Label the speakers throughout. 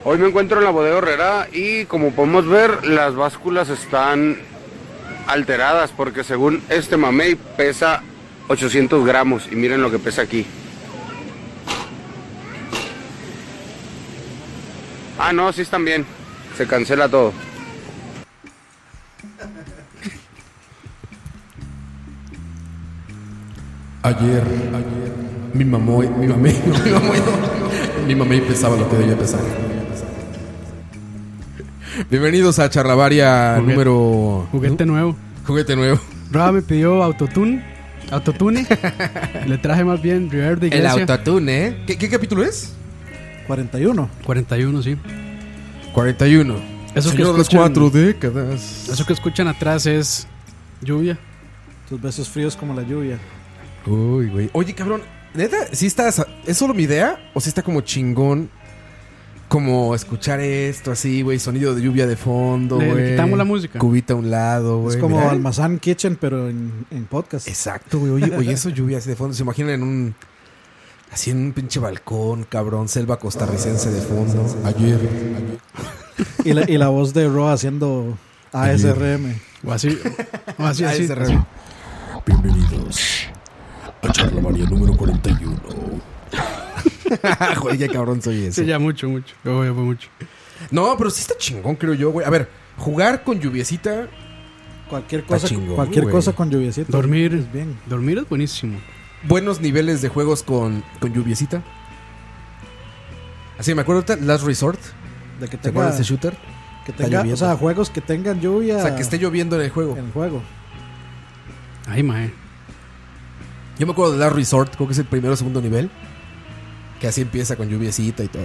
Speaker 1: Hoy me encuentro en la bodega Herrera y como podemos ver las básculas están alteradas porque según este mamey pesa 800 gramos y miren lo que pesa aquí. Ah, no, sí están bien, se cancela todo.
Speaker 2: Ayer mi mamá pesaba lo que debía pesar. Bienvenidos a Charlavaria número...
Speaker 3: Juguete nuevo.
Speaker 2: Juguete nuevo.
Speaker 3: Roa me pidió autotune. Le traje más bien Reverb de Iglesia.
Speaker 2: El autotune, ¿eh? ¿Qué capítulo es?
Speaker 4: 41.
Speaker 3: 41, sí.
Speaker 2: 41.
Speaker 3: Eso
Speaker 2: Señor
Speaker 3: que
Speaker 2: de las
Speaker 3: escuchan,
Speaker 2: 4 décadas.
Speaker 3: Eso que escuchan atrás es lluvia.
Speaker 4: Tus besos fríos como la lluvia.
Speaker 2: Uy, güey. Oye, cabrón, ¿neta? ¿Sí estás... ¿Es solo mi idea? ¿O sí está como chingón? Como escuchar esto así, güey. Sonido de lluvia de fondo, güey.
Speaker 3: Le quitamos la música.
Speaker 2: Cubita a un lado, güey.
Speaker 4: Es como
Speaker 2: Mira.
Speaker 4: Almazán Kitchen, pero en podcast.
Speaker 2: Exacto, güey. Oye, eso lluvia así de fondo. ¿Se imaginan en un... Así en un pinche balcón, cabrón. Selva costarricense de fondo. Ayer.
Speaker 4: Y la voz de Roa haciendo ASRM.
Speaker 3: O así. Así.
Speaker 2: Bienvenidos a Charlavaria número 41. Joder, qué cabrón soy ese.
Speaker 3: Sí, ya mucho. Yo fue mucho.
Speaker 2: No, pero sí está chingón, creo yo, güey. A ver, jugar con lluviecita.
Speaker 4: Cualquier cosa,
Speaker 2: chingón,
Speaker 4: cualquier
Speaker 2: güey.
Speaker 4: cosa con lluviecita.
Speaker 3: Dormir.
Speaker 4: Es bien.
Speaker 3: Dormir es buenísimo.
Speaker 2: Buenos niveles de juegos con lluviecita. Así me acuerdo ahorita, Last Resort.
Speaker 4: De que
Speaker 2: ¿Te acuerdas de ese shooter?
Speaker 4: que
Speaker 2: Está
Speaker 4: tenga,
Speaker 2: lloviendo.
Speaker 4: o sea, juegos que tengan lluvia.
Speaker 2: O sea, que esté lloviendo en el juego.
Speaker 4: en el juego.
Speaker 3: Ay, mae.
Speaker 2: Yo me acuerdo de Last Resort, creo que es el primero o segundo nivel. Que así empieza con lluviecita y todo.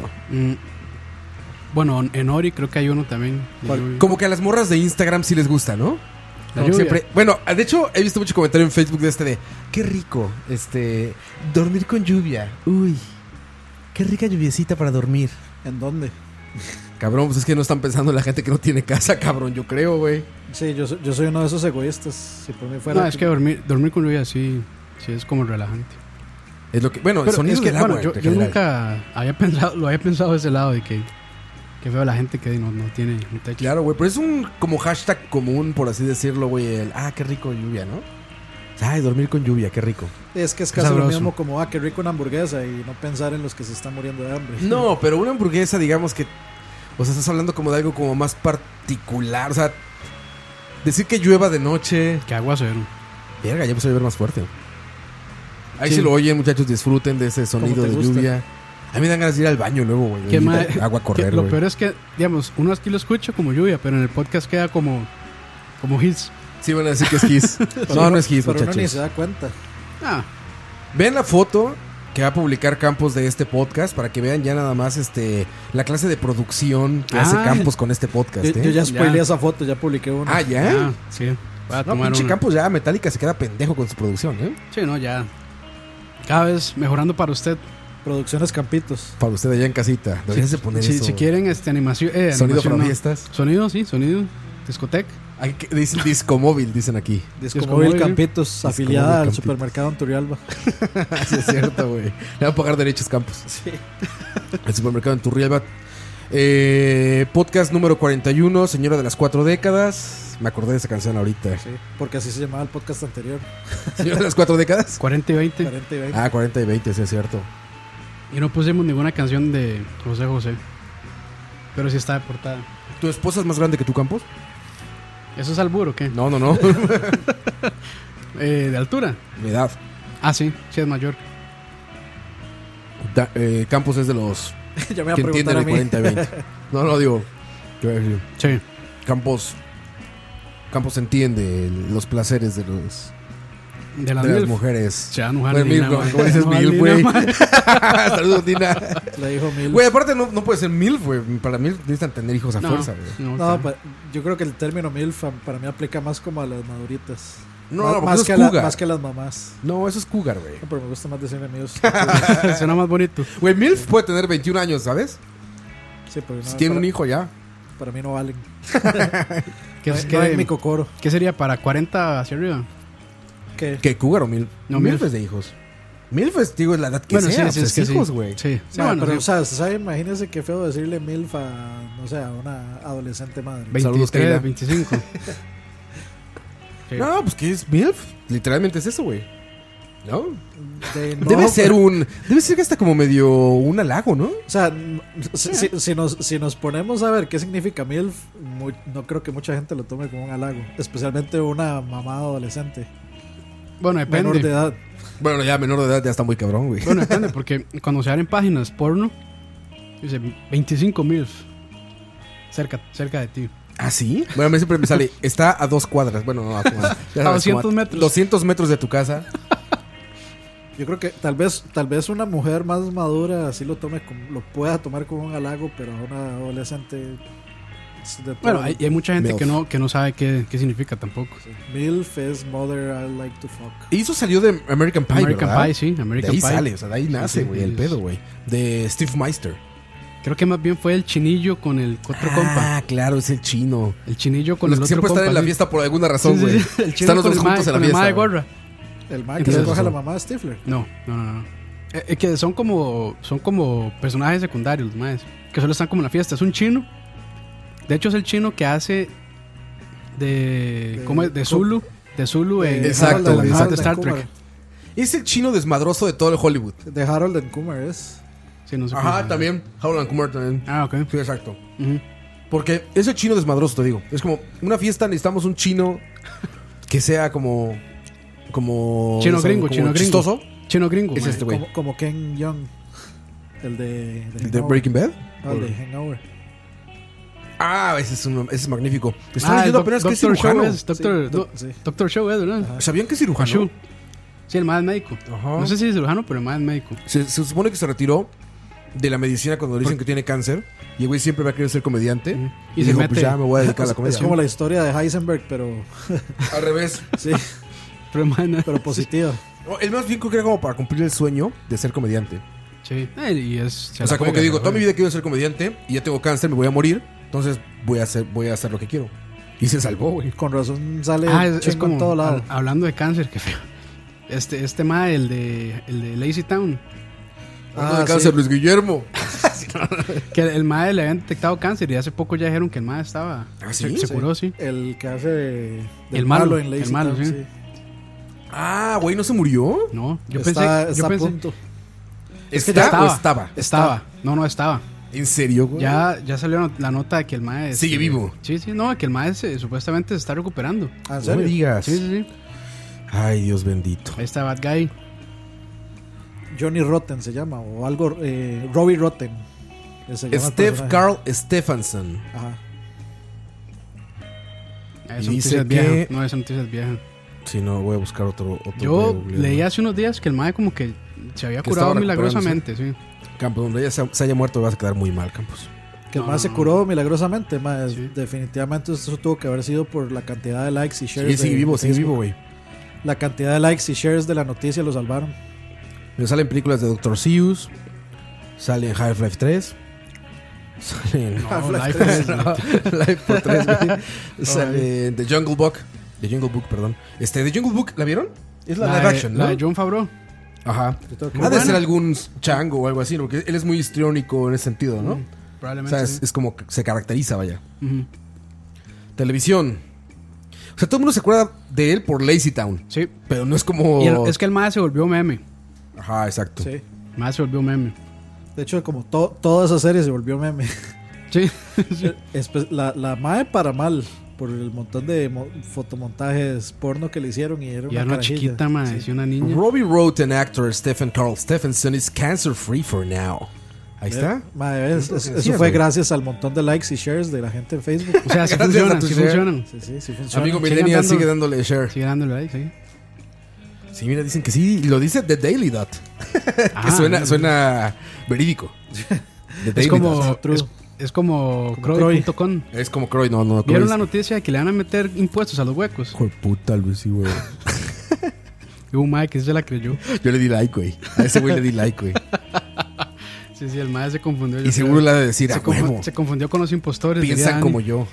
Speaker 3: Bueno, en Ori creo que hay uno también. de
Speaker 4: ¿Cuál?
Speaker 3: lluvia.
Speaker 2: Como que a las morras de Instagram sí les gusta, ¿no?
Speaker 3: La
Speaker 2: Como
Speaker 3: lluvia.
Speaker 2: siempre. Bueno, de hecho, he visto mucho comentario en Facebook de qué rico, dormir con lluvia. Uy, qué rica lluviecita para dormir.
Speaker 4: ¿En dónde?
Speaker 2: Cabrón, pues es que no están pensando en la gente que no tiene casa, cabrón, yo creo, güey.
Speaker 4: Sí, yo soy uno de esos egoístas. Si por mí fuera.
Speaker 3: No, es que dormir con lluvia sí es como relajante.
Speaker 2: Es lo que, bueno, el
Speaker 3: Pero
Speaker 2: sonido
Speaker 3: es que,
Speaker 2: del agua.
Speaker 3: bueno,
Speaker 2: en
Speaker 3: yo
Speaker 2: general.
Speaker 3: nunca había pensado de ese lado de que veo la gente que no tiene un techo.
Speaker 2: Claro, güey, pero es un como hashtag común, por así decirlo, güey. Qué rico lluvia, ¿no? Ay, dormir con lluvia, qué rico.
Speaker 4: Es que es casi lo
Speaker 3: sabroso.
Speaker 4: mismo como, qué rico una hamburguesa y no pensar en los que se están muriendo de hambre.
Speaker 2: No, pero una hamburguesa, digamos que... O sea, estás hablando como de algo como más particular. O sea, decir que llueva de noche...
Speaker 3: Que aguacero.
Speaker 2: Verga, ya empezó a llover más fuerte. Ahí
Speaker 3: Sí.
Speaker 2: si lo oyen, muchachos, disfruten de ese sonido
Speaker 4: te
Speaker 2: de
Speaker 4: gusta.
Speaker 2: lluvia. A mí me dan ganas de ir al baño luego, güey.
Speaker 3: Que
Speaker 2: Y
Speaker 3: mae-
Speaker 2: agua a correr,
Speaker 3: Lo
Speaker 2: güey.
Speaker 3: peor es que, digamos, uno aquí lo escucha como lluvia, pero en el podcast queda como hits.
Speaker 2: Sí, van a decir que es Kiss. No es Kiss,
Speaker 4: Pero uno ni
Speaker 2: muchachos.
Speaker 4: se da cuenta.
Speaker 3: Ah,
Speaker 2: Vean la foto que va a publicar Campos de este podcast para que vean ya nada más la clase de producción que hace Campos con este podcast.
Speaker 4: Yo ya spoileé
Speaker 3: Ya.
Speaker 4: esa foto, ya publiqué una.
Speaker 2: ¿Ya?
Speaker 3: sí. Voy a
Speaker 2: No,
Speaker 3: tomar
Speaker 2: pinche
Speaker 3: una.
Speaker 2: Campos ya Metallica se queda pendejo con su producción, ¿eh?
Speaker 3: Sí, no, ya. Cada vez mejorando para usted.
Speaker 4: Producciones Campitos.
Speaker 2: Para usted allá en casita. Deberías de poner eso.
Speaker 3: Si quieren animación.
Speaker 2: Sonido
Speaker 3: animación,
Speaker 2: para
Speaker 3: no.
Speaker 2: fiestas.
Speaker 3: Sonido, sí, sonido. Discoteca.
Speaker 2: Dicen disco móvil, dicen aquí.
Speaker 4: Discomóvil
Speaker 3: Discomóvil.
Speaker 4: Campitos, afiliada al
Speaker 2: Campitos.
Speaker 4: supermercado en Turrialba.
Speaker 2: Sí, es cierto, güey. Le van a pagar derechos Campos.
Speaker 4: Sí.
Speaker 2: El supermercado en Turrialba. Podcast número 41, Señora de las 4 décadas. Me acordé de esa canción ahorita.
Speaker 4: Sí, porque así se llamaba el podcast anterior.
Speaker 2: Señora de las 4 décadas.
Speaker 3: 40 y 20.
Speaker 4: 40 y 20.
Speaker 2: 40 y 20, sí es cierto.
Speaker 3: Y no pusimos ninguna canción de José. Pero sí está de portada.
Speaker 2: ¿Tu esposa es más grande que tu Campos?
Speaker 3: ¿Eso es albur o qué?
Speaker 2: No.
Speaker 3: ¿De altura?
Speaker 2: Mi edad.
Speaker 3: Ah, sí es mayor.
Speaker 2: Campos es de los
Speaker 4: Ya me iba a
Speaker 2: que entienden
Speaker 4: preguntar a
Speaker 2: el
Speaker 4: mí.
Speaker 2: 40 y 20. No, digo. Yo voy a decir,
Speaker 3: Sí.
Speaker 2: Campos entiende los placeres de
Speaker 3: De las
Speaker 2: de las
Speaker 3: MILF.
Speaker 2: mujeres.
Speaker 3: Se va a enojar
Speaker 2: Bueno,
Speaker 3: Nina,
Speaker 2: Milf,
Speaker 3: man.
Speaker 2: ¿cómo dices
Speaker 3: Se va a
Speaker 2: Milf,
Speaker 3: enojar
Speaker 2: güey?
Speaker 3: Nina, man.
Speaker 2: Saludos, Dina.
Speaker 4: Le dijo Mil.
Speaker 2: Güey, aparte no puede ser MILF, güey. Para MILF necesitan tener hijos a fuerza, güey.
Speaker 3: No,
Speaker 4: No, yo creo que el término MILF para mí aplica más como a las maduritas.
Speaker 2: No,
Speaker 4: más,
Speaker 2: porque
Speaker 4: más
Speaker 2: eso
Speaker 4: que
Speaker 2: es cougar.
Speaker 4: más que a las mamás.
Speaker 2: No, eso es cougar, güey.
Speaker 4: No, pero me gusta más decirle míos.
Speaker 3: suena más bonito.
Speaker 2: Güey, MILF puede tener 21 años, ¿sabes?
Speaker 4: Sí, pero no,
Speaker 2: Si tiene
Speaker 4: para,
Speaker 2: un hijo ya.
Speaker 4: para mí no valen.
Speaker 3: ¿Qué,
Speaker 4: No,
Speaker 3: es-
Speaker 4: no hay mi
Speaker 3: qué,
Speaker 4: cocoro.
Speaker 3: qué sería para 40 hacia arriba?
Speaker 4: ¿Qué?
Speaker 2: ¿Qué, cougar o MILF?
Speaker 3: No,
Speaker 2: MILF
Speaker 3: MILF.
Speaker 2: es de hijos. MILF es, digo, es la edad que sea.
Speaker 3: sí,
Speaker 2: o sea,
Speaker 3: es que
Speaker 2: es hijos,
Speaker 3: sí.
Speaker 2: güey.
Speaker 3: Sí, sí,
Speaker 4: Ma,
Speaker 3: bueno,
Speaker 4: pero,
Speaker 3: sí.
Speaker 4: o sea, ¿sabe? Imagínese qué feo decirle MILF a, no sé, a una adolescente madre.
Speaker 2: Saludos, Keila.
Speaker 3: 23, 25. Sí.
Speaker 2: No, pues ¿qué es MILF? Literalmente es eso, güey. ¿No?
Speaker 4: No,
Speaker 2: Debe ser que hasta como medio un halago, ¿no?
Speaker 4: O sea, si nos ponemos a ver qué significa MILF, no creo que mucha gente lo tome como un halago. Especialmente una mamá adolescente.
Speaker 3: Bueno, depende.
Speaker 4: Menor de edad.
Speaker 2: Bueno, ya menor de edad ya está muy cabrón, güey.
Speaker 3: Bueno, depende, porque cuando se abren páginas porno, dice 25 mil cerca de ti.
Speaker 2: ¿Ah, sí? Bueno, a mí siempre me sale, está a 2 cuadras. Bueno, no,
Speaker 3: A 200 metros.
Speaker 2: 200 metros de tu casa.
Speaker 4: Yo creo que tal vez una mujer más madura así lo pueda tomar como un halago, pero a una adolescente
Speaker 3: Bueno, hay mucha gente
Speaker 2: MILF.
Speaker 3: que no sabe qué significa tampoco.
Speaker 4: Sí. MILF es Mother I Like to Fuck.
Speaker 2: Y eso salió de American Pie,
Speaker 3: American
Speaker 2: ¿verdad?
Speaker 3: Pie, sí,
Speaker 2: De
Speaker 3: American
Speaker 2: ahí
Speaker 3: Pie.
Speaker 2: sale, o sea, de ahí nace,
Speaker 3: Sí,
Speaker 2: güey, el
Speaker 3: es-
Speaker 2: pedo, güey. De Steve Meister.
Speaker 3: Creo que más bien fue el chinillo con el otro compa.
Speaker 2: Ah, claro, es el chino.
Speaker 3: El chinillo con
Speaker 2: Los
Speaker 3: el
Speaker 2: que
Speaker 3: otro
Speaker 2: siempre
Speaker 3: compa.
Speaker 2: están en la
Speaker 3: sí.
Speaker 2: fiesta por alguna razón,
Speaker 3: Sí,
Speaker 2: güey.
Speaker 3: sí, sí. El chino
Speaker 2: Están los
Speaker 3: con
Speaker 2: dos
Speaker 3: el
Speaker 2: juntos en la
Speaker 3: con el mae de
Speaker 2: fiesta.
Speaker 3: gorra.
Speaker 4: El man que
Speaker 3: Entonces,
Speaker 4: se coge a la
Speaker 2: eso.
Speaker 4: mamá de Stifler.
Speaker 3: No. Es que son como personajes secundarios, los maes, que solo están como en la fiesta. Es un chino. De hecho, es el chino que hace ¿cómo es? De Zulu. De Zulu en
Speaker 2: Exacto,
Speaker 3: en
Speaker 2: güey,
Speaker 3: las
Speaker 2: exacto.
Speaker 3: de Star
Speaker 4: and
Speaker 3: Trek.
Speaker 4: Kumar.
Speaker 2: Es el chino desmadroso de todo el Hollywood.
Speaker 4: De Harold and Kumar es.
Speaker 3: Sí, no sé cómo
Speaker 2: Ajá,
Speaker 3: se
Speaker 2: también. Howland Kumar también.
Speaker 3: llama. Ah, ok.
Speaker 2: Sí, exacto.
Speaker 3: Ujú.
Speaker 2: Porque ese chino desmadroso, te digo. Es como una fiesta, necesitamos un chino que sea como
Speaker 3: Chino gringo,
Speaker 2: como
Speaker 3: chino gringo.
Speaker 2: chistoso.
Speaker 3: Chino gringo.
Speaker 2: Es
Speaker 3: mae.
Speaker 2: este güey.
Speaker 4: Como Ken Young. El de
Speaker 2: ¿El de
Speaker 4: Hangover.
Speaker 2: Breaking Bad?
Speaker 4: No, el de Hangover.
Speaker 2: Ah, ese es magnífico. Estaba
Speaker 3: Ah,
Speaker 2: leyendo apenas que es
Speaker 3: Doctor Show
Speaker 2: cirujano.
Speaker 3: es. Doctor,
Speaker 4: Sí.
Speaker 3: Doctor Show es, ¿verdad?
Speaker 2: ¿Sabían que es cirujano?
Speaker 3: Show. Sí, el más médico.
Speaker 2: Ajá.
Speaker 3: No sé si es cirujano, pero el más médico.
Speaker 2: Se supone que se retiró de la medicina cuando le dicen que tiene cáncer. Y el güey siempre va a querer ser comediante.
Speaker 3: Ujú.
Speaker 2: Y,
Speaker 3: Y se
Speaker 2: dijo,
Speaker 3: mete-
Speaker 2: pues ya me voy a dedicar a la
Speaker 4: Es
Speaker 2: comedia.
Speaker 4: como la historia de Heisenberg, pero
Speaker 2: Al revés.
Speaker 4: sí,
Speaker 3: Pero el mae no-
Speaker 4: pero positiva.
Speaker 2: No, él más bien creo que era como para cumplir el sueño de ser comediante.
Speaker 3: Sí. Y es.
Speaker 2: O sea, como que digo, toda mi vida quiero ser comediante y ya tengo cáncer, me voy a morir. Entonces voy a hacer lo que quiero. Y se salvó, güey.
Speaker 4: Con razón sale
Speaker 3: Es
Speaker 4: chingo
Speaker 3: como.
Speaker 4: en todo lado.
Speaker 3: Hablando de cáncer, qué feo. Este mae, el de Lazy Town.
Speaker 2: De cáncer,
Speaker 4: sí.
Speaker 2: Luis Guillermo.
Speaker 3: Que el mae le habían detectado cáncer y hace poco ya dijeron que el mae estaba.
Speaker 2: ¿Ah, sí?
Speaker 3: Se curó, sí.
Speaker 4: El que hace del
Speaker 3: El malo,
Speaker 4: en Lazy
Speaker 3: el malo,
Speaker 4: Town,
Speaker 3: sí.
Speaker 2: Ah, güey, ¿no se murió?
Speaker 3: No, yo
Speaker 4: Está
Speaker 3: pensé.
Speaker 4: a punto.
Speaker 2: ¿Está o estaba?
Speaker 3: Estaba. No, estaba.
Speaker 2: ¿En serio, güey?
Speaker 3: Ya salió la nota de que el mae.
Speaker 2: Sigue vivo.
Speaker 3: Sí, no, que el mae supuestamente se está recuperando.
Speaker 4: Ah, ¿en
Speaker 2: No me
Speaker 4: serio?
Speaker 2: digas.
Speaker 3: Sí.
Speaker 2: Ay, Dios bendito.
Speaker 3: Ahí está Bad Guy.
Speaker 4: Johnny Rotten se llama, o algo, Robbie Rotten. Se llama el
Speaker 2: Steph
Speaker 4: personaje.
Speaker 2: Carl Stephenson.
Speaker 4: Ajá.
Speaker 3: Esa
Speaker 2: Y
Speaker 3: noticia
Speaker 2: dice
Speaker 3: es vieja.
Speaker 2: que-
Speaker 3: No, esa noticia es vieja.
Speaker 2: Si no, voy a buscar otro
Speaker 3: Yo
Speaker 2: Google.
Speaker 3: leí hace unos días que el mae como que se había
Speaker 2: Que
Speaker 3: curado
Speaker 2: estaba
Speaker 3: milagrosamente, sí.
Speaker 2: Campos, donde ella se haya muerto vas a quedar muy mal, Campos.
Speaker 4: Que el
Speaker 3: No,
Speaker 4: más se
Speaker 3: no.
Speaker 4: curó milagrosamente. Más,
Speaker 3: Sí.
Speaker 4: definitivamente eso tuvo que haber sido por la cantidad de likes y
Speaker 2: Sí,
Speaker 4: shares.
Speaker 2: sigue
Speaker 4: de
Speaker 2: vivo, sigue
Speaker 4: Facebook.
Speaker 2: vivo, güey.
Speaker 4: La cantidad de likes y shares de la noticia lo salvaron.
Speaker 2: Me salen películas de Dr. Seuss. Salen Half-Life 3. Salen
Speaker 3: No, Life is-
Speaker 2: Life for 3, güey. Sale The Jungle Book. The Jungle Book, perdón. The Jungle Book, ¿la vieron? Es la live action, ¿no?
Speaker 3: La de John Favreau.
Speaker 2: Ajá.
Speaker 4: Yo tengo que-
Speaker 2: Ha de
Speaker 3: buena.
Speaker 2: ser algún chango o algo así, porque él es muy histriónico en ese sentido, ¿no? O
Speaker 3: Probablemente.
Speaker 2: sea,
Speaker 3: sí.
Speaker 2: es como que se caracteriza, vaya.
Speaker 3: Ujú.
Speaker 2: Televisión. O sea, todo el mundo se acuerda de él por Lazy Town.
Speaker 3: Sí.
Speaker 2: Pero no es como.
Speaker 3: Es que el mae se volvió meme.
Speaker 2: Ajá, exacto.
Speaker 4: Sí.
Speaker 3: El mae se volvió meme.
Speaker 4: De hecho, como toda esa serie se volvió meme.
Speaker 3: Sí.
Speaker 4: La MAE para mal. Por el montón de fotomontajes porno que le hicieron. Y era
Speaker 3: Y era una
Speaker 4: carajilla.
Speaker 3: chiquita, mae. Sí, una niña.
Speaker 2: Robbie Roten actor Stephen Carl Stephenson is cancer free for now. Ahí está.
Speaker 4: Mae, eso
Speaker 2: decía,
Speaker 4: fue
Speaker 2: güey.
Speaker 4: gracias al montón de likes y shares de la gente en Facebook.
Speaker 3: O sea, sí
Speaker 2: Gracias a
Speaker 3: funcionan,
Speaker 2: tu
Speaker 3: sí
Speaker 2: share.
Speaker 3: funcionan.
Speaker 4: Sí funciona.
Speaker 2: Amigo
Speaker 3: Sigan
Speaker 2: Millennial
Speaker 3: dando-
Speaker 2: sigue dándole share.
Speaker 3: Sigue dándole like, sí.
Speaker 2: Sí, mira, dicen que sí. Y lo dice The Daily Dot. Que
Speaker 3: Ah,
Speaker 2: suena verídico. The
Speaker 3: Es
Speaker 2: Daily
Speaker 3: como,
Speaker 2: Dot.
Speaker 4: True.
Speaker 3: es como
Speaker 4: Como
Speaker 3: Croy.com.
Speaker 2: Es como Croy, no.
Speaker 3: ¿Vieron
Speaker 2: Croy
Speaker 3: la
Speaker 2: es-
Speaker 3: noticia de que le van a meter impuestos a los huecos?
Speaker 2: Hijo de puta, Luis, sí, güey.
Speaker 3: Y un mae que sí se la creyó.
Speaker 2: Yo le di like, güey. A ese güey le di like, güey.
Speaker 3: Sí, el mae se confundió. yo
Speaker 2: Y seguro
Speaker 3: creo.
Speaker 2: le ha de decir,
Speaker 3: se,
Speaker 2: a huevo.
Speaker 3: se confundió con los impostores.
Speaker 2: Piensan
Speaker 3: diría
Speaker 2: como
Speaker 3: Dani.
Speaker 2: yo.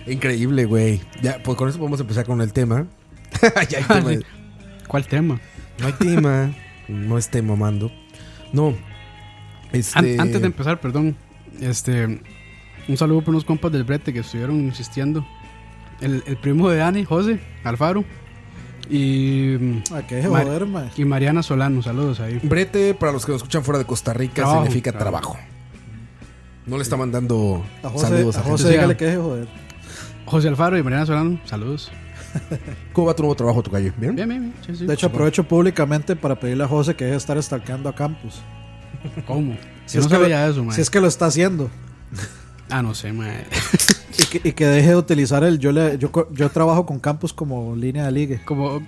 Speaker 2: Increíble, güey. Ya, pues con eso podemos empezar con el tema. Ya hay tema
Speaker 3: Sí. ¿Cuál tema?
Speaker 2: No hay tema. No esté mamando. No.
Speaker 3: Antes de empezar, perdón. Un saludo por unos compas del brete que estuvieron insistiendo. El primo de Dani, José Alfaro. Y.
Speaker 4: ¿Qué joder, man?
Speaker 3: Y Mariana Solano, saludos ahí.
Speaker 2: Brete, para los que nos escuchan fuera de Costa Rica, significa trabajo. No le está mandando saludos a
Speaker 4: José. Dígale que es joder.
Speaker 3: José Alfaro y Mariana Solano, saludos.
Speaker 2: ¿Cómo va tu nuevo trabajo, tocayo? ¿Bien?
Speaker 3: Bien. Sí.
Speaker 4: De hecho, aprovecho públicamente para pedirle a José que deje de estar stalkeando a Campos.
Speaker 3: ¿Cómo?
Speaker 4: Si es que lo está haciendo.
Speaker 3: No sé, mae.
Speaker 4: Y que deje de utilizar yo trabajo con Campos como línea de ligue.
Speaker 3: Como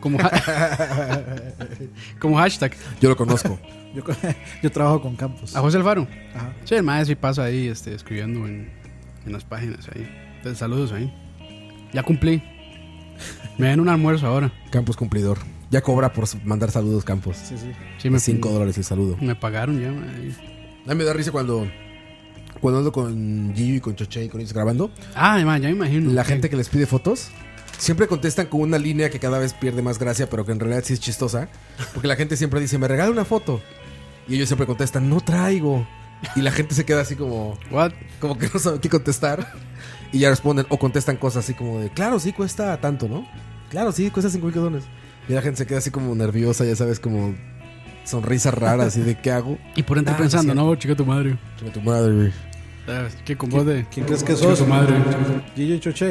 Speaker 3: hashtag.
Speaker 2: Yo lo conozco.
Speaker 4: Yo trabajo con Campos.
Speaker 3: ¿A José Alfaro?
Speaker 4: Ajá.
Speaker 3: Sí, el mae sí pasa ahí escribiendo en las páginas ahí. Entonces, saludos ahí. Ya cumplí. Me dan un almuerzo ahora.
Speaker 2: Campos cumplidor. Ya cobra por mandar saludos, Campos.
Speaker 3: Sí,
Speaker 2: $5 el saludo.
Speaker 3: Me pagaron ya, mae.
Speaker 2: A mí me da risa cuando ando con Gio y con Choche y con ellos grabando.
Speaker 3: Ya me imagino.
Speaker 2: La gente que les pide fotos siempre contestan con una línea que cada vez pierde más gracia, pero que en realidad sí es chistosa. Porque la gente siempre dice, me regala una foto. Y ellos siempre contestan, no traigo. Y la gente se queda así como,
Speaker 3: ¿what?
Speaker 2: Como que no sabe qué contestar. Y ya responden o contestan cosas así como de, claro, sí cuesta tanto, ¿no? Claro, sí, cuesta $5,000. Y la gente se queda así como nerviosa, ya sabes, como sonrisa rara, así de ¿qué hago?
Speaker 3: Y por dentro pensando, no, chica tu madre.
Speaker 2: Chica tu madre, güey.
Speaker 3: ¿Qué con vos de?
Speaker 4: ¿Quién crees que sos?
Speaker 3: Tu madre.
Speaker 4: Gillo y Choche.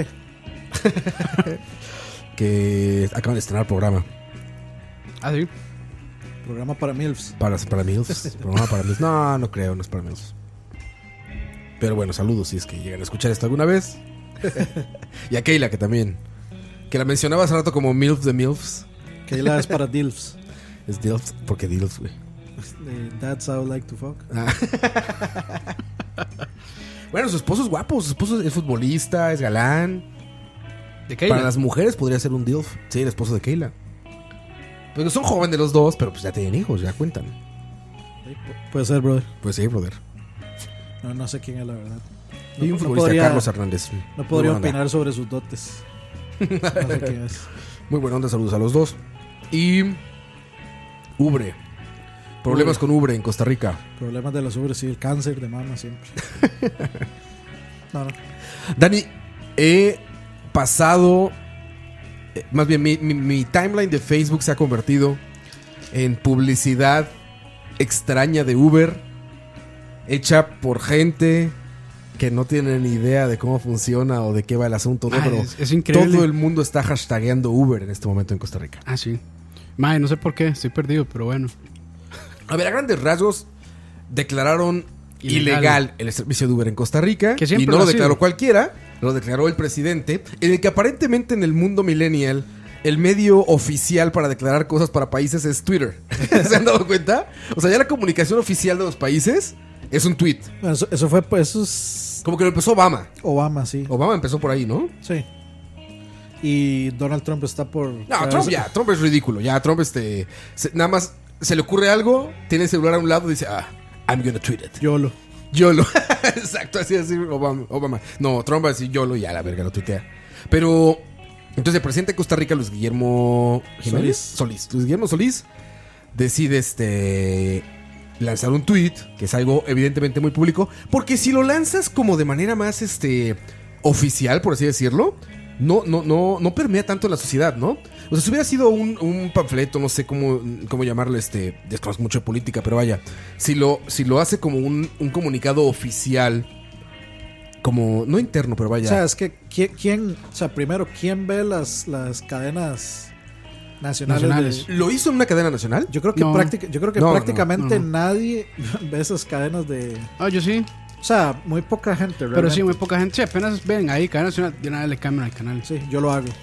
Speaker 2: Que acaban de estrenar programa.
Speaker 3: Sí.
Speaker 4: Programa para MILFs.
Speaker 2: Para MILFs. Programa para MILFs. No creo, no es para MILFs. Pero bueno, saludos si es que llegan a escuchar esto alguna vez. Y a Keila, que también. Que la mencionaba hace rato como MILF de MILFs.
Speaker 4: Keila es para DILFs.
Speaker 2: Es DILFs, porque DILFs, güey.
Speaker 4: That's how I like to fuck.
Speaker 2: Bueno, su esposo es guapo. Su esposo es futbolista, es galán.
Speaker 3: ¿De Keila?
Speaker 2: Para las mujeres podría ser un DILF. Sí, el esposo de Keila. Pues son jóvenes los dos, pero pues ya tienen hijos, ya cuentan.
Speaker 4: Puede ser, brother.
Speaker 2: Pues sí, brother.
Speaker 4: No sé quién es la verdad.
Speaker 2: Y un futbolista, Carlos Hernández.
Speaker 4: No podría opinar sobre sus dotes. No sé quién es.
Speaker 2: Muy buena onda, saludos a los dos. Y Ubre. Problemas con Ubre en Costa Rica.
Speaker 4: Problemas de los ubres, sí, el cáncer de mama siempre. No.
Speaker 2: Dani, he pasado... Más bien, mi timeline de Facebook se ha convertido en publicidad extraña de Uber, hecha por gente que no tiene ni idea de cómo funciona o de qué va el asunto, ¿no? Pero
Speaker 3: es increíble.
Speaker 2: Todo el mundo está hashtagueando Uber en este momento en Costa Rica.
Speaker 3: Sí. Mae, no sé por qué, estoy perdido, pero bueno.
Speaker 2: A ver, a grandes rasgos, declararon ilegal el servicio de Uber en Costa Rica. Y no lo declaró cualquiera, lo declaró el presidente, en el que aparentemente en el mundo millennial el medio oficial para declarar cosas para países es Twitter. ¿Se han dado cuenta? O sea, ya la comunicación oficial de los países es un tweet.
Speaker 4: Eso fue, pues, eso es...
Speaker 2: Como que lo empezó Obama.
Speaker 4: Obama, sí.
Speaker 2: Obama empezó por ahí, ¿no?
Speaker 4: Sí. Y Donald Trump está por...
Speaker 2: No, Trump es ridículo. Ya, Trump nada más se le ocurre algo, tiene el celular a un lado y dice, I'm gonna tweet it.
Speaker 4: YOLO.
Speaker 2: Exacto, así Obama. No, Trump va a decir YOLO y a la verga lo tuitea. Pero entonces el presidente de Costa Rica, Luis Guillermo Solís. Luis Guillermo Solís decide lanzar un tweet, que es algo evidentemente muy público, porque si lo lanzas como de manera más oficial, por así decirlo, no permea tanto en la sociedad, ¿no? O sea, si hubiera sido un panfleto, no sé cómo llamarlo, desconozco mucho de política, pero vaya, si lo hace como un comunicado oficial, como, no interno, pero vaya.
Speaker 4: O sea, es que primero, ¿quién ve las cadenas nacionales?
Speaker 2: ¿Lo hizo en una cadena nacional?
Speaker 4: Yo creo que prácticamente nadie ve esas cadenas de...
Speaker 3: Yo sí.
Speaker 4: O sea, muy poca gente realmente.
Speaker 3: Pero sí, muy poca gente. Sí, apenas ven ahí cadena nacional, de nada le cambian al canal.
Speaker 4: Sí, yo lo hago.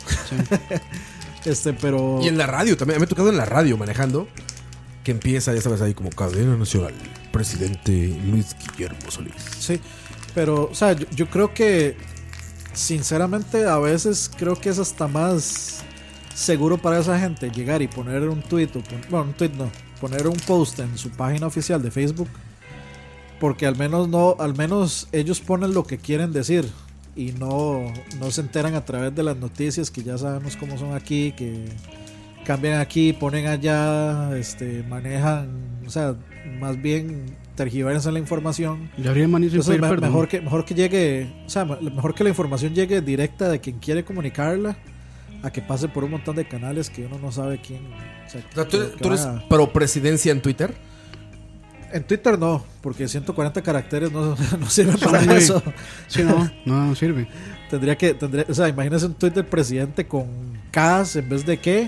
Speaker 4: Sí. Pero...
Speaker 2: Y en la radio también, me ha tocado en la radio manejando, que empieza, ya sabes, ahí como cadena nacional, presidente Luis Guillermo Solís.
Speaker 4: Sí, pero, o sea, yo creo que, sinceramente, a veces creo que es hasta más seguro para esa gente llegar y poner un tweet, poner un post en su página oficial de Facebook, porque al menos ellos ponen lo que quieren decir y no se enteran a través de las noticias, que ya sabemos cómo son aquí, que cambian aquí, ponen allá, manejan, o sea, más bien tergiversan la información. Entonces, mejor que llegue, o sea, mejor que la información llegue directa de quien quiere comunicarla a que pase por un montón de canales que uno no sabe quién. O sea,
Speaker 2: ¿tú eres pro presidencia en Twitter?
Speaker 4: En Twitter no, porque 140 caracteres no sirven para eso.
Speaker 3: Sí, no sirve.
Speaker 4: Tendría, o sea, imagínese un tweet del presidente con K's en vez de qué.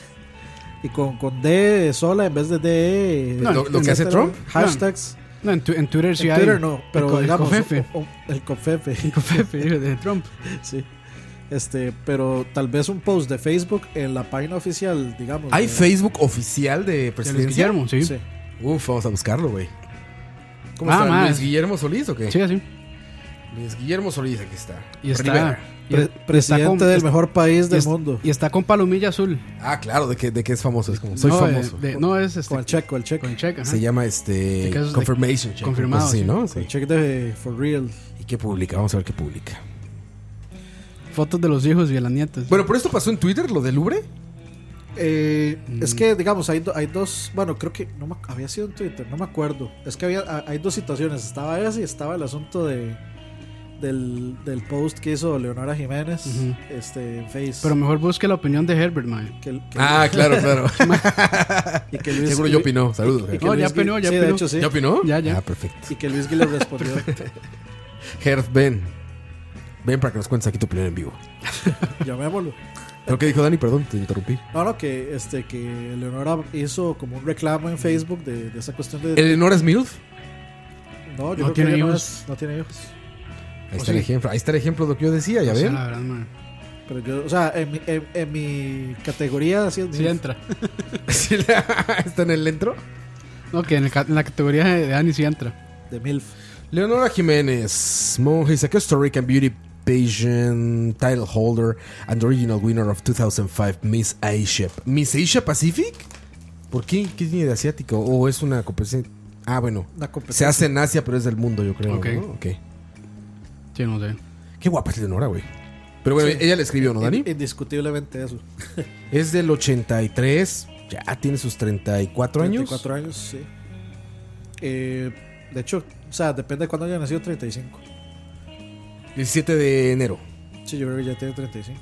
Speaker 4: Y con D sola en vez de D.
Speaker 2: No, lo que hace Trump.
Speaker 4: Hashtags.
Speaker 3: No, en Twitter sí
Speaker 4: en
Speaker 3: hay.
Speaker 4: Twitter no, pero digamos.
Speaker 3: El Cofefe.
Speaker 4: El
Speaker 3: Cofefe de Trump.
Speaker 4: Sí. Pero tal vez un post de Facebook en la página oficial, digamos.
Speaker 2: ¿Hay Facebook oficial de presidencia?
Speaker 3: De Luis Guillermo, sí.
Speaker 2: Uf, vamos a buscarlo, güey. ¿Cómo está? ¿Luis Guillermo Solís o qué?
Speaker 3: Sí, así.
Speaker 2: Luis Guillermo Solís, aquí está.
Speaker 3: Y está
Speaker 4: presidente del mejor país del mundo.
Speaker 3: Y está con palomilla azul.
Speaker 2: Ah, claro, de que es famoso. Es como, soy famoso.
Speaker 3: No, es
Speaker 4: con el check.
Speaker 3: Con el check,
Speaker 2: se llama confirmation check.
Speaker 3: Confirmado.
Speaker 2: Sí, ¿no?
Speaker 4: Sí. El check de for real.
Speaker 2: ¿Y qué publica? Vamos a ver qué publica.
Speaker 3: Fotos de los hijos y de las nietas.
Speaker 2: Bueno, ¿por esto pasó en Twitter lo del Louvre?
Speaker 4: Es que, digamos, hay dos. Bueno, creo que había sido en Twitter, no me acuerdo. Es que hay dos situaciones. Estaba ese y estaba el asunto del post que hizo Leonora Jiménez en Face.
Speaker 3: Pero mejor busque la opinión de Herbert, man.
Speaker 2: Claro.
Speaker 4: Y que Luis,
Speaker 2: seguro yo opinó. Saludos.
Speaker 3: No, ya opinó.
Speaker 4: Sí, de hecho sí.
Speaker 2: ¿Ya opinó?
Speaker 3: Ya.
Speaker 2: Ah, perfecto.
Speaker 4: Y que Luis Guillermo respondió.
Speaker 2: Herb, ven para que nos cuentes aquí tu opinión en vivo.
Speaker 4: Llamémoslo.
Speaker 2: ¿Pero qué dijo Dani? Perdón, te interrumpí.
Speaker 4: No, que Leonora hizo como un reclamo en Facebook de esa cuestión de...
Speaker 2: ¿Eleonora es MILF?
Speaker 4: No, yo
Speaker 3: no
Speaker 4: creo
Speaker 3: tiene
Speaker 4: que
Speaker 3: hijos.
Speaker 4: no tiene hijos.
Speaker 2: Ahí está el ejemplo. Ahí está el ejemplo de lo que yo decía, ¿ya ven?
Speaker 3: La verdad, man.
Speaker 4: Pero yo, o sea, en mi categoría sí es
Speaker 3: Sí entra.
Speaker 2: ¿Está en el intro?
Speaker 3: No, que en la categoría de Dani sí entra.
Speaker 4: De MILF.
Speaker 2: Leonora Jiménez, monja, is a Costa Rican beauty pageant title holder and original winner of 2005 Miss Asia. ¿Miss Asia Pacific? ¿Por qué? ¿Qué tiene de asiático? ¿O es una competencia? Ah, bueno. Se hace en Asia, pero es del mundo, yo creo.
Speaker 3: Okay.
Speaker 2: ¿No? Okay.
Speaker 3: Sí, no sé.
Speaker 2: Qué guapa es Leonora, güey. Pero bueno, ella le escribió, ¿no, Dani?
Speaker 4: Indiscutiblemente eso.
Speaker 2: Es del 83. Ya tiene sus 34 años.
Speaker 4: 34 años, sí. De hecho, o sea, depende de cuándo haya nacido, 35.
Speaker 2: 17 de enero.
Speaker 4: Sí, yo creo que ya tiene 35.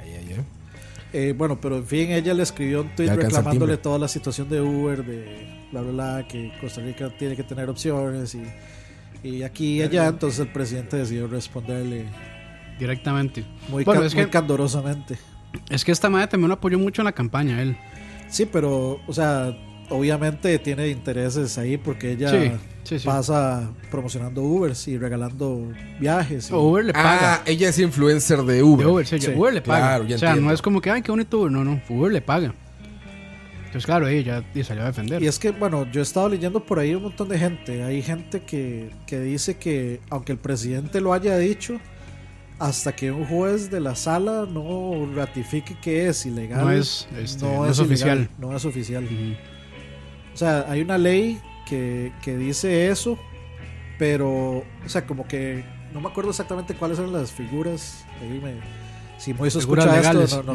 Speaker 2: Ya.
Speaker 4: Bueno, pero en fin, ella le escribió un tweet reclamándole toda la situación de Uber, de bla, bla, bla, que Costa Rica tiene que tener opciones y aquí y allá. Entonces el presidente decidió responderle
Speaker 3: directamente.
Speaker 4: Muy candorosamente.
Speaker 3: Es que esta madre también lo apoyó mucho en la campaña, él.
Speaker 4: Sí, pero, o sea, obviamente tiene intereses ahí porque ella pasa promocionando Ubers y regalando viajes.
Speaker 3: Uber le paga.
Speaker 2: Ella es influencer de Uber.
Speaker 3: Uber le paga.
Speaker 2: Claro,
Speaker 3: o sea, no es como que, ay, qué bonito Uber. No, Uber le paga. Entonces, claro, ella salió a defender.
Speaker 4: Y es que, bueno, yo he estado leyendo por ahí un montón de gente. Hay gente que dice que, aunque el presidente lo haya dicho, hasta que un juez de la sala no ratifique que es ilegal,
Speaker 3: no es oficial.
Speaker 4: No es oficial. O sea, hay una ley que dice eso, pero, o sea, como que no me acuerdo exactamente cuáles son las figuras. Si Moisés escucha
Speaker 3: legales.
Speaker 4: Esto,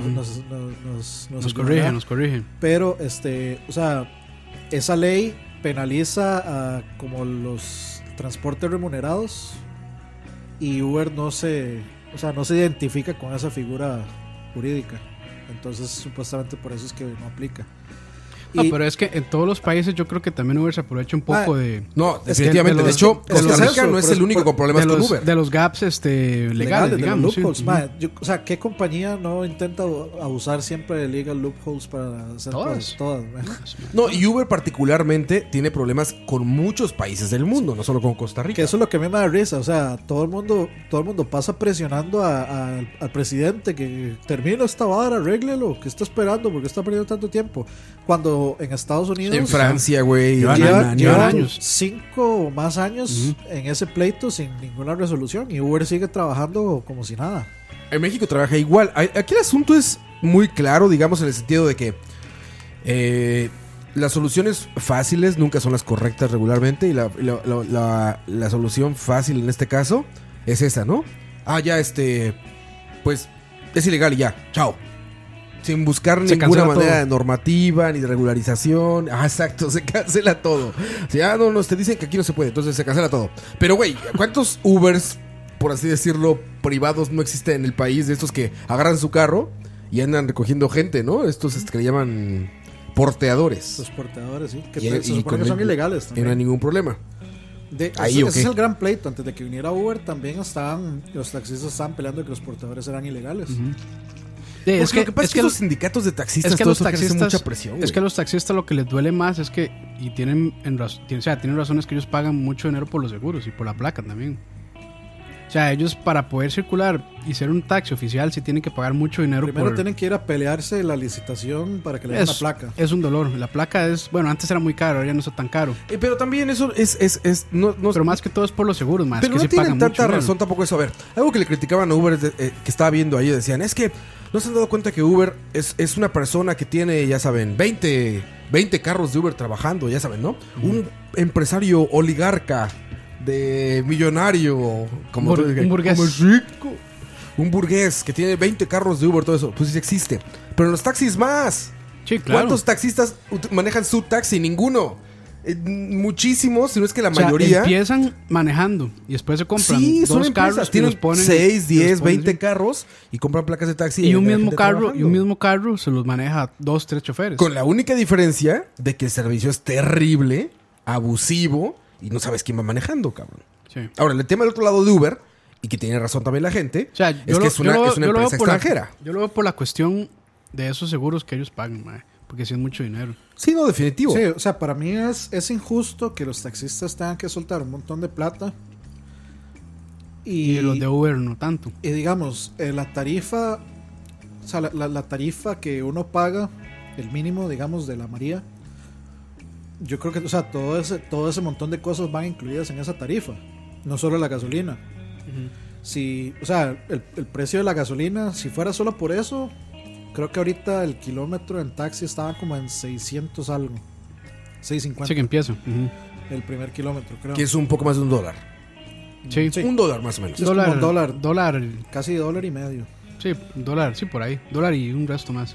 Speaker 3: nos corrige.
Speaker 4: Pero, o sea, esa ley penaliza a como los transportes remunerados y Uber no se identifica con esa figura jurídica. Entonces, supuestamente por eso es que no aplica.
Speaker 3: No, pero es que en todos los países yo creo que también Uber se aprovecha un poco de...
Speaker 2: No, definitivamente. De hecho, Costa Rica no es el único con problemas con Uber.
Speaker 3: De los gaps legales, digamos.
Speaker 4: De los loopholes. O sea, ¿qué compañía no intenta abusar siempre de legal loopholes para hacer cosas? Todas.
Speaker 2: No, y Uber particularmente tiene problemas con muchos países del mundo, no solo con Costa Rica.
Speaker 4: Que eso es lo que a mí me da risa. O sea, todo el mundo pasa presionando al presidente que termine esta vara, arréglelo, que está esperando, porque está perdiendo tanto tiempo. Cuando en Estados Unidos,
Speaker 2: en Francia, güey,
Speaker 4: llevan años, 5 o más años en ese pleito sin ninguna resolución y Uber sigue trabajando como si nada.
Speaker 2: En México trabaja igual. Aquí el asunto es muy claro, digamos, en el sentido de que las soluciones fáciles nunca son las correctas regularmente y la solución fácil en este caso es esa, ¿no? Pues es ilegal y ya, chao. Sin buscar ninguna manera de normativa ni de regularización. Ah, exacto, se cancela todo. Si no, te dicen que aquí no se puede, entonces se cancela todo. Pero, güey, ¿cuántos Ubers, por así decirlo, privados no existen en el país? De estos que agarran su carro y andan recogiendo gente, ¿no? Estos que le llaman porteadores.
Speaker 4: Los porteadores, sí. Que se supone que son ilegales también.
Speaker 2: Y no hay ningún problema.
Speaker 4: Ese es el gran pleito. Antes de que viniera Uber, también los taxistas estaban peleando que los portadores eran ilegales.
Speaker 2: Sí, es que lo que pasa es que los sindicatos de taxistas,
Speaker 3: los taxistas
Speaker 2: mucha presión.
Speaker 3: Es que a los taxistas lo que les duele más es que, y tienen razones, que ellos pagan mucho dinero por los seguros y por la placa también. O sea, ellos para poder circular y ser un taxi oficial sí tienen que pagar mucho dinero.
Speaker 4: Primero tienen que ir a pelearse la licitación para que le den la placa.
Speaker 3: Es un dolor. La placa es, bueno, antes era muy caro, ahora ya no está tan caro.
Speaker 2: Pero también eso no,
Speaker 3: pero más que todo es por los seguros, más
Speaker 2: pero
Speaker 3: que
Speaker 2: no
Speaker 3: sí
Speaker 2: tienen
Speaker 3: pagan
Speaker 2: tanta
Speaker 3: mucho
Speaker 2: razón tampoco eso. A ver, algo que le criticaban a Uber que estaba viendo ahí, decían, es que no se han dado cuenta que Uber es una persona que tiene, ya saben, 20 carros de Uber trabajando, ya saben, ¿no? Un empresario oligarca de millonario, como
Speaker 3: un burgués.
Speaker 2: Como rico. Un burgués que tiene 20 carros de Uber, todo eso. Pues sí existe. Pero en los taxis más.
Speaker 3: Sí, claro.
Speaker 2: ¿Cuántos taxistas manejan su taxi? Ninguno. Muchísimos, si no es que la mayoría.
Speaker 3: Empiezan manejando y después se compran dos carros.
Speaker 2: Tienen 6, 10, 20 carros y compran placas de taxi.
Speaker 3: Y un mismo carro se los maneja 2, 3 choferes.
Speaker 2: Con la única diferencia de que el servicio es terrible, abusivo. Y no sabes quién va manejando, cabrón. Sí. Ahora, el tema del otro lado de Uber, y que tiene razón también la gente, es una empresa extranjera.
Speaker 3: Yo lo veo por la cuestión de esos seguros que ellos pagan, porque sí es mucho dinero.
Speaker 2: Sí, no, definitivo.
Speaker 4: Sí, o sea, para mí es injusto que los taxistas tengan que soltar un montón de plata.
Speaker 3: Y los de Uber no tanto.
Speaker 4: Y digamos, la tarifa, o sea, la tarifa que uno paga, el mínimo, digamos, de la María, yo creo que, o sea, todo ese montón de cosas van incluidas en esa tarifa, no solo la gasolina. Si, o sea, el precio de la gasolina, si fuera solo por eso, creo que ahorita el kilómetro en taxi estaba como en 600 algo, 650.
Speaker 3: Sí, que empieza.
Speaker 4: El primer kilómetro, creo.
Speaker 2: Que es un poco más de $1.
Speaker 3: Sí.
Speaker 2: $1 más o menos.
Speaker 3: Dólar.
Speaker 4: Casi $1.50.
Speaker 3: Sí, $1, sí, por ahí. $1 y un resto más.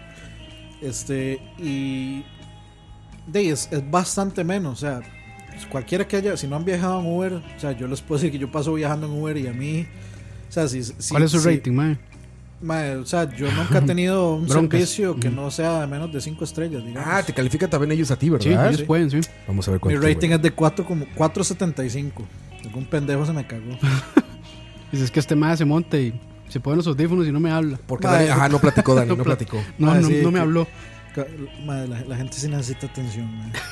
Speaker 4: Y es bastante menos, o sea, cualquiera que haya, si no han viajado en Uber, o sea, yo les puedo decir que yo paso viajando en Uber y a mí, o sea,
Speaker 3: ¿cuál es su rating, mae?
Speaker 4: O sea, yo nunca he tenido un servicio que no sea de menos de 5 estrellas, digamos.
Speaker 2: Ah, te califican también ellos a ti, ¿verdad?
Speaker 3: Sí, ellos pueden, sí.
Speaker 2: Vamos a ver cuánto.
Speaker 4: Mi rating es de 4.75. Algún pendejo se me cagó.
Speaker 3: Dices que este mae se monta y se pone los audífonos y no me habla.
Speaker 2: Porque Dani, no platicó, Dani, no platicó.
Speaker 3: No me habló.
Speaker 4: La gente sí necesita atención,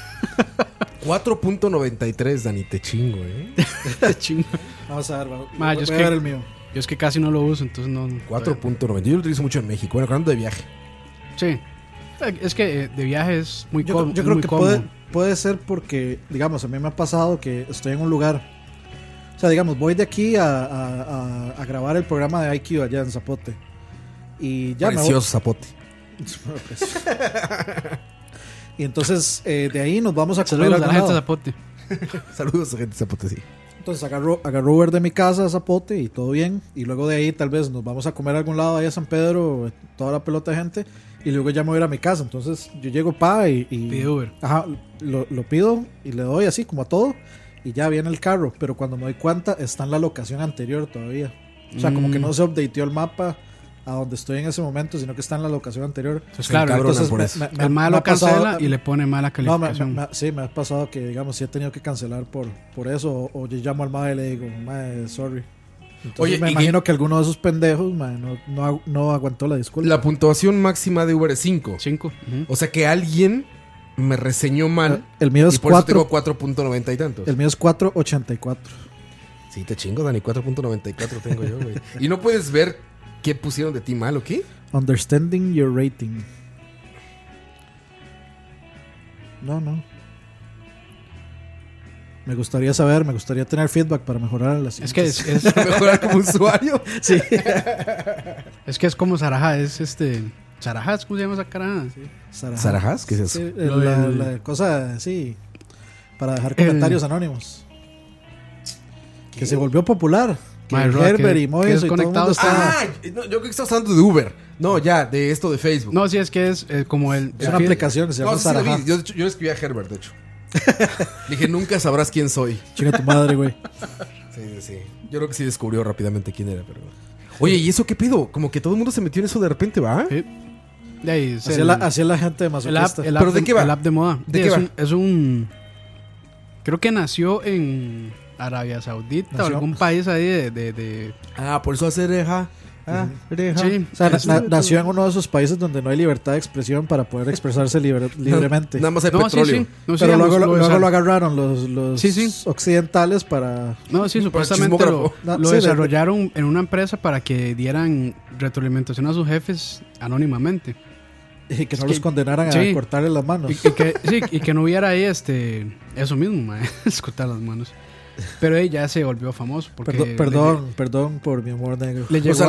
Speaker 2: 4.93, Dani, te chingo,
Speaker 3: Te chingo.
Speaker 4: Vamos a ver, voy
Speaker 3: a
Speaker 4: ver el mío.
Speaker 3: Yo es que casi no lo uso, entonces no.
Speaker 2: 4.90. Yo lo utilizo mucho en México. Bueno, hablando de viaje.
Speaker 3: Sí. Es que de viaje es muy cómodo.
Speaker 4: Yo creo que puede ser porque, digamos, a mí me ha pasado que estoy en un lugar. O sea, digamos, voy de aquí a grabar el programa de IQ allá en Zapote. Y ya
Speaker 2: Precioso Zapote.
Speaker 4: Y entonces de ahí nos vamos a comer.
Speaker 3: Saludos a la gente de Zapote.
Speaker 2: Saludos a la gente de Zapote, sí.
Speaker 4: Entonces agarro Uber de mi casa a Zapote y todo bien. Y luego de ahí tal vez nos vamos a comer a algún lado ahí a San Pedro, toda la pelota de gente. Y luego ya me voy a ir a mi casa. Entonces yo llego y
Speaker 3: pide Uber.
Speaker 4: Ajá, lo pido y le doy así como a todo. Y ya viene el carro. Pero cuando me doy cuenta está en la locación anterior todavía. O sea, como que no se updateó el mapa a donde estoy en ese momento, sino que está en la locación anterior.
Speaker 3: Pues claro, entonces el malo cancela y le pone mala calificación.
Speaker 4: Sí, me ha pasado que, digamos, sí he tenido que cancelar por eso, o yo llamo al mae y le digo, mae, sorry. Entonces, oye, me imagino que alguno de esos pendejos, mae, no aguantó la disculpa.
Speaker 2: La puntuación máxima de Uber es 5.
Speaker 3: 5.
Speaker 2: O sea que alguien me reseñó mal.
Speaker 4: El mío es 4.
Speaker 2: Por eso tengo 4.90 y tantos.
Speaker 4: El mío es 4.84.
Speaker 2: Sí, te chingo, Dani, 4.94 tengo yo, güey. Y no puedes ver qué pusieron de ti mal, ¿o qué?
Speaker 4: Understanding your rating. No. Me gustaría tener feedback para mejorar las.
Speaker 3: Es que es
Speaker 2: mejorar como usuario.
Speaker 4: Sí.
Speaker 3: Es que es como Sarajá, Sarajás, ¿cómo se llama esa caraja?
Speaker 4: Sí.
Speaker 2: ¿Sarajás? ¿Qué es eso?
Speaker 4: Sí, la cosa, sí, para dejar comentarios anónimos. Que se volvió popular. Herbert y Mois y todo el mundo está...
Speaker 2: No, yo creo que estás hablando de Uber. No, ya, de esto de Facebook.
Speaker 3: No, sí, es que es como el...
Speaker 4: Es una aplicación que se llama Sarajá.
Speaker 2: Yo le escribí a Herbert, de hecho. Dije, nunca sabrás quién soy.
Speaker 4: Chinga tu madre, güey.
Speaker 2: Sí. Yo creo que sí descubrió rápidamente quién era, pero... Oye, ¿y eso qué pido? Como que todo el mundo se metió en eso de repente, ¿va?
Speaker 3: Sí. De ahí,
Speaker 4: Así es la gente de masoquista.
Speaker 3: ¿Pero de qué va? El app de moda.
Speaker 2: ¿De qué va?
Speaker 3: Es un... Creo que nació en Arabia Saudita o algún país ahí de...
Speaker 2: por eso hace reja.
Speaker 3: Sí.
Speaker 4: O sea, nació en uno de esos países donde no hay libertad de expresión para poder expresarse libremente.
Speaker 2: Nada más hay petróleo.
Speaker 3: Sí. No,
Speaker 4: pero
Speaker 3: sí,
Speaker 4: luego
Speaker 3: lo
Speaker 4: lo agarraron los occidentales para...
Speaker 3: No, sí, supuestamente lo desarrollaron en una empresa para que dieran retroalimentación a sus jefes anónimamente.
Speaker 4: Y que no los condenaran a cortarle las manos.
Speaker 3: Y que no hubiera ahí eso mismo, es cortar las manos. Pero ella se volvió famoso porque
Speaker 4: perdón por mi humor negro.
Speaker 3: Le llegó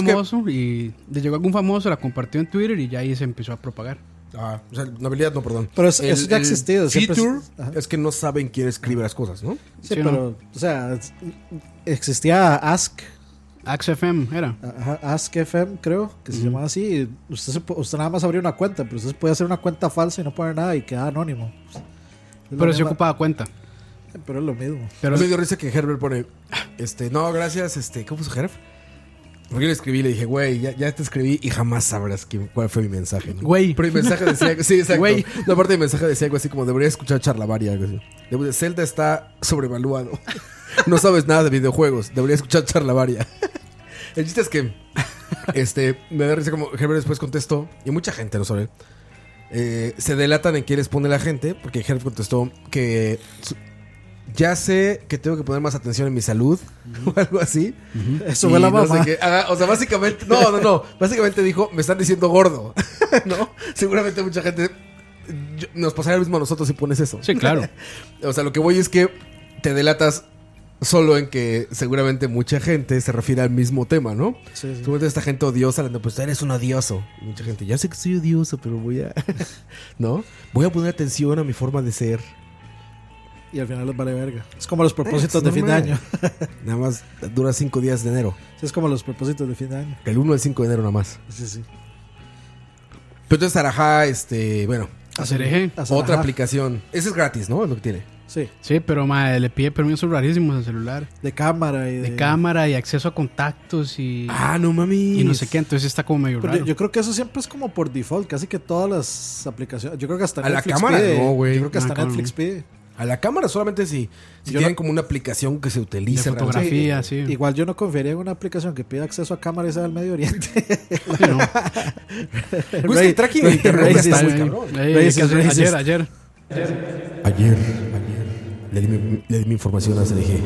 Speaker 3: algún famoso, la compartió en Twitter y ya ahí se empezó a propagar.
Speaker 2: O sea, la habilidad no, perdón.
Speaker 4: Pero eso ya ha existido.
Speaker 2: Feature es que no saben quién escribe las cosas, ¿no?
Speaker 4: Sí, pero, o sea, existía Ask
Speaker 3: FM era.
Speaker 4: Ask FM, creo que se llamaba así. Usted nada más abría una cuenta, pero usted puede hacer una cuenta falsa y no poner nada y queda anónimo.
Speaker 3: Pero se ocupaba cuenta.
Speaker 4: Pero es lo mismo.
Speaker 2: Pero me dio risa que Herbert pone, no, gracias, ¿cómo puso Herb? Porque yo le escribí y le dije, güey, ya te escribí y jamás sabrás cuál fue mi mensaje, ¿no?
Speaker 3: Güey.
Speaker 2: Pero mi mensaje decía, sí, exacto.
Speaker 3: Güey.
Speaker 2: La parte de mi mensaje decía algo así como, debería escuchar Charlavaria, algo así. Zelda está sobrevaluado. No sabes nada de videojuegos, debería escuchar Charlavaria. El chiste es que, me da risa como Herbert después contestó, y mucha gente, no sabe, se delatan en qué les pone la gente, porque Herbert contestó que... Ya sé que tengo que poner más atención en mi salud o algo así.
Speaker 4: Eso fue la mamá.
Speaker 2: No sé o sea, básicamente, no. Básicamente dijo, me están diciendo gordo. ¿No? Seguramente mucha gente nos pasaría lo mismo a nosotros si pones eso.
Speaker 3: Sí, claro.
Speaker 2: O sea, lo que voy es que te delatas solo en que seguramente mucha gente se refiere al mismo tema, ¿no?
Speaker 4: Sí.
Speaker 2: Seguramente esta gente odiosa, pues eres un odioso. Y mucha gente, ya sé que soy odioso, pero voy a... ¿No? Voy a poner atención a mi forma de ser.
Speaker 4: Y al final les vale verga. Es como los propósitos de fin de año.
Speaker 2: Nada más dura 5 días de enero.
Speaker 4: Sí, es como los propósitos de fin de año.
Speaker 2: El 1 al 5 de enero nada más.
Speaker 4: Sí.
Speaker 2: Pero entonces Sarajá, bueno.
Speaker 3: Acereje.
Speaker 2: Otra aplicación. Ese es gratis, ¿no? Es lo que tiene.
Speaker 3: Sí, pero le pide permisos rarísimos al celular.
Speaker 4: De cámara y
Speaker 3: de cámara y acceso a contactos y...
Speaker 2: no mami.
Speaker 3: Y no sé qué, entonces está como medio raro.
Speaker 4: Yo creo que eso siempre es como por default. Casi que todas las aplicaciones... Yo creo que hasta
Speaker 2: a
Speaker 4: Netflix
Speaker 2: la cámara
Speaker 4: pide.
Speaker 2: No, güey.
Speaker 4: Yo creo que hasta Netflix pide.
Speaker 2: A la cámara solamente si tienen como una aplicación que se utiliza.
Speaker 3: De fotografía, sí.
Speaker 4: Igual yo no confiaría en una aplicación que pida acceso a cámara y sea del Medio Oriente.
Speaker 2: Sí, no. El tracking de internet está muy cabrón.
Speaker 3: Ayer.
Speaker 2: Le di mi información a CDG.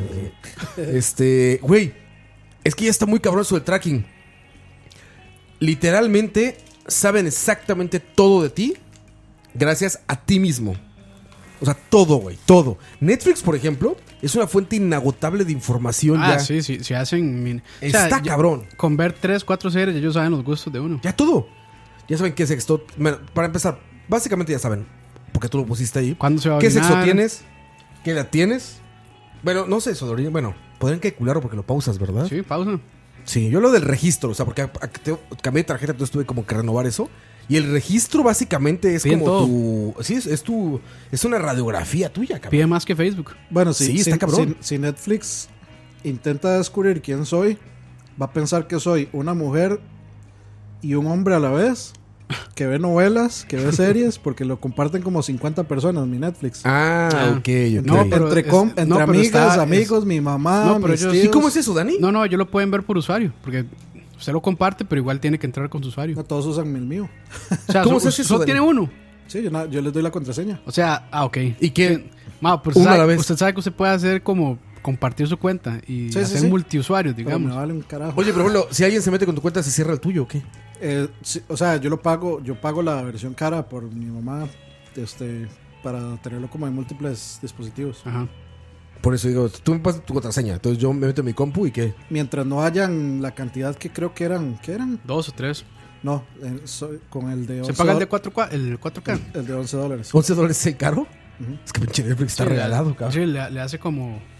Speaker 2: Güey, es que ya está muy cabrón eso del tracking. Literalmente saben exactamente todo de ti gracias a ti mismo. O sea, todo, güey, todo. Netflix, por ejemplo, es una fuente inagotable de información ya.
Speaker 3: Sí, se hacen...
Speaker 2: Está cabrón.
Speaker 3: Con ver 3, 4 series, ellos saben los gustos de uno.
Speaker 2: Ya todo. Ya saben qué sexto... Bueno, para empezar, básicamente ya saben, porque tú lo pusiste ahí.
Speaker 3: ¿Cuándo se va a
Speaker 2: ¿Qué
Speaker 3: orinar?
Speaker 2: sexo tienes? ¿Qué edad tienes? Bueno, no sé eso, bueno, podrían calcularlo porque lo pausas, ¿verdad?
Speaker 3: Sí, pausa.
Speaker 2: Sí, yo lo del registro, o sea, porque cambié de tarjeta, entonces tuve como que renovar eso. Y el registro básicamente es como
Speaker 3: todo.
Speaker 2: tu... Sí, es una radiografía tuya, cabrón.
Speaker 3: Pide más que Facebook.
Speaker 4: Bueno,
Speaker 2: sí, está cabrón.
Speaker 4: Si Netflix intenta descubrir quién soy, va a pensar que soy una mujer y un hombre a la vez, que ve novelas, que ve series, porque lo comparten como 50 personas mi Netflix.
Speaker 2: Ok.
Speaker 4: No, pero entre amigas, amigos, mi mamá, mis tíos.
Speaker 2: ¿Y cómo es eso, Dani?
Speaker 3: No, ellos lo pueden ver por usuario, porque... Usted lo comparte, pero igual tiene que entrar con su usuario.
Speaker 4: No, todos usan el mío.
Speaker 3: O sea,
Speaker 2: ¿cómo se hace eso?
Speaker 3: ¿Solo tiene uno?
Speaker 4: Sí, yo les doy la contraseña.
Speaker 3: O sea, ok.
Speaker 2: ¿Y qué?
Speaker 3: Pero
Speaker 2: uno a la vez.
Speaker 3: Usted sabe que usted puede hacer como compartir su cuenta y hacer multiusuarios, digamos.
Speaker 4: Pero me vale un carajo.
Speaker 2: Oye, pero bueno, si alguien se mete con tu cuenta, ¿se cierra el tuyo o qué?
Speaker 4: Sí, o sea, yo pago la versión cara por mi mamá, para tenerlo como en múltiples dispositivos.
Speaker 3: Ajá.
Speaker 2: Por eso digo, tú me pasas tu contraseña, entonces yo me meto en mi compu y ¿qué?
Speaker 4: Mientras no hayan la cantidad que creo que eran, ¿qué eran?
Speaker 3: 2 o 3.
Speaker 4: No, con el de 11
Speaker 3: ¿Se paga el de 4K? El 4K.
Speaker 4: El de $11.
Speaker 2: ¿$11 es el caro? Es que pinche Netflix está regalado, cabrón.
Speaker 3: Sí, le hace como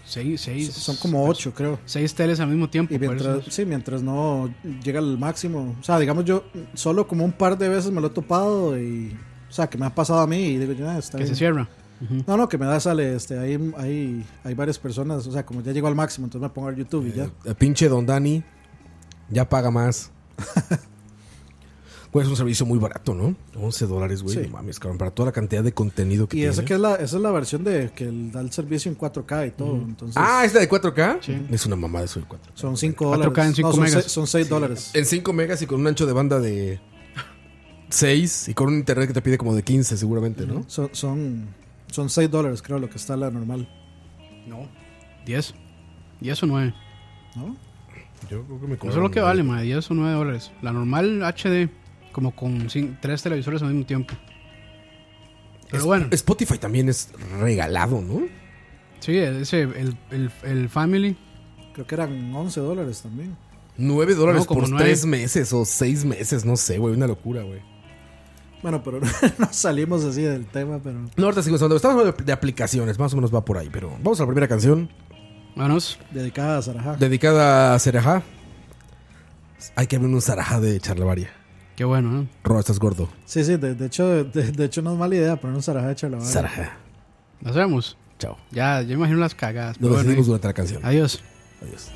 Speaker 3: Seis.
Speaker 4: Son como 8, creo.
Speaker 3: 6 teles al mismo tiempo.
Speaker 4: Y mientras no llega al máximo. O sea, digamos, yo solo como un par de veces me lo he topado y... O sea, que me ha pasado a mí y digo, ya está
Speaker 3: que
Speaker 4: bien.
Speaker 3: se cierra.
Speaker 4: No, que me da sale, hay varias personas, o sea, como ya llegó al máximo, entonces me pongo a ver YouTube y ya.
Speaker 2: El pinche Don Dani ya paga más. Güey, es un servicio muy barato, ¿no? $11, güey.
Speaker 4: Sí.
Speaker 2: No mames, cabrón, para toda la cantidad de contenido que
Speaker 4: Y
Speaker 2: tiene.
Speaker 4: esa es la versión de que da el servicio en 4K y todo. Entonces,
Speaker 2: ¿es la de 4K?
Speaker 3: Sí.
Speaker 2: Es una mamada eso de 4K.
Speaker 4: son $5.
Speaker 3: 4K en 5
Speaker 4: son
Speaker 3: megas.
Speaker 4: Son $6.
Speaker 2: En 5 megas y con un ancho de banda de 6 y con un internet que te pide como de 15 seguramente, ¿no?
Speaker 4: Son $6, creo, lo que está la normal.
Speaker 3: No. 10. 10 o 9.
Speaker 4: ¿No?
Speaker 2: Yo creo que me
Speaker 3: Eso es lo que vale, madre. 10 o 9 dólares. La normal HD, como con 3 televisores al mismo tiempo. Pero bueno.
Speaker 2: Spotify también es regalado, ¿no?
Speaker 3: Sí, el Family.
Speaker 4: Creo que eran $11 también.
Speaker 2: $9
Speaker 3: No, como
Speaker 2: por
Speaker 3: 9.
Speaker 2: 3 meses o 6 meses, no sé, güey, una locura, güey.
Speaker 4: Bueno, pero no salimos así del tema, pero...
Speaker 2: No, ahorita seguimos hablando. Estamos hablando de aplicaciones, más o menos va por ahí, pero vamos a la primera canción.
Speaker 3: Vámonos.
Speaker 4: Dedicada a Sarajá.
Speaker 2: Dedicada a Sarajá. Hay que abrir un Sarajá de Charlavaria.
Speaker 3: Qué bueno, ¿no?
Speaker 2: Ro, estás gordo.
Speaker 4: Sí, de hecho no es mala idea poner un Sarajá de Charlavaria.
Speaker 2: Sarajá.
Speaker 3: Lo hacemos.
Speaker 2: Chao.
Speaker 3: Ya, yo imagino las cagadas.
Speaker 2: Lo
Speaker 3: pero bueno,
Speaker 2: decidimos durante la canción.
Speaker 3: adiós.
Speaker 2: Adiós.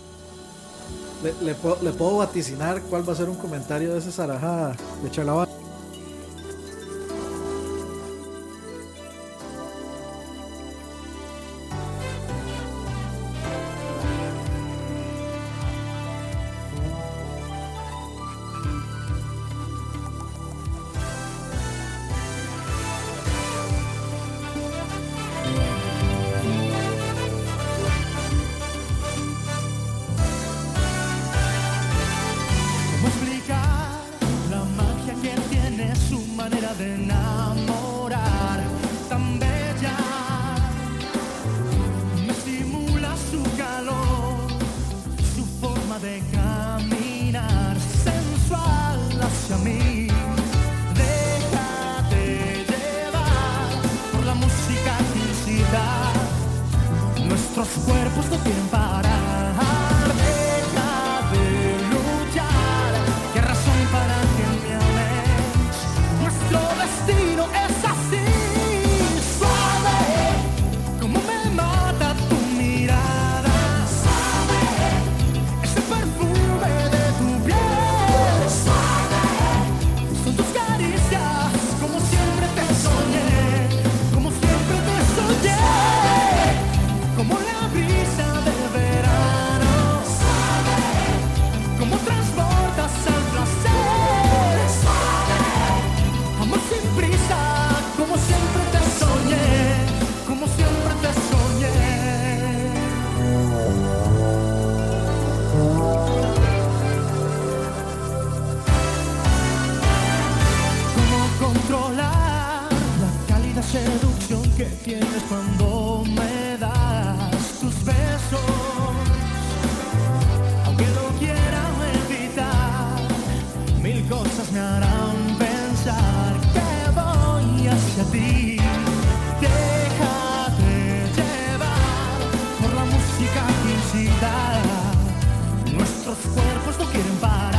Speaker 4: Le puedo vaticinar cuál va a ser un comentario de ese Sarajá de Charlavaria.
Speaker 5: ¿Cómo explicar la magia que tiene su manera de enamorar tan bella? Me estimula su calor, su forma de caminar sensual hacia mí. Déjate llevar por la música que incita. Nuestros cuerpos no quieren parar. Destino es así, suave, como me mata tu mirada, suave, ese perfume de tu piel, suave, son tus caricias, como siempre te soñé, como siempre te soñé, como la brisa del verano, suave, como transportas al placer, suave. Amor sin prisa, como siempre te soñé, como siempre te soñé. ¿Cómo controlar la cálida seducción que tienes cuando me das tus besos? Aunque lo quiera evitar, mil cosas me harán pensar que voy hacia ti. Déjate llevar por la música que incita. Nuestros cuerpos no quieren parar.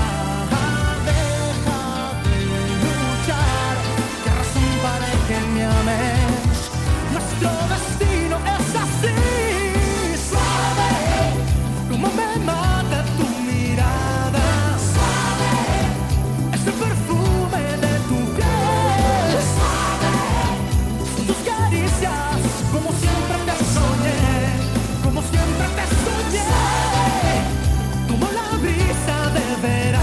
Speaker 5: Déjate luchar. ¿Qué razón para que me ames? Nuestro destino es así. Suave, como me mata tu mirada. Suave, ese perfume de tu piel, suave, son tus caricias, como siempre te soñé, como siempre te soñé, como la brisa de verano.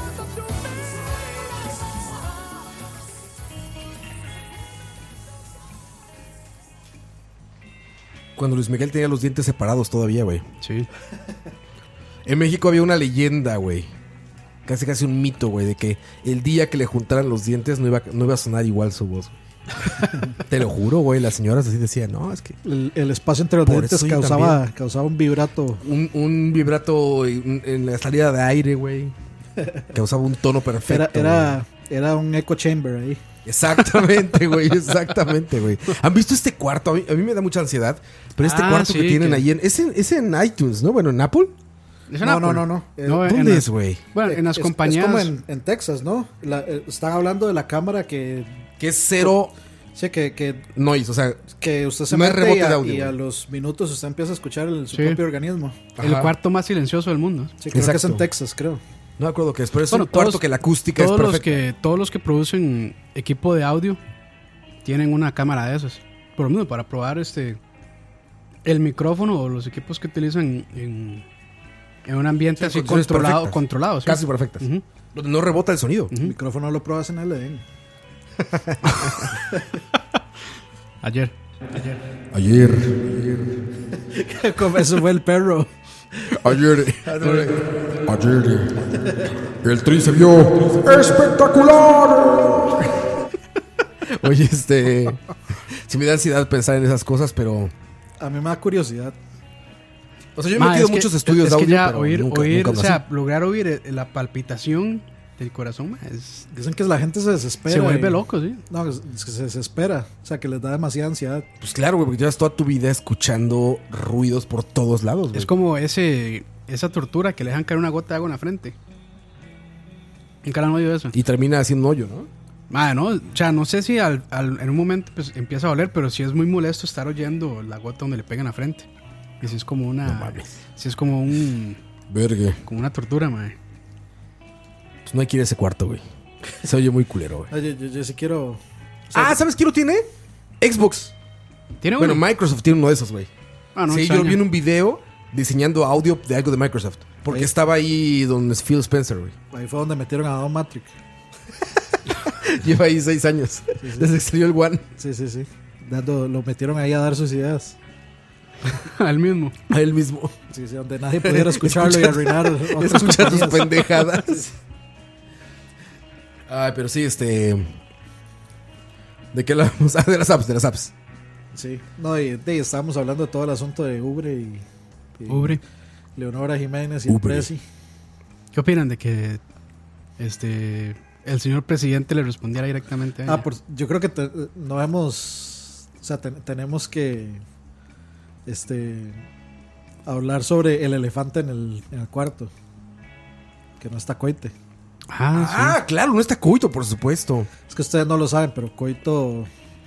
Speaker 2: Cuando Luis Miguel tenía los dientes separados todavía, güey.
Speaker 3: Sí.
Speaker 2: En México había una leyenda, güey. Casi un mito, güey, de que el día que le juntaran los dientes no iba a sonar igual su voz. Te lo juro, güey. Las señoras así decían, no, es que...
Speaker 4: El espacio entre los
Speaker 2: Por
Speaker 4: dientes
Speaker 2: eso yo
Speaker 4: causaba un vibrato.
Speaker 2: Un vibrato en la salida de aire, güey. Causaba un tono perfecto.
Speaker 4: Era un echo chamber ahí.
Speaker 2: Exactamente, güey. Exactamente, güey. ¿Han visto este cuarto? A mí me da mucha ansiedad. Pero este cuarto que tienen ahí es en iTunes, ¿no? Bueno, en Apple.
Speaker 4: No.
Speaker 2: ¿Dónde es, güey?
Speaker 3: Bueno, en las compañías.
Speaker 4: Es como en Texas, ¿no? Están hablando de la cámara que
Speaker 2: es cero.
Speaker 4: Sí, que
Speaker 2: noise, o sea,
Speaker 4: que usted se
Speaker 2: no hay
Speaker 4: mete
Speaker 2: rebote de audio,
Speaker 4: y a
Speaker 2: güey.
Speaker 4: los minutos usted empieza a escuchar su propio organismo.
Speaker 3: El
Speaker 2: Ajá.
Speaker 3: cuarto más silencioso del mundo.
Speaker 4: Sí, creo
Speaker 2: Exacto.
Speaker 4: que es en Texas, creo.
Speaker 2: No me acuerdo qué es, pero es
Speaker 3: Bueno,
Speaker 2: un cuarto que la acústica es perfecta.
Speaker 3: Todos los que producen equipo de audio tienen una cámara de esas. Por lo menos para probar el micrófono o los equipos que utilizan en un ambiente así
Speaker 2: condiciones perfectas.
Speaker 3: controlado. ¿sí?
Speaker 2: Casi perfectas.
Speaker 3: Ujú.
Speaker 2: Donde no rebota el sonido.
Speaker 4: El micrófono lo pruebas en el Edén.
Speaker 3: Ayer.
Speaker 4: Como eso fue el perro.
Speaker 6: Ayer el tri se vio espectacular.
Speaker 2: Oye, sí me da ansiedad pensar en esas cosas, pero...
Speaker 4: A mí me da curiosidad.
Speaker 2: O sea, yo he metido muchos estudios de audio,
Speaker 3: ya
Speaker 2: pero
Speaker 3: oír,
Speaker 2: nunca
Speaker 3: o
Speaker 2: lo
Speaker 3: sea,
Speaker 2: hacía.
Speaker 3: lograr oír la palpitación del corazón,
Speaker 4: Dicen que la gente se desespera.
Speaker 3: se vuelve
Speaker 4: y-
Speaker 3: loco, sí.
Speaker 4: No, es que se desespera. O sea, que les da demasiada ansiedad.
Speaker 2: Pues claro, güey, porque llevas toda tu vida escuchando ruidos por todos lados, güey.
Speaker 3: Es como esa tortura que le dejan caer una gota de agua en la frente. Nunca han oído eso.
Speaker 2: Y termina haciendo un hoyo, ¿no?
Speaker 3: No, o sea, no sé si en un momento pues, empieza a doler, pero sí es muy molesto estar oyendo la gota donde le pegan la frente. Y sí es como una...
Speaker 2: No mames.
Speaker 3: Sí es como
Speaker 2: Vergue.
Speaker 3: como una tortura, madre.
Speaker 2: Pues no hay que ir a ese cuarto, güey. Se oye muy culero, güey.
Speaker 4: Oye, yo sí quiero. O sea,
Speaker 2: ¿Sabes quién lo tiene? Xbox.
Speaker 3: ¿Tiene
Speaker 2: Bueno,
Speaker 3: uno?
Speaker 2: Microsoft tiene uno de esos, güey.
Speaker 3: Ah, no,
Speaker 2: sí, yo
Speaker 3: extraño.
Speaker 2: vi en un video diseñando audio de algo de Microsoft. Porque
Speaker 4: Ahí.
Speaker 2: estaba ahí donde es Phil Spencer, güey.
Speaker 4: ahí fue donde metieron a Don Matrix.
Speaker 2: Lleva ahí 6 años. Desde que salió el One.
Speaker 4: Sí. Lo metieron ahí a dar sus ideas.
Speaker 3: Al mismo.
Speaker 2: A él mismo.
Speaker 4: Sí, donde nadie pudiera escucharlo y arruinar. otras
Speaker 2: Escuchar tus
Speaker 4: compañías.
Speaker 2: pendejadas. Ay, pero sí, ¿de qué hablamos? Ah, de las apps.
Speaker 4: Sí. No, y estábamos hablando de todo el asunto de Ubre y
Speaker 3: Ubre.
Speaker 4: Leonora Jiménez y el
Speaker 2: Ubre.
Speaker 4: Prezi.
Speaker 3: ¿Qué opinan de que el señor presidente le respondiera directamente a ella?
Speaker 4: Yo creo que no hemos. O sea, tenemos que. Hablar sobre el elefante en el cuarto. Que no está Coite.
Speaker 2: Ah, claro, no está Coito, por supuesto.
Speaker 4: Es que ustedes no lo saben, pero Coito.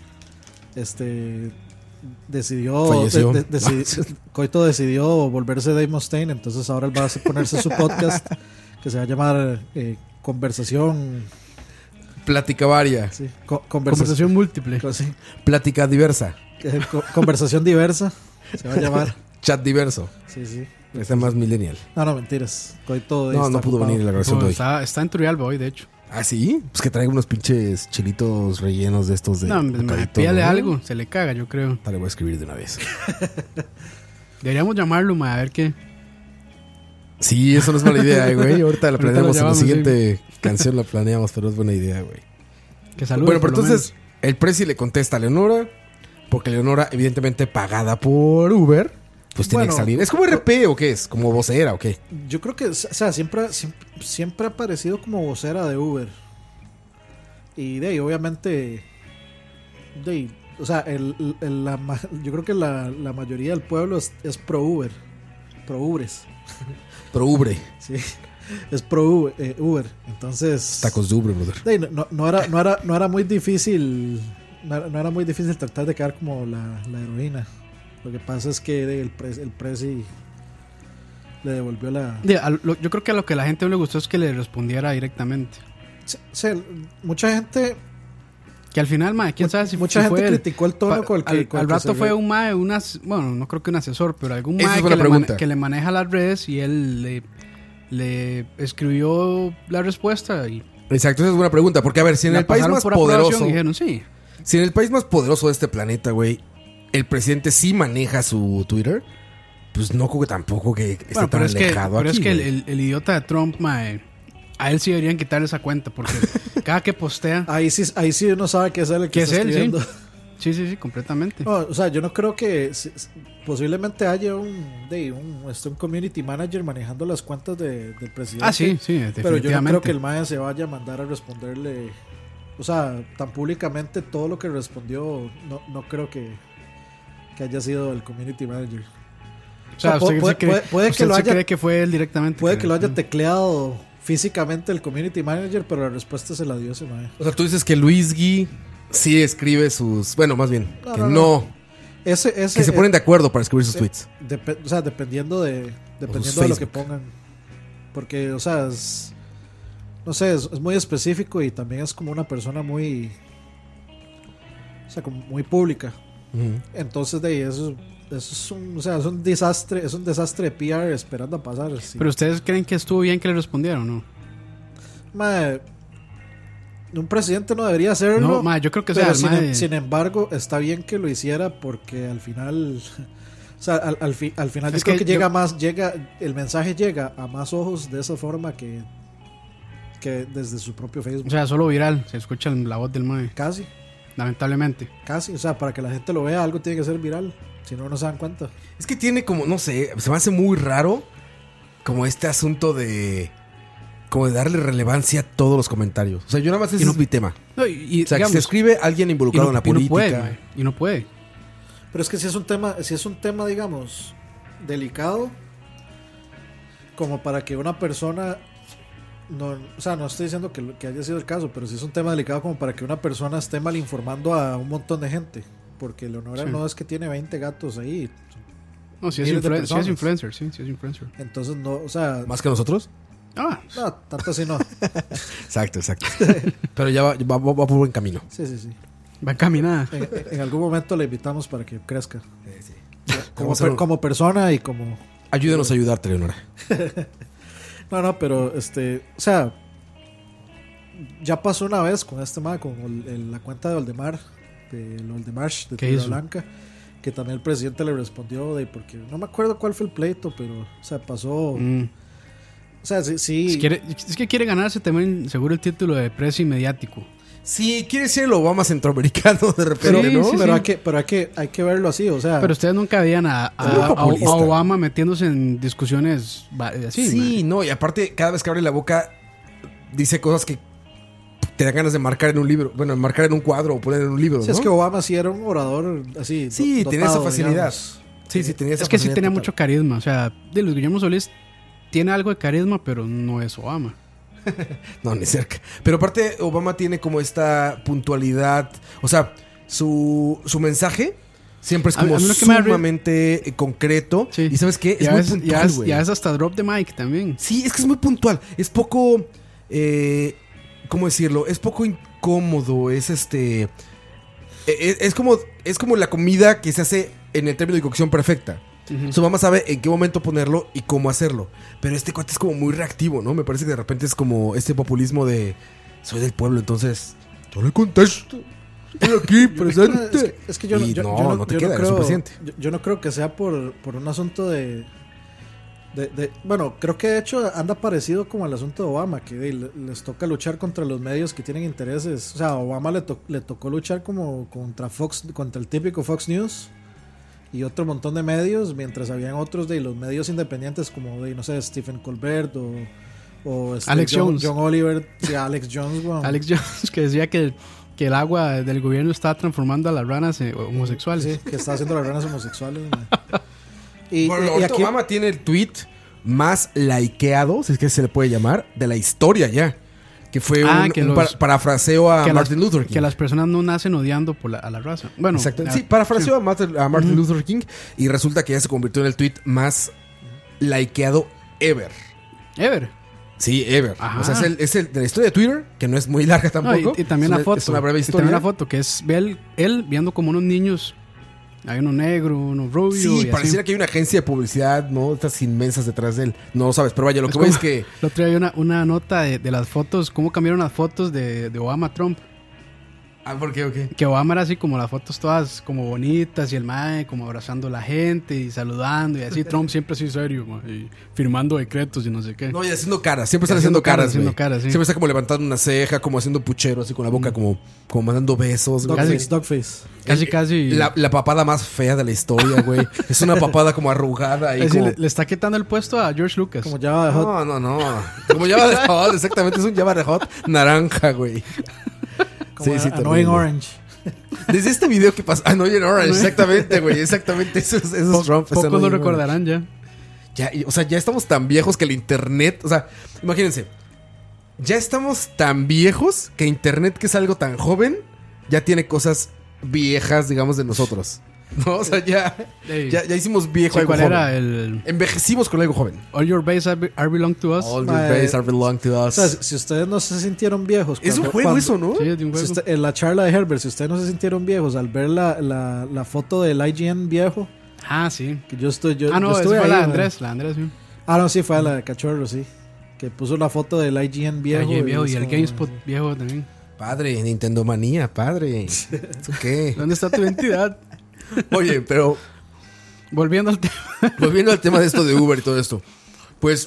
Speaker 4: Decidió.
Speaker 2: Falleció.
Speaker 4: Coito decidió volverse Dave Mustaine. Entonces ahora él va a ponerse su podcast. Que se va a llamar Conversación.
Speaker 2: Plática varia.
Speaker 4: Sí,
Speaker 3: Conversación múltiple.
Speaker 4: Sí,
Speaker 2: Plática diversa.
Speaker 4: Conversación diversa. Se va a llamar.
Speaker 2: Chat diverso.
Speaker 4: Sí.
Speaker 2: Está más millennial.
Speaker 4: No, mentiras. Coito
Speaker 2: No,
Speaker 4: está
Speaker 2: no pudo
Speaker 4: ocupado.
Speaker 2: venir en la grabación de hoy.
Speaker 3: Está en Turrialba hoy, de hecho.
Speaker 2: ¿Ah, sí? Pues que traiga unos pinches chilitos rellenos de estos de...
Speaker 3: No,
Speaker 2: bocadito,
Speaker 3: pídale
Speaker 2: ¿no?
Speaker 3: algo, se le caga, yo creo.
Speaker 2: Dale, voy a escribir de una vez.
Speaker 3: Deberíamos llamarlo, a ver qué.
Speaker 2: Sí, eso no es mala idea, güey. Ahorita la
Speaker 3: Ahorita
Speaker 2: planeamos
Speaker 3: lo
Speaker 2: en la
Speaker 3: llamamos,
Speaker 2: siguiente canción, la planeamos, pero es buena idea, güey.
Speaker 3: Que salude.
Speaker 2: Bueno, pero entonces el Prezi le contesta a Leonora, porque Leonora, evidentemente pagada por Uber, pues tiene
Speaker 4: Bueno,
Speaker 2: que salir. ¿Es como RP o qué es? ¿Como vocera o qué?
Speaker 4: Yo creo que, o sea, siempre ha aparecido como vocera de Uber. Y de ahí, obviamente, o sea, yo creo que la mayoría del pueblo es pro Uber. Pro Ubres.
Speaker 2: Pro Ubre.
Speaker 4: Sí. Es pro Uber. Entonces.
Speaker 2: Tacos de Ubre, brother.
Speaker 4: de ahí, no era muy difícil. No era muy difícil tratar de quedar como la heroína. Lo que pasa es que el Prezi le devolvió la.
Speaker 3: Yo creo que a lo que a la gente no le gustó es que le respondiera directamente.
Speaker 4: Mucha gente.
Speaker 3: Que al final, quién sabe si
Speaker 4: Mucha
Speaker 3: si
Speaker 4: gente
Speaker 3: fue él.
Speaker 4: criticó el tono con el que. con
Speaker 3: Al
Speaker 4: el que
Speaker 3: rato
Speaker 4: se
Speaker 3: fue
Speaker 4: ve.
Speaker 3: un mae, bueno, no creo que un asesor, pero algún
Speaker 2: Esa
Speaker 3: mae
Speaker 2: es buena pregunta.
Speaker 3: que le maneja las redes y él le escribió la respuesta y
Speaker 2: Exacto, esa es buena pregunta. Porque, a ver, si en el país más poderoso.
Speaker 3: Dijeron, sí.
Speaker 2: Si en el país más poderoso de este planeta, güey, el presidente sí maneja su Twitter, pues no creo que tampoco que esté tan alejado aquí.
Speaker 3: Pero es que el idiota de Trump, mae, a él sí deberían quitarle esa cuenta. Porque cada que postea.
Speaker 4: Ahí sí uno sabe que es él el que está escribiendo.
Speaker 3: Sí, completamente.
Speaker 4: No, o sea, yo no creo que posiblemente haya un community manager manejando las cuentas del presidente.
Speaker 3: Sí, definitivamente.
Speaker 4: Pero yo no creo que el MAE se vaya a mandar a responderle, o sea, tan públicamente todo lo que respondió. No creo que haya sido el community manager.
Speaker 3: O sea, puede que lo haya, cree que fue él directamente.
Speaker 4: Puede que lo haya tecleado físicamente el community manager, pero la respuesta se la dio ese MAE.
Speaker 2: O sea, tú dices que Luis Gui sí escribe sus... Bueno, más bien, no. Que se ponen de acuerdo para escribir sus tweets.
Speaker 4: O sea, dependiendo de lo que pongan. Porque, o sea, no sé, es muy específico y también es como una persona muy... O sea, como muy pública. Uh-huh. Entonces, eso es un desastre de PR esperando a pasar. Sí.
Speaker 3: Pero ustedes creen que estuvo bien que le respondieron, ¿no?
Speaker 4: Mae, un presidente no debería hacerlo.
Speaker 3: No, yo creo que
Speaker 4: pero sin embargo, está bien que lo hiciera porque al final, o sea, al final yo creo que el mensaje llega a más ojos de esa forma que desde su propio Facebook.
Speaker 3: O sea, solo viral, se escucha la voz del mae.
Speaker 4: Casi.
Speaker 3: Lamentablemente.
Speaker 4: Casi, o sea, para que la gente lo vea, algo tiene que ser viral. Si no se dan cuenta.
Speaker 2: Es que tiene como, no sé, se me hace muy raro como este asunto de... Como de darle relevancia a todos los comentarios. O sea, yo nada más ese es mi tema.
Speaker 3: No, o
Speaker 2: sea, digamos, que se escribe alguien involucrado en la política.
Speaker 3: Y no puede.
Speaker 4: Pero es que si es un tema, digamos, delicado, como para que una persona... No, o sea, no estoy diciendo que haya sido el caso, pero si es un tema delicado como para que una persona esté mal informando a un montón de gente. Porque Leonora no es que tiene 20 gatos ahí.
Speaker 3: No, si es influencer.
Speaker 4: Entonces, no, o sea...
Speaker 2: ¿Más que nosotros?
Speaker 4: No, tanto así no.
Speaker 2: Exacto. Pero ya va por buen camino.
Speaker 4: Sí.
Speaker 3: Va encaminada.
Speaker 4: En algún momento le invitamos para que crezca. Sí. Como persona y como...
Speaker 2: Ayúdenos a ayudarte, Leonora.
Speaker 4: No, pero o sea, ya pasó una vez con este tema, con la cuenta de Valdemar, de Tierra Blanca, que también el presidente le respondió porque no me acuerdo cuál fue el pleito, pero o sea, pasó. O sea, sí.
Speaker 3: Es que quiere ganarse también seguro el título de precio mediático.
Speaker 2: Sí, quiere ser el Obama centroamericano de repente, ¿no?
Speaker 4: Pero hay que verlo así, o sea.
Speaker 3: Pero ustedes nunca veían a Obama metiéndose en discusiones así.
Speaker 2: Sí, no, y aparte cada vez que abre la boca dice cosas que te dan ganas de marcar en un libro, bueno, marcar en un cuadro o poner en un libro, ¿no?
Speaker 4: Sí, es que Obama sí era un orador así.
Speaker 2: Sí, tenía esa facilidad.
Speaker 4: Digamos.
Speaker 2: Sí, tenía esa facilidad.
Speaker 3: Es que sí tenía mucho carisma, o sea, de Luis Guillermo Solís tiene algo de carisma, pero no es Obama.
Speaker 2: No, ni cerca. Pero aparte, Obama tiene como esta puntualidad. O sea, su mensaje siempre es como sumamente concreto. Sí. Y ¿sabes qué? Es muy puntual, güey.
Speaker 3: Ya es hasta drop the mic también.
Speaker 2: Sí, es que es muy puntual. Es poco... ¿cómo decirlo? Es poco incómodo. Es es como la comida que se hace en el término de cocción perfecta. Su mamá sabe en qué momento ponerlo y cómo hacerlo. Pero este cuate es como muy reactivo, ¿no? Me parece que de repente es como este populismo de soy del pueblo, entonces yo le contesto. Estoy aquí presente.
Speaker 4: Es que yo no creo que sea por un asunto de bueno, creo que de hecho anda parecido como al asunto de Obama, que les toca luchar contra los medios que tienen intereses. O sea, a Obama le tocó luchar como contra el típico Fox News y otro montón de medios, mientras habían otros de los medios independientes como no sé, Stephen Colbert o
Speaker 3: Alex Jones.
Speaker 4: John Oliver, sí, Alex Jones, wow.
Speaker 3: Alex Jones, que decía que el agua del gobierno estaba transformando a las ranas homosexuales.
Speaker 4: Sí, que está haciendo las ranas homosexuales.
Speaker 2: Y aquí Obama tiene el tweet más likeado, si es que se le puede llamar, de la historia ya. Que fue un parafraseo a Martin Luther King.
Speaker 3: Que las personas no nacen odiando a la raza. Bueno,
Speaker 2: exacto. Sí, parafraseó a Martin Luther King y resulta que ya se convirtió en el tweet más likeado ever.
Speaker 3: ¿Ever?
Speaker 2: Sí, ever. Ajá. O sea, es el de la historia de Twitter, que no es muy larga tampoco.
Speaker 3: No, y también la foto.
Speaker 2: Es una breve historia.
Speaker 3: Y también la foto, que es él viendo como unos niños Hay uno negro, uno rubio.
Speaker 2: Sí,
Speaker 3: y
Speaker 2: pareciera
Speaker 3: así.
Speaker 2: que hay una agencia de publicidad, ¿no? Estas inmensas detrás de él. No lo sabes, pero vaya, lo que voy es que...
Speaker 3: El otro día hay una nota de las fotos, cómo cambiaron las fotos de Obama-Trump.
Speaker 2: Ah, ¿por qué? Okay.
Speaker 3: Que Obama era así como las fotos todas como bonitas y el mae como abrazando a la gente y saludando y así. Trump siempre así serio, mae, y firmando decretos y no sé qué.
Speaker 2: No, y haciendo caras. Siempre están haciendo caras,
Speaker 3: haciendo
Speaker 2: güey.
Speaker 3: caras, sí.
Speaker 2: Siempre está como levantando una ceja, como haciendo puchero, así con la boca, como mandando besos. güey.
Speaker 4: Dogface.
Speaker 3: Casi.
Speaker 2: La papada más fea de la historia, güey. Es una papada como arrugada. Y
Speaker 3: Es decir,
Speaker 2: como...
Speaker 3: le está quitando el puesto a George Lucas.
Speaker 4: Como Java de Hot.
Speaker 2: No. Como Java de Hot, exactamente. Es un Java de Hot naranja, güey.
Speaker 4: Como
Speaker 2: terrible.
Speaker 4: Annoying Orange.
Speaker 2: Desde este video que pasó. Annoying Orange, exactamente, güey. Exactamente. Esos Trump.
Speaker 3: Pocos lo
Speaker 2: Annoying
Speaker 3: recordarán ya.
Speaker 2: O sea, ya estamos tan viejos que el internet... O sea, imagínense. Ya estamos tan viejos que internet, que es algo tan joven, ya tiene cosas viejas, digamos, de nosotros. ¿No? O sea, ya hicimos viejo
Speaker 3: Sí,
Speaker 2: algo
Speaker 3: ¿cuál
Speaker 2: joven.
Speaker 3: era el
Speaker 2: Envejecimos con algo joven.
Speaker 3: All Your Base Are Belong to Us?
Speaker 2: All your days are belong to
Speaker 4: O
Speaker 2: us.
Speaker 4: sea, si ustedes no se sintieron viejos.
Speaker 2: Es un juego eso, ¿no?
Speaker 3: Sí, es de un juego.
Speaker 4: En la charla de Herbert, si ustedes no se sintieron viejos al ver la foto del IGN viejo,
Speaker 3: Ah, sí.
Speaker 4: que yo estuve. Yo
Speaker 3: No, esa
Speaker 4: estuve
Speaker 3: fue
Speaker 4: ahí,
Speaker 3: la de
Speaker 4: man.
Speaker 3: Andrés. La de Andrés, sí.
Speaker 4: No, sí, fue la de Cachorro, sí. Que puso la foto del IGN viejo.
Speaker 3: Oye, viejo,
Speaker 4: es
Speaker 3: y el
Speaker 4: como-
Speaker 3: GameSpot viejo también.
Speaker 2: Padre, Nintendo manía, padre. ¿Eso qué?
Speaker 3: ¿Dónde está tu identidad?
Speaker 2: Oye, pero
Speaker 3: Volviendo al tema.
Speaker 2: volviendo al tema de esto de Uber y todo esto. Pues,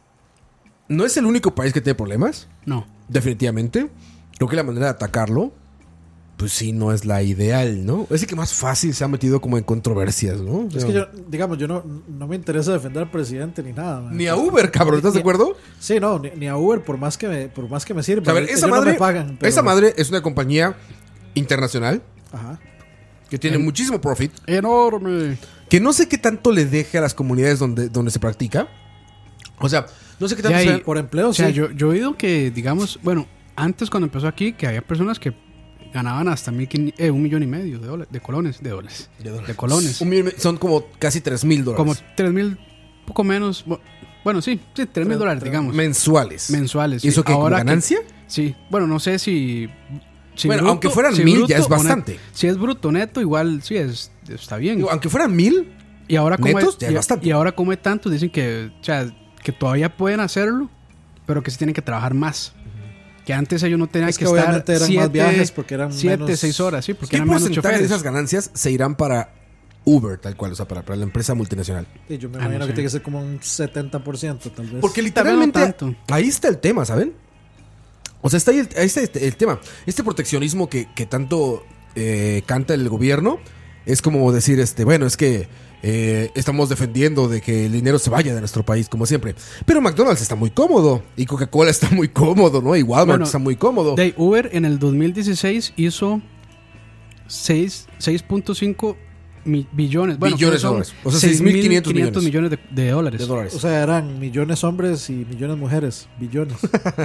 Speaker 2: no es el único país que tiene problemas.
Speaker 3: No.
Speaker 2: Definitivamente. Creo que la manera de atacarlo, pues sí, no es la ideal, ¿no? Es el que más fácil se ha metido como en controversias, ¿no?
Speaker 4: Es que yo no me interesa defender al presidente ni nada. Man.
Speaker 2: Ni a Uber, cabrón, ¿estás de acuerdo?
Speaker 4: Sí, no, ni a Uber por más que me sirva.
Speaker 2: A ver,
Speaker 4: Ellos
Speaker 2: esa
Speaker 4: no
Speaker 2: madre,
Speaker 4: me pagan. pero-
Speaker 2: esa madre es una compañía internacional
Speaker 4: Ajá.
Speaker 2: que tiene muchísimo profit,
Speaker 3: Enorme.
Speaker 2: que no sé qué tanto le deje a las comunidades donde se practica. O sea, no sé qué tanto
Speaker 3: Ya,
Speaker 2: sea-
Speaker 3: y-
Speaker 4: Por empleo,
Speaker 3: O sea,
Speaker 4: sí.
Speaker 3: yo he oído que, digamos, bueno, antes cuando empezó aquí, que había personas que ganaban hasta 1,500,000 de colones. De colones.
Speaker 2: Son como casi $3,000.
Speaker 3: Como 3,000, poco menos. Bueno, sí, $3,000, digamos.
Speaker 2: mensuales.
Speaker 3: Mensuales.
Speaker 2: ¿Y eso
Speaker 3: sí.
Speaker 2: qué, como
Speaker 3: Ahora
Speaker 2: ganancia?
Speaker 3: Sí, bueno, no sé si
Speaker 2: Bueno, aunque fueran
Speaker 3: si
Speaker 2: 1,000 ya es
Speaker 3: bruto o
Speaker 2: bastante.
Speaker 3: Si es bruto neto, igual sí está bien.
Speaker 2: Digo, aunque fueran 1,000,
Speaker 3: Y ahora como
Speaker 2: netos, ya es bastante.
Speaker 3: y ahora como hay tantos, dicen que, o sea, que todavía pueden hacerlo, pero que se tienen que trabajar más. Que antes ellos no tenían
Speaker 4: Es
Speaker 3: que
Speaker 4: que
Speaker 3: estar
Speaker 4: obviamente eran más viajes porque eran
Speaker 3: 7,
Speaker 4: menos-
Speaker 3: 6 horas, sí, porque
Speaker 2: ¿qué
Speaker 3: eran menos
Speaker 2: porcentaje de
Speaker 3: choferes.
Speaker 2: esas ganancias se irán para Uber, tal cual? O sea, para la empresa multinacional.
Speaker 4: Sí, yo me
Speaker 3: no
Speaker 4: imagino
Speaker 3: sé.
Speaker 4: que tiene que ser como un 70%, tal vez.
Speaker 2: Porque
Speaker 3: Tal vez no
Speaker 2: literalmente
Speaker 3: tanto.
Speaker 2: ahí está el tema, ¿saben? O sea, ahí está el tema. Este proteccionismo que tanto canta el gobierno es como decir, bueno, es que estamos defendiendo de que el dinero se vaya de nuestro país, como siempre. Pero McDonald's está muy cómodo y Coca-Cola está muy cómodo, ¿no? Y Walmart
Speaker 3: Bueno,
Speaker 2: está muy cómodo.
Speaker 3: De Uber en el 2016 hizo 6.5 billones. Bueno,
Speaker 2: Billones de
Speaker 3: son
Speaker 2: dólares. O sea,
Speaker 3: 6.500 millones de dólares.
Speaker 2: de dólares.
Speaker 4: O sea, eran millones hombres y millones mujeres. Billones.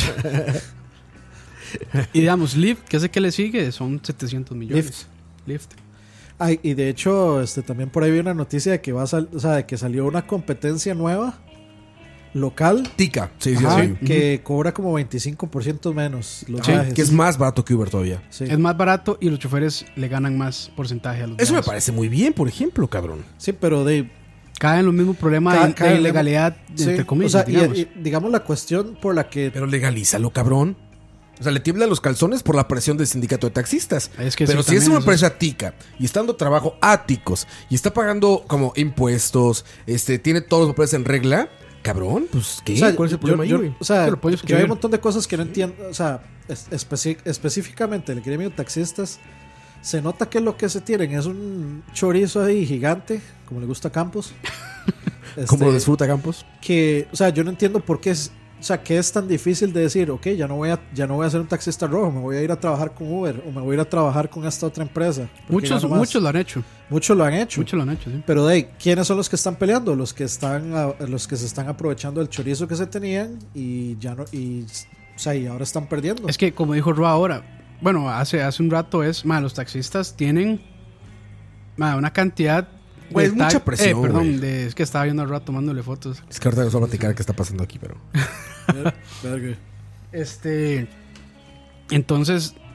Speaker 3: Y digamos, Lyft, que es el que le sigue, son 700 millones. Lyft.
Speaker 4: Ay, y de hecho, también por ahí vi una noticia de que de que salió una competencia nueva local.
Speaker 2: Tica, sí, sí,
Speaker 4: Ajá,
Speaker 2: sí.
Speaker 4: que cobra como 25% menos los
Speaker 2: Sí,
Speaker 4: viajes.
Speaker 2: que es más barato que Uber todavía.
Speaker 4: Sí.
Speaker 3: Es más barato y los choferes le ganan más porcentaje a los
Speaker 2: Eso me
Speaker 3: viajes.
Speaker 2: parece muy bien, por ejemplo, cabrón.
Speaker 4: Sí, pero
Speaker 3: Caen en los mismos problemas
Speaker 4: Caen
Speaker 3: de
Speaker 4: en-
Speaker 3: ilegalidad,
Speaker 4: sí,
Speaker 3: entre comillas,
Speaker 4: o sea,
Speaker 3: digamos.
Speaker 4: y digamos la cuestión por la que
Speaker 2: Pero legalízalo, cabrón. O sea, le tiemblan los calzones por la presión del sindicato de taxistas.
Speaker 3: Es que
Speaker 2: pero
Speaker 3: sí,
Speaker 2: si es
Speaker 3: también
Speaker 2: una
Speaker 3: eso
Speaker 2: empresa tica y está dando trabajo a ticos y está pagando como impuestos, tiene todos los papeles en regla, cabrón, pues ¿qué?
Speaker 4: o sea,
Speaker 2: ¿Cuál es el problema ahí, güey?
Speaker 4: o sea,
Speaker 3: Pero puedes
Speaker 4: yo hay
Speaker 3: escribir.
Speaker 4: un montón de cosas que no entiendo. O sea, específicamente el gremio de taxistas, se nota que lo que se tienen es un chorizo ahí gigante, como le gusta a Campos.
Speaker 2: ¿Cómo lo disfruta Campos?
Speaker 4: Que, o sea, yo no entiendo por qué que es tan difícil de decir, ok, ya no voy a ser un taxista rojo, me voy a ir a trabajar con Uber o me voy a ir a trabajar con esta otra empresa. porque gano más.
Speaker 3: Muchos lo han hecho.
Speaker 4: Muchos lo han hecho.
Speaker 3: Muchos lo han hecho, sí.
Speaker 4: Pero ¿quiénes son los que están peleando? Los que se están aprovechando del chorizo que se tenían y ya no, y ahora están perdiendo.
Speaker 3: Es que, como dijo Ro ahora, bueno, hace un rato los taxistas tienen una cantidad
Speaker 2: Güey, es mucha presión,
Speaker 3: perdón,
Speaker 2: güey.
Speaker 3: es que estaba viendo al rato tomándole fotos.
Speaker 2: Es que ahorita les voy a platicar qué está pasando aquí, pero...
Speaker 4: Verga.
Speaker 3: Entonces,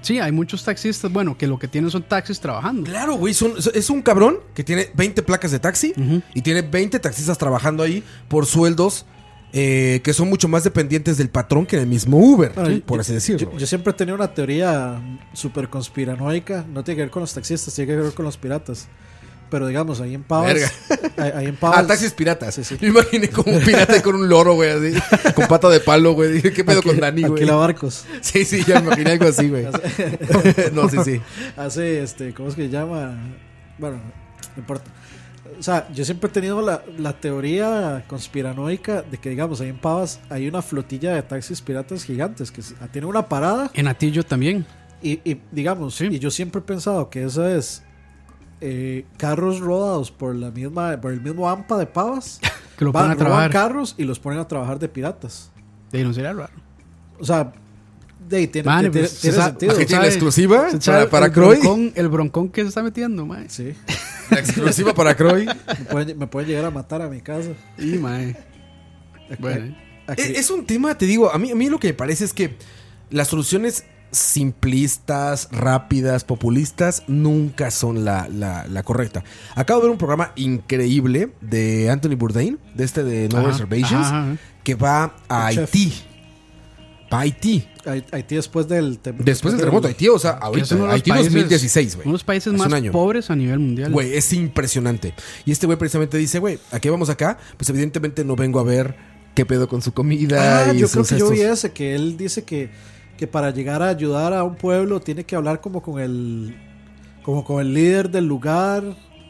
Speaker 3: Sí, hay muchos taxistas, bueno, que lo que tienen son taxis trabajando.
Speaker 2: Claro, güey, es un cabrón que tiene 20 placas de taxi y tiene 20 taxistas trabajando ahí por sueldos que son mucho más dependientes del patrón que del mismo Uber,
Speaker 4: Bueno,
Speaker 2: por así decirlo.
Speaker 4: Yo siempre he tenido una teoría súper conspiranoica. No tiene que ver con los taxistas, tiene que ver con los piratas. Pero digamos, ahí en Pavas. Ahí en Pavas.
Speaker 2: Taxis piratas.
Speaker 4: Sí, sí.
Speaker 2: Me imaginé como un pirata con un loro, güey, así, con pata de palo, güey. Dije, ¿qué pedo con Dani, güey?
Speaker 4: Alquila barcos.
Speaker 2: Sí, ya me imaginé algo así, güey. No, sí.
Speaker 4: Hace, ¿cómo es que se llama? Bueno, no importa. O sea, yo siempre he tenido la teoría conspiranoica de que, digamos, ahí en Pavas hay una flotilla de taxis piratas gigantes que tienen una parada.
Speaker 3: En Atillo también.
Speaker 4: Y digamos,
Speaker 3: Sí.
Speaker 4: y yo siempre he pensado que eso es carros rodados por el mismo AMPA de Pavas.
Speaker 3: Que lo ponen a
Speaker 4: roban
Speaker 3: trabajar.
Speaker 4: carros y los ponen a trabajar de piratas.
Speaker 3: De ahí no sería raro.
Speaker 4: O sea, de ahí tiene,
Speaker 3: Mane,
Speaker 4: tiene
Speaker 3: pues,
Speaker 4: sentido.
Speaker 2: Aquí tiene la
Speaker 3: ¿sabe?
Speaker 2: exclusiva
Speaker 3: ¿Se sabe
Speaker 2: para
Speaker 3: el
Speaker 2: Croy.
Speaker 3: El broncón que se está metiendo, mae.
Speaker 4: Sí,
Speaker 2: La exclusiva para Croy.
Speaker 4: me pueden llegar a matar a mi casa.
Speaker 3: Y mae. Bueno,
Speaker 4: Aquí-
Speaker 2: Es un tema, te digo, a mí lo que me parece es que las soluciones simplistas, rápidas, populistas, nunca son la correcta. Acabo de ver un programa increíble de Anthony Bourdain, de No
Speaker 3: Ajá,
Speaker 2: Reservations,
Speaker 3: ajá.
Speaker 2: que va a
Speaker 4: El chef.
Speaker 2: Haití. Va a Haití.
Speaker 4: Haití después del
Speaker 2: Después del terremoto, Haití, o sea,
Speaker 3: Que es
Speaker 2: ahorita,
Speaker 3: uno de los
Speaker 2: Haití
Speaker 3: países-
Speaker 2: 2016, güey.
Speaker 3: uno de los países
Speaker 2: Hace
Speaker 3: más
Speaker 2: un año.
Speaker 3: pobres a nivel mundial.
Speaker 2: Güey, es impresionante. Y este güey precisamente dice, güey, ¿a qué vamos acá? Pues evidentemente no vengo a ver qué pedo con su comida y
Speaker 4: yo creo
Speaker 2: sus
Speaker 4: que yo vi
Speaker 2: estos-
Speaker 4: ese, que él dice que para llegar a ayudar a un pueblo tiene que hablar como con el líder del lugar.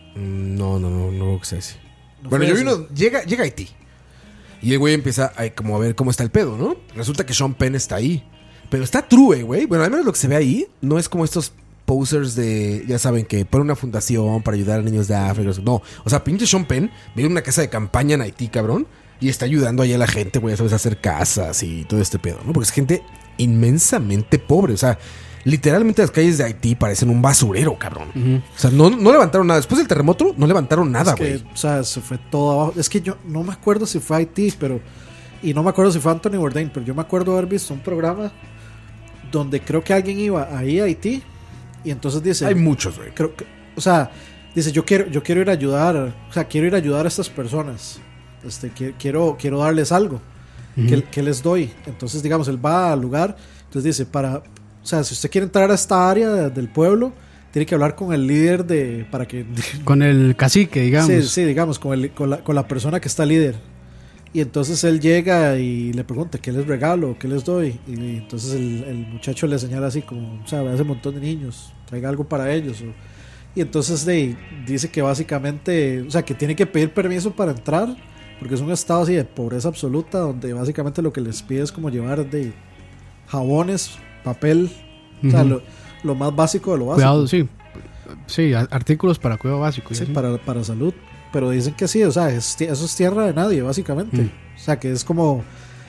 Speaker 2: No, que sea así.
Speaker 4: ¿No
Speaker 2: Bueno,
Speaker 4: fue
Speaker 2: yo
Speaker 4: ese?
Speaker 2: vino, llega a Haití. Y el güey empieza como a ver cómo está el pedo, ¿no? Resulta que Sean Penn está ahí. Pero está true, güey. Bueno, al menos lo que se ve ahí no es como estos posers de, ya saben, que ponen una fundación para ayudar a niños de África. No, o sea, pinche Sean Penn vive en una casa de campaña en Haití, cabrón. Y está ayudando allá a la gente, güey, a sabes, a hacer casas y todo este pedo, ¿no? Porque es gente inmensamente pobre. O sea, literalmente las calles de Haití parecen un basurero, cabrón. O sea, no levantaron nada. Después del terremoto, no levantaron nada,
Speaker 4: Es que,
Speaker 2: güey.
Speaker 4: o sea, se fue todo abajo. Es que yo no me acuerdo si fue Haití, y no me acuerdo si fue Anthony Bourdain, pero yo me acuerdo haber visto un programa donde creo que alguien iba ahí a Haití y entonces dice,
Speaker 2: Hay muchos, güey.
Speaker 4: o sea, dice, yo quiero ir a ayudar, o sea, quiero ir a ayudar a estas personas. Quiero darles algo. ¿Qué les doy? Entonces, digamos, él va al lugar, entonces dice, o sea, si usted quiere entrar a esta área del pueblo, tiene que hablar con el líder para que
Speaker 3: Con el cacique, digamos.
Speaker 4: Sí, digamos, con la persona que está líder. Y entonces él llega y le pregunta, ¿qué les regalo? ¿Qué les doy? Y entonces el muchacho le señala así como, o sea, hace un montón de niños, traiga algo para ellos. Y entonces dice que básicamente, o sea, que tiene que pedir permiso para entrar, porque es un estado así de pobreza absoluta, donde básicamente lo que les pide es como llevar jabones, papel, o sea, lo más básico de lo básico.
Speaker 3: Cuidado, sí. Sí, artículos para cuidado básico. y
Speaker 4: Sí,
Speaker 3: así.
Speaker 4: para salud. Pero dicen que sí, o sea, eso es tierra de nadie, básicamente. O sea, que es como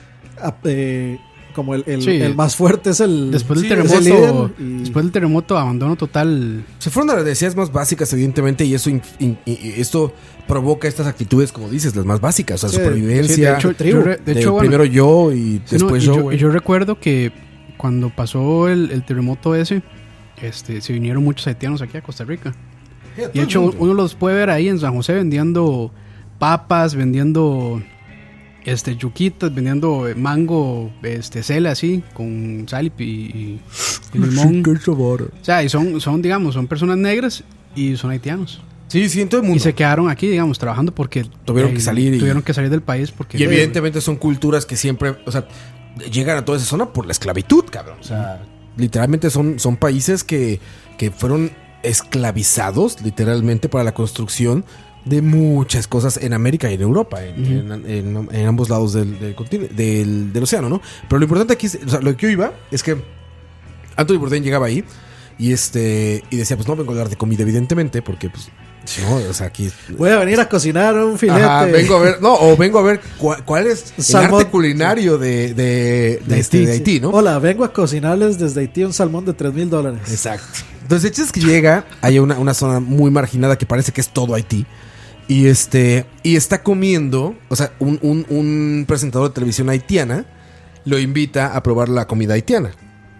Speaker 3: Sí.
Speaker 4: el más fuerte es el
Speaker 3: Después del
Speaker 4: sí, es el
Speaker 3: terremoto,
Speaker 4: líder y-
Speaker 3: después del terremoto, abandono total.
Speaker 2: Se fueron a las necesidades más básicas, evidentemente, y eso y esto provoca estas actitudes, como dices, las más básicas, o sea,
Speaker 4: Sí,
Speaker 2: supervivencia.
Speaker 3: Sí, de hecho,
Speaker 4: tribu.
Speaker 3: de hecho, bueno,
Speaker 2: primero yo y
Speaker 3: sí, no,
Speaker 2: después
Speaker 3: y
Speaker 2: yo,
Speaker 3: yo,
Speaker 2: güey.
Speaker 3: y yo recuerdo que cuando pasó el terremoto ese, se vinieron muchos haitianos aquí a Costa Rica. Y de hecho, uno los puede ver ahí en San José vendiendo papas, vendiendo yuquitas, vendiendo mango, cela así, con sal y limón. O sea, y son, digamos, son personas negras y son haitianos.
Speaker 2: Sí, en todo el mundo.
Speaker 3: Y se quedaron aquí, digamos, trabajando porque
Speaker 2: Tuvieron que salir
Speaker 3: tuvieron que salir del país porque
Speaker 2: Y evidentemente son culturas que siempre, o sea, llegan a toda esa zona por la esclavitud, cabrón. O sea, literalmente son países que fueron esclavizados, literalmente, para la construcción de muchas cosas en América y en Europa, en ambos lados del océano, ¿no? Pero lo importante aquí, o sea, lo que yo iba es que Anthony Bourdain llegaba ahí y decía, pues no vengo a hablar de comida, evidentemente, porque pues no, o sea, aquí
Speaker 4: voy a venir a cocinar un filete.
Speaker 2: ajá, vengo a ver cuál es el
Speaker 4: Salmón.
Speaker 2: arte culinario de Haití, ¿no?
Speaker 4: Hola, vengo a cocinarles desde Haití un salmón de $3,000.
Speaker 2: Exacto. Entonces, el chiste es que llega, hay una zona muy marginada que parece que es todo Haití. Y está comiendo, o sea, un presentador de televisión haitiana lo invita a probar la comida haitiana.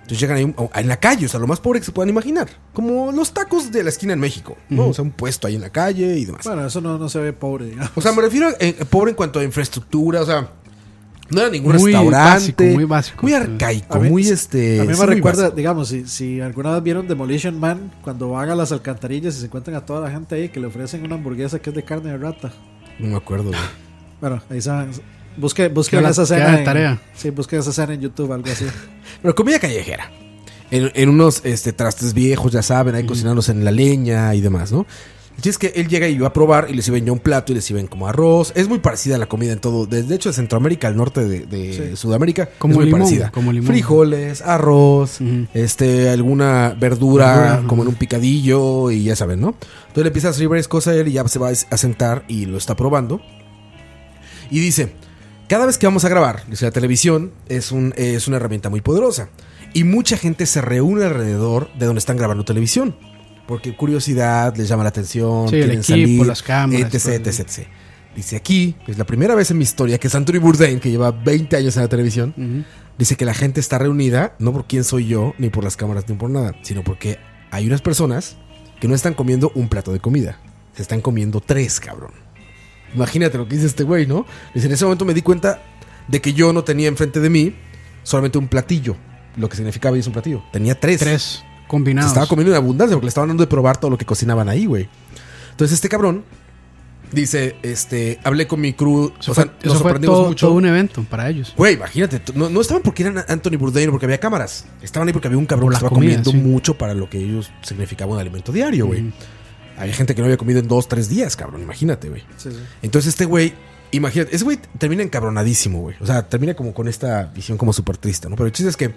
Speaker 2: Entonces llegan ahí en la calle, o sea, lo más pobre que se puedan imaginar. Como los tacos de la esquina en México, ¿no? O sea, un puesto ahí en la calle y demás.
Speaker 4: Bueno, eso no se ve pobre, digamos.
Speaker 2: O sea, me refiero a pobre en cuanto a infraestructura, o sea, no era ningún
Speaker 3: Muy
Speaker 2: restaurante.
Speaker 3: muy básico.
Speaker 2: Muy arcaico,
Speaker 4: A mí-
Speaker 2: muy
Speaker 4: A mí
Speaker 2: sí,
Speaker 4: me
Speaker 2: muy
Speaker 4: recuerda,
Speaker 2: básico.
Speaker 4: digamos, si alguna vez vieron Demolition Man, cuando van a las alcantarillas y se encuentran a toda la gente ahí que le ofrecen una hamburguesa que es de carne de rata.
Speaker 2: No me acuerdo, güey.
Speaker 4: Bueno, ahí saben. Busquen
Speaker 3: Queda
Speaker 4: esa
Speaker 3: de
Speaker 4: escena.
Speaker 3: tarea.
Speaker 4: Sí, busquen esa escena en YouTube, algo así.
Speaker 2: Pero comida callejera. En unos trastes viejos, ya saben, ahí cocinándose en la leña y demás, ¿no? Y es que él llega y va a probar y le sirven ya un plato y le sirven como arroz. Es muy parecida a la comida en todo. De hecho, de Centroamérica al norte de Sudamérica
Speaker 3: Como
Speaker 2: es muy
Speaker 3: limón,
Speaker 2: parecida.
Speaker 3: como limón.
Speaker 2: Frijoles, arroz,
Speaker 3: Ujú.
Speaker 2: alguna verdura
Speaker 3: Verdura,
Speaker 2: como en un picadillo y ya saben, ¿no? Entonces le empieza a servir varias cosas a él y ya se va a sentar y lo está probando. Y dice, cada vez que vamos a grabar, dice, la televisión es una herramienta muy poderosa. Y mucha gente se reúne alrededor de donde están grabando televisión. Porque curiosidad, les llama la atención,
Speaker 3: Sí, el
Speaker 2: quieren
Speaker 3: equipo,
Speaker 2: salir,
Speaker 3: las cámaras,
Speaker 2: etc,
Speaker 3: todo.
Speaker 2: etc, etc. Dice aquí, es la primera vez en mi historia que Anthony Bourdain, que lleva 20 años en la televisión, dice que la gente está reunida no por quién soy yo, ni por las cámaras, ni por nada, sino porque hay unas personas que no están comiendo un plato de comida. Se están comiendo 3, cabrón. Imagínate lo que dice este güey, ¿no? Dice, en ese momento me di cuenta de que yo no tenía enfrente de mí solamente un platillo. Lo que significaba es un platillo. Tenía 3.
Speaker 3: 3
Speaker 2: Se
Speaker 3: combinados.
Speaker 2: estaba comiendo en abundancia porque le estaban dando de probar todo lo que cocinaban ahí, güey. Entonces este cabrón dice, hablé con mi crew,
Speaker 3: Eso
Speaker 2: o sea,
Speaker 3: fue,
Speaker 2: nos
Speaker 3: eso fue
Speaker 2: sorprendimos
Speaker 3: todo,
Speaker 2: mucho.
Speaker 3: todo un evento para ellos.
Speaker 2: Güey, imagínate, no estaban porque eran Anthony Bourdain o porque había cámaras. Estaban ahí porque había un cabrón
Speaker 3: Por
Speaker 2: que
Speaker 3: la
Speaker 2: estaba
Speaker 3: comida,
Speaker 2: comiendo
Speaker 3: sí.
Speaker 2: mucho para lo que ellos significaba un alimento diario, güey. Había gente que no había comido en 2-3 días, cabrón, imagínate, güey.
Speaker 4: Sí, sí.
Speaker 2: Entonces este güey, imagínate, ese güey termina encabronadísimo, güey. O sea, termina como con esta visión como súper triste, ¿no? Pero el chiste es que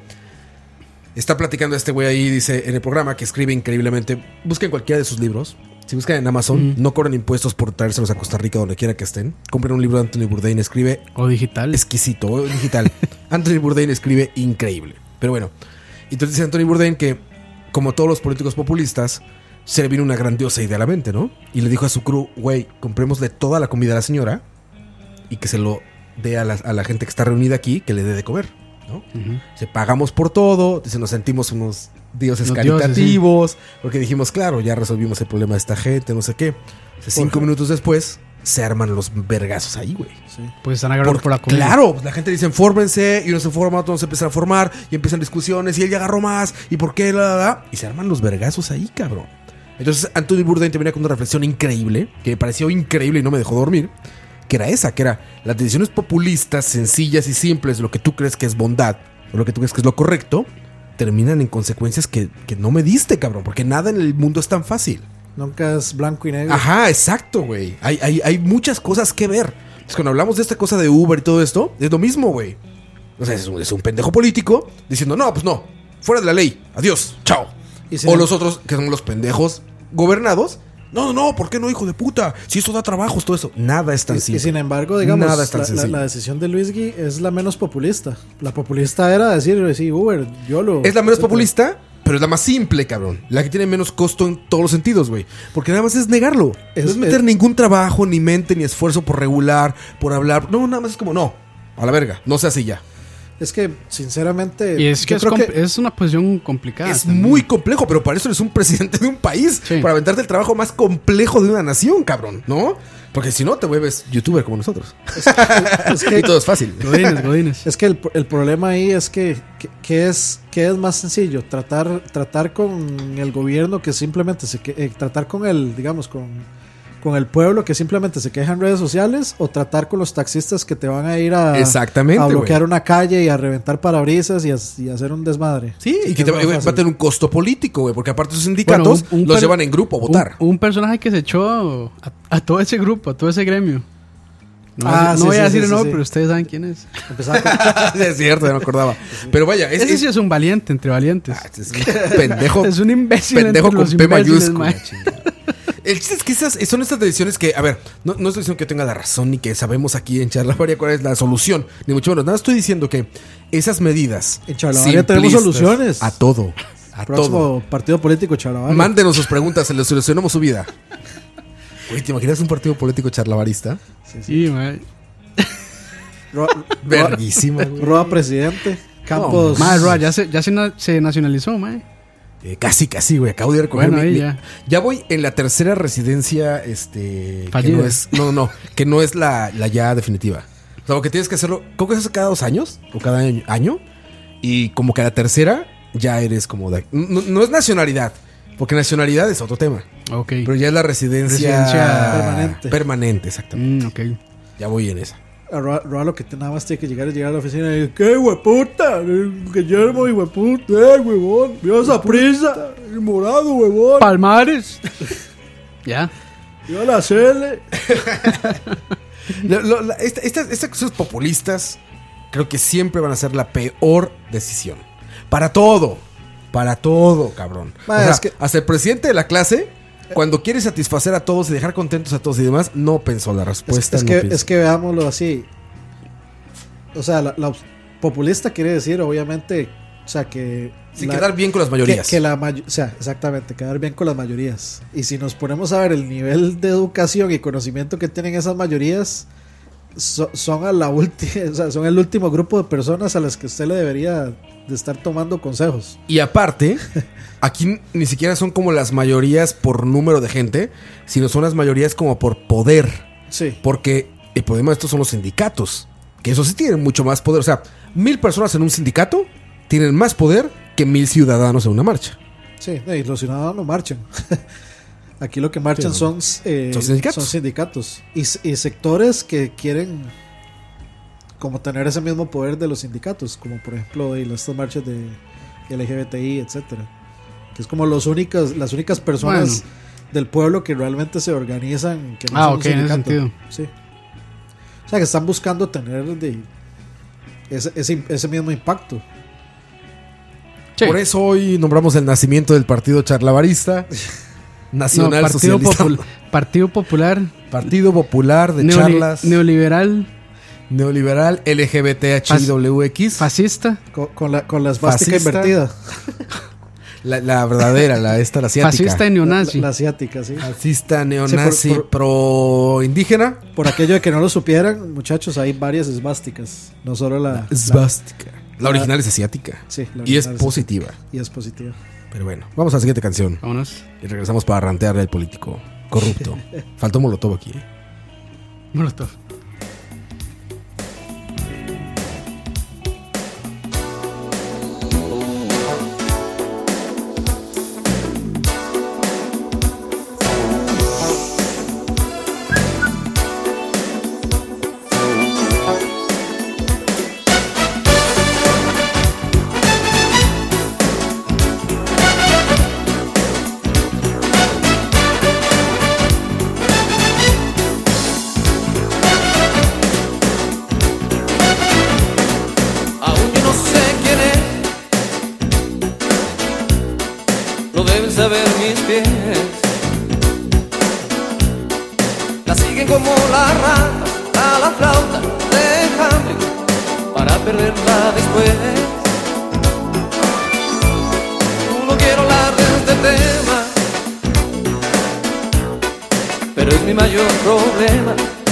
Speaker 2: está platicando este güey ahí, dice en el programa que escribe increíblemente. Busquen cualquiera de sus libros. Si buscan en Amazon, no cobran impuestos por traérselos a Costa Rica, donde quiera que estén. Compren un libro de Anthony Bourdain, escribe
Speaker 3: O digital.
Speaker 2: exquisito, o digital. Anthony Bourdain escribe increíble. Pero bueno, entonces dice Anthony Bourdain que, como todos los políticos populistas, se le vino una grandiosa idea a la mente, ¿no? Y le dijo a su crew, güey, comprémosle toda la comida a la señora y que se lo dé a la gente que está reunida aquí, que le dé de comer, ¿no? Se pagamos por todo, dice, nos sentimos unos dioses
Speaker 3: Los
Speaker 2: caritativos, porque dijimos, claro, ya resolvimos el problema de esta gente, no sé qué. 5 minutos después, se arman los vergazos ahí, güey.
Speaker 3: Pues están agarrando por la comida.
Speaker 2: Claro, pues la gente dice, fórmense, y uno se forma, otros se empiezan a formar, y empiezan discusiones, y él ya agarró más, y por qué, y se arman los vergazos ahí, cabrón. Entonces Anthony Bourdain te venía con una reflexión increíble, que me pareció increíble y no me dejó dormir, que era las decisiones populistas, sencillas y simples, lo que tú crees que es bondad, o lo que tú crees que es lo correcto, terminan en consecuencias que no me diste, cabrón, porque nada en el mundo es tan fácil.
Speaker 4: Nunca es blanco y negro.
Speaker 2: Ajá, exacto, güey. Hay muchas cosas que ver. Entonces, cuando hablamos de esta cosa de Uber y todo esto, es lo mismo, güey. O sea, es un pendejo político diciendo, no, pues no, fuera de la ley, adiós, chao.
Speaker 4: Y si
Speaker 2: O
Speaker 4: no-
Speaker 2: los otros, que son los pendejos gobernados, no, ¿por qué no, hijo de puta? Si eso da trabajos, todo eso. Nada es tan
Speaker 4: Y
Speaker 2: simple.
Speaker 4: sin embargo, digamos,
Speaker 2: Nada es tan sencillo.
Speaker 4: la decisión de Luis Gui es la menos populista. La populista era decir, sí, Uber, YOLO.
Speaker 2: Es la menos
Speaker 4: etcétera.
Speaker 2: populista, pero es la más simple, cabrón. La que tiene menos costo en todos los sentidos, güey. Porque nada más es negarlo.
Speaker 4: Es-
Speaker 2: no es meter
Speaker 4: es-
Speaker 2: ningún trabajo, ni mente, ni esfuerzo por regular, por hablar. No, nada más es como, no, a la verga, no se hace ya.
Speaker 4: Es que, sinceramente,
Speaker 3: Y es que,
Speaker 4: yo creo que
Speaker 3: es una posición complicada.
Speaker 2: Es
Speaker 3: también.
Speaker 2: muy complejo, pero para eso eres un presidente de un país.
Speaker 3: Sí.
Speaker 2: Para aventarte el trabajo más complejo de una nación, cabrón, ¿no? Porque si no, te vuelves youtuber como nosotros.
Speaker 4: es que
Speaker 2: Y todo es fácil.
Speaker 3: Godínez.
Speaker 4: Es que el problema ahí es que es más sencillo tratar con el gobierno que simplemente tratar con el, digamos, con el pueblo que simplemente se queja en redes sociales, o tratar con los taxistas que te van a ir
Speaker 2: Exactamente,
Speaker 4: a bloquear
Speaker 2: güey.
Speaker 4: una calle y a reventar parabrisas y a hacer un desmadre.
Speaker 2: Sí, y
Speaker 4: Así
Speaker 2: que
Speaker 4: es
Speaker 2: va
Speaker 4: más
Speaker 2: a
Speaker 4: fácil.
Speaker 2: tener un costo político, güey. Porque aparte sus sindicatos
Speaker 3: Bueno,
Speaker 2: los llevan en grupo a votar.
Speaker 3: Un personaje que se echó a todo ese grupo, a todo ese gremio. No,
Speaker 4: Ah,
Speaker 3: no
Speaker 4: sí,
Speaker 3: voy
Speaker 4: sí,
Speaker 3: a decir
Speaker 4: sí,
Speaker 3: el nombre,
Speaker 4: sí.
Speaker 3: pero ustedes saben quién es.
Speaker 4: Empezaba con-
Speaker 2: Es cierto, ya me acordaba. Pero vaya,
Speaker 3: Ese sí es un valiente entre valientes.
Speaker 2: es un pendejo.
Speaker 3: Es un imbécil
Speaker 2: pendejo
Speaker 3: entre
Speaker 2: con
Speaker 3: los
Speaker 2: P
Speaker 3: imbéciles,
Speaker 2: mayúscula.
Speaker 3: mae.
Speaker 2: chingada. El chiste es que son estas decisiones que, a ver, no estoy diciendo que yo tenga la razón ni que sabemos aquí en Charlavaria cuál es la solución, ni mucho menos. Nada, estoy diciendo que esas medidas.
Speaker 4: En Charlavaria tenemos
Speaker 2: simplistas,
Speaker 4: soluciones.
Speaker 2: A todo. A todo.
Speaker 4: próximo partido político, chaval.
Speaker 2: Mándenos sus preguntas, se les solucionamos su vida. Güey, ¿te imaginas un partido político charlavarista?
Speaker 3: Sí, mae.
Speaker 2: Verguísima, güey.
Speaker 4: Roa presidente. Campos.
Speaker 3: Mae, Roa, ya se nacionalizó, mae.
Speaker 2: Casi, güey. Acabo de recoger
Speaker 3: Bueno, ahí
Speaker 2: ya voy en la tercera residencia, que
Speaker 3: Fallida.
Speaker 2: que no es la ya definitiva. O sea, lo que tienes que hacerlo, creo que es cada 2 años o cada año. Y como que a la tercera ya eres como de... No es nacionalidad, porque nacionalidad es otro tema.
Speaker 3: Ok.
Speaker 2: Pero ya es la residencia
Speaker 4: permanente.
Speaker 2: Permanente, exactamente.
Speaker 3: Ok.
Speaker 2: Ya voy en esa.
Speaker 4: A Roa lo que nada más tiene que llegar a la oficina y decir, ¿qué hueputa? Guillermo, hueputa, huevón, vio esa prisa, el morado, huevón,
Speaker 3: Palmares. Ya.
Speaker 4: vio la Cele.
Speaker 2: Estas cosas populistas creo que siempre van a ser la peor decisión. Para todo, cabrón. O sea,
Speaker 4: Es que-
Speaker 2: hasta el presidente de la clase, cuando quiere satisfacer a todos y dejar contentos a todos y demás, no pensó la respuesta.
Speaker 4: Es que veámoslo así. O sea, la populista quiere decir, obviamente, o sea, que...
Speaker 2: quedar bien con las mayorías.
Speaker 4: O sea, exactamente, quedar bien con las mayorías. Y si nos ponemos a ver el nivel de educación y conocimiento que tienen esas mayorías, son a la última, o sea, son el último grupo de personas a las que usted le debería de estar tomando consejos.
Speaker 2: Y aparte, aquí ni siquiera son como las mayorías por número de gente, sino son las mayorías como por poder.
Speaker 4: Sí.
Speaker 2: Porque el problema de estos son los sindicatos, que eso sí tienen mucho más poder. O sea, 1000 personas en un sindicato tienen más poder que 1000 ciudadanos en una marcha.
Speaker 4: Sí, y los ciudadanos no marchan. Aquí lo que marchan
Speaker 2: Sí,
Speaker 4: son sindicatos. Y sectores que quieren como tener ese mismo poder de los sindicatos, como por ejemplo estas marchas de LGBTI, etcétera, que es como las únicas personas del pueblo que realmente se organizan, que no son un
Speaker 3: ok, en ese
Speaker 4: sindicato.
Speaker 3: sentido.
Speaker 4: Sí. O sea, que están buscando tener ese mismo impacto.
Speaker 3: Sí.
Speaker 2: Por eso hoy nombramos el nacimiento del partido charlavarista, Nacional
Speaker 3: Partido
Speaker 2: Socialista.
Speaker 3: Partido Popular.
Speaker 2: Partido Popular de charlas,
Speaker 3: Neoliberal.
Speaker 2: neoliberal, LGBTHIWX,
Speaker 3: Fascista.
Speaker 4: Con la esvástica
Speaker 2: Fascista.
Speaker 4: invertida.
Speaker 2: la verdadera, la asiática.
Speaker 3: Fascista y neonazi.
Speaker 4: La asiática, sí.
Speaker 2: Fascista, neonazi,
Speaker 4: Sí, por-
Speaker 2: pro indígena.
Speaker 4: Por aquello de que no lo supieran, muchachos, hay varias esvásticas. No solo la
Speaker 2: Svástica. La original es asiática.
Speaker 4: Sí, la
Speaker 2: Y es
Speaker 4: original
Speaker 2: positiva.
Speaker 4: y es positiva.
Speaker 2: Pero bueno, vamos a la siguiente canción.
Speaker 3: Vámonos.
Speaker 2: Y regresamos para rantearle al político corrupto. Faltó Molotov aquí.
Speaker 3: Molotov.
Speaker 7: Aún yo no sé quién es, lo deben saber mis pies. La siguen como la rata a la flauta de enjambre para perderla después. No quiero hablar de este tema, pero es mi mayor problema.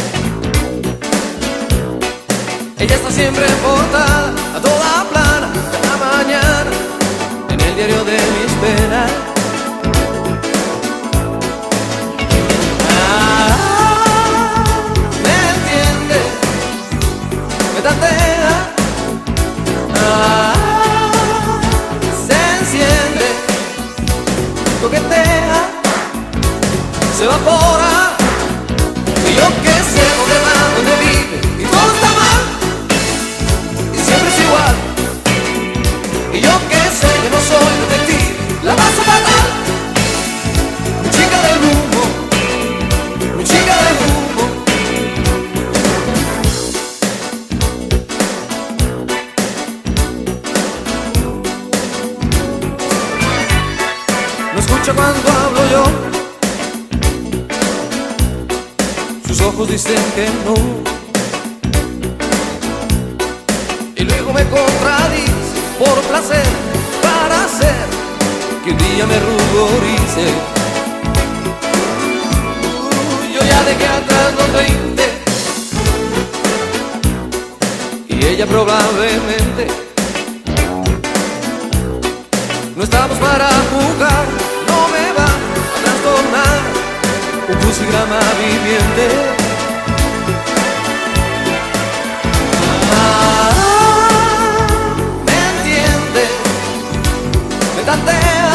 Speaker 7: Ella está siempre en portada, a toda plana, cada mañana, en el diario de mis penas. Me entiende, me tantea, se enciende, coquetea, se evapora, y yo que sé dónde va, dónde vive, y todo está mal. Siempre es igual. Y yo que sé que no soy detective, la paso fatal. Mi chica del humo, mi chica del humo. No escucha cuando hablo yo. Sus ojos dicen que no. Y luego me contradice por placer, para hacer que un día me ruborice. Yo ya dejé atrás los 20 y ella probablemente No estamos para jugar, no me va a trastornar un crucigrama viviente. Me entiende, me tantea,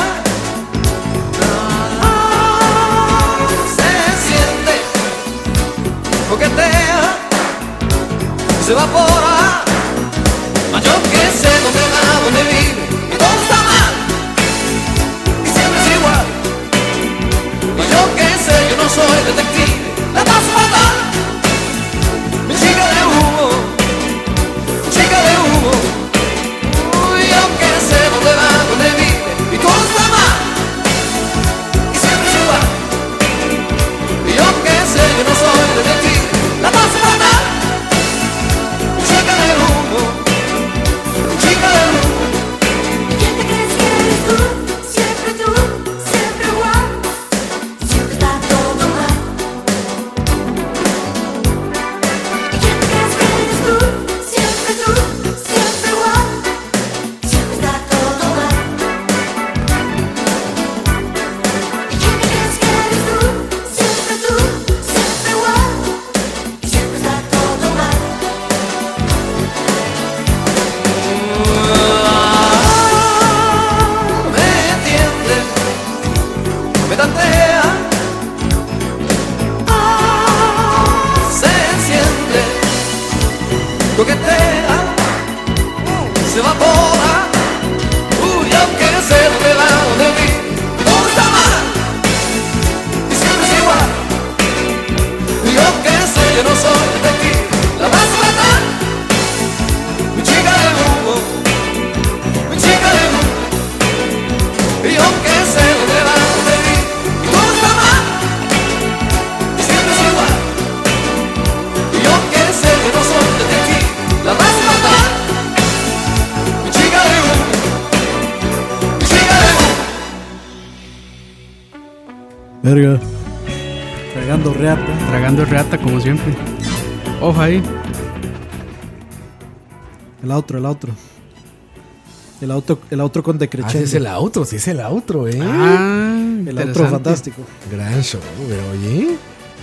Speaker 7: se siente, coquetea, se evapora. Mas yo que sé dónde va, dónde vive y todo está mal y siempre es igual. Mas yo que sé, yo no soy detective, la paso fatal. Mi chica de humo, chica de humo. Uy, yo que sé dónde va, dónde vive y todo está mal y siempre es igual. Y yo que sé, yo no soy detective, la paso fatal. Mi chica de humo, chica de humo.
Speaker 8: ¿Quién te crees que eres tú? Siempre igual. Siempre está todo mal. ¿Quién te crees que eres tú? Siempre igual. Siempre está todo mal. ¿Quién te crees que eres tú? Siempre igual. Siempre está todo mal.
Speaker 7: Me entiende, me tantea, se enciende, coquetea, se evapora. Uy, aunque sé dónde va, dónde vive, todo está mal y siempre es igual. Y aunque sé, yo no soy detective, la vas a matar. Mi chica de humo, mi chica de humo. Y aunque sé dónde va, dónde vive y todo está mal y siempre es igual. Y aunque sé que no soy detective, la vas a matar. Mi chica de humo, mi chica de humo.
Speaker 4: Verga. Tragando reata.
Speaker 3: Tragando reata como siempre. Ojo ahí.
Speaker 4: El outro. El outro con
Speaker 2: Ah, sí
Speaker 4: decrechendo.
Speaker 2: es el outro, sí es el outro,
Speaker 4: el outro
Speaker 3: interesante.
Speaker 4: fantástico.
Speaker 2: Gran show, pero oye.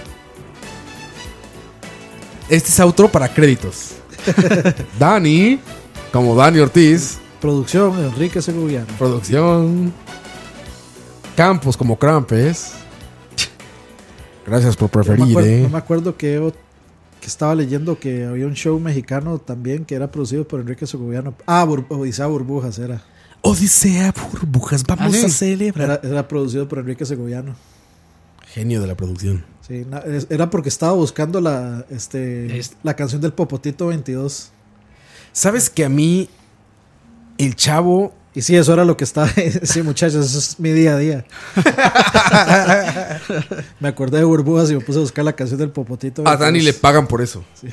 Speaker 2: Este es outro para créditos. Dani, como Dani Ortiz.
Speaker 4: Producción, Enrique Segoviano.
Speaker 2: Producción. Campos como Krampes. Gracias por preferir,
Speaker 4: No me acuerdo que estaba leyendo que había un show mexicano también que era producido por Enrique Segoviano. Odisea Burbujas era.
Speaker 2: Odisea Burbujas, vamos
Speaker 3: ¿Ah, sí?
Speaker 2: a celebrar.
Speaker 4: Era producido por Enrique Segoviano.
Speaker 2: Genio de la producción.
Speaker 4: Sí, era porque estaba buscando la canción del Popotito 22.
Speaker 2: ¿Sabes que a mí el Chavo...
Speaker 4: Y sí, eso era lo que estaba. Sí, muchachos, eso es mi día a día. Me acordé de Burbujas y me puse a buscar la canción del Popotito 22.
Speaker 2: A Dani le pagan por eso. Sí.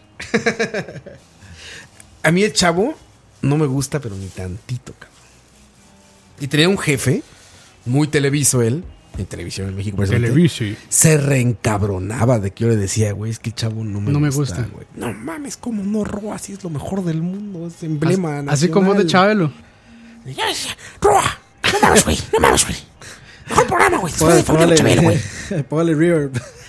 Speaker 2: A mí el Chavo no me gusta, pero ni tantito, cabrón. Y tenía un jefe, muy televiso él, en televisión en México.
Speaker 3: Televisi.
Speaker 2: Se reencabronaba de que yo le decía, güey, es que el Chavo no me gusta.
Speaker 3: Güey.
Speaker 2: No mames, como no, Roa, así es lo mejor del mundo, es emblema nacional.
Speaker 3: Así como de Chabelo.
Speaker 2: Roa, no mames, güey. Mejor programa, güey. Después de Familia Chabelo, güey.
Speaker 4: Póngale reverb.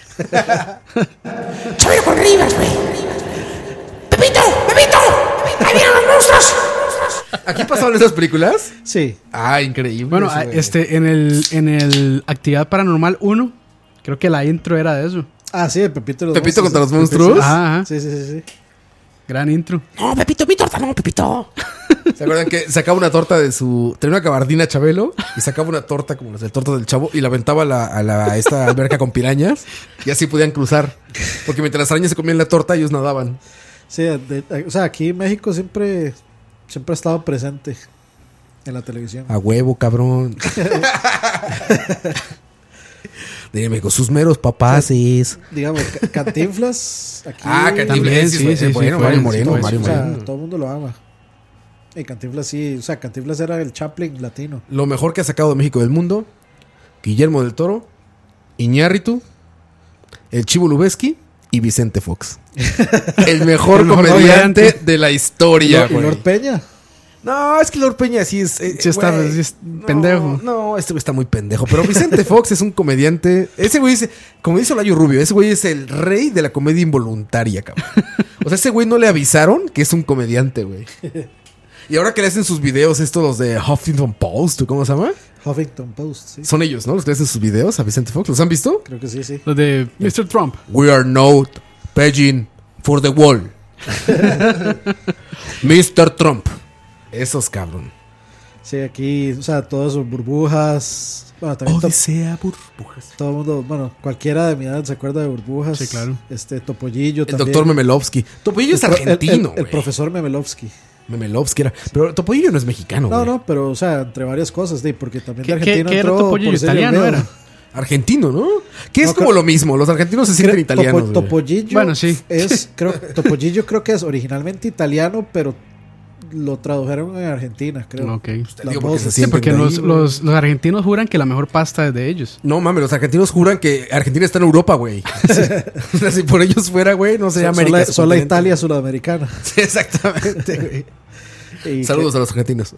Speaker 2: Chabelo con Rivas, güey. ¡Pepito! ¡Ahí vienen los monstruos! ¿Aquí pasaban esas películas?
Speaker 4: Sí.
Speaker 2: Ah, increíble.
Speaker 3: Bueno, en el Actividad Paranormal 1, creo que la intro era de eso.
Speaker 4: Ah, sí, Pepito
Speaker 2: contra los monstruos.
Speaker 3: Ajá.
Speaker 4: Sí.
Speaker 3: Gran intro.
Speaker 2: No, Pepito, mi torta, no, Pepito. ¿Se acuerdan que sacaba una torta de su... Tenía una gabardina Chabelo y sacaba una torta como las de torta del Chavo y la aventaba a esta alberca con pirañas y así podían cruzar. Porque mientras las arañas se comían la torta, ellos nadaban.
Speaker 4: Sí, o sea, aquí en México siempre ha estado presente en la televisión.
Speaker 2: A huevo, cabrón. De México, sus meros papaces.
Speaker 4: Digamos, Cantinflas. Aquí,
Speaker 2: Cantinflas.
Speaker 3: También, sí,
Speaker 2: Bueno,
Speaker 3: fue,
Speaker 2: Mario Moreno.
Speaker 3: sí,
Speaker 2: Mario
Speaker 4: o sea,
Speaker 2: Moreno.
Speaker 4: todo el mundo lo ama. Y Cantinflas sí, o sea, Cantinflas era el Chaplin latino.
Speaker 2: Lo mejor que ha sacado de México del mundo: Guillermo del Toro, Iñárritu, el Chivo Lubeski y Vicente Fox. El mejor comediante de la historia,
Speaker 4: Y Lord Peña.
Speaker 2: No, es que Lord Peña sí es...
Speaker 3: Sí está,
Speaker 2: güey,
Speaker 3: sí es pendejo.
Speaker 2: No, este güey está muy pendejo. Pero Vicente Fox es un comediante... Ese güey es... Como dice Olayo Rubio, ese güey es el rey de la comedia involuntaria, cabrón. O sea, ese güey no le avisaron que es un comediante, güey. Y ahora que le hacen sus videos, estos los de Huffington Post, ¿o cómo se llama?
Speaker 4: Huffington Post, sí.
Speaker 2: Son ellos, ¿no? Los que le hacen sus videos a Vicente Fox. ¿Los han visto?
Speaker 4: Creo que sí.
Speaker 3: Lo de Mr. Trump.
Speaker 2: We are not paying for the wall. Mr. Trump. Esos, cabrón.
Speaker 4: Sí, aquí, o sea, todas sus burbujas. Bueno, también
Speaker 2: Odisea burbujas.
Speaker 4: todo el mundo, bueno, cualquiera de mi edad se acuerda de burbujas.
Speaker 3: Sí, claro.
Speaker 4: Topollillo
Speaker 2: El
Speaker 4: también.
Speaker 2: doctor Memelovsky. Topollillo es argentino,
Speaker 4: El
Speaker 2: güey.
Speaker 4: profesor Memelovsky.
Speaker 2: Memelovsky era. Pero Topollillo no es mexicano, güey.
Speaker 4: No, pero, o sea, entre varias cosas, porque también de
Speaker 3: ¿Qué
Speaker 4: Argentina
Speaker 3: era
Speaker 4: entró
Speaker 3: Topollillo?
Speaker 4: por Sergio
Speaker 3: ¿Italiano
Speaker 4: Olmedo.
Speaker 3: era?
Speaker 2: Argentino, ¿no? Que es
Speaker 4: No,
Speaker 2: como lo mismo. Los argentinos se sienten italianos, güey.
Speaker 4: Topollillo
Speaker 3: Bueno, sí.
Speaker 4: Topollillo creo que es originalmente italiano, pero lo tradujeron en Argentina, creo.
Speaker 3: Ok.
Speaker 2: Te
Speaker 4: Las
Speaker 2: digo porque se
Speaker 4: voces.
Speaker 3: Sí,
Speaker 2: sienten
Speaker 3: porque
Speaker 2: de ahí,
Speaker 3: los,
Speaker 2: güey.
Speaker 3: los argentinos juran que la mejor pasta es de ellos.
Speaker 2: No mames, los argentinos juran que Argentina está en Europa, güey. O sea, si por ellos fuera, güey, no sería América.
Speaker 4: Son la
Speaker 2: continente.
Speaker 4: Italia sudamericana.
Speaker 2: Sí, exactamente, güey.
Speaker 4: Y
Speaker 2: Saludos a los argentinos.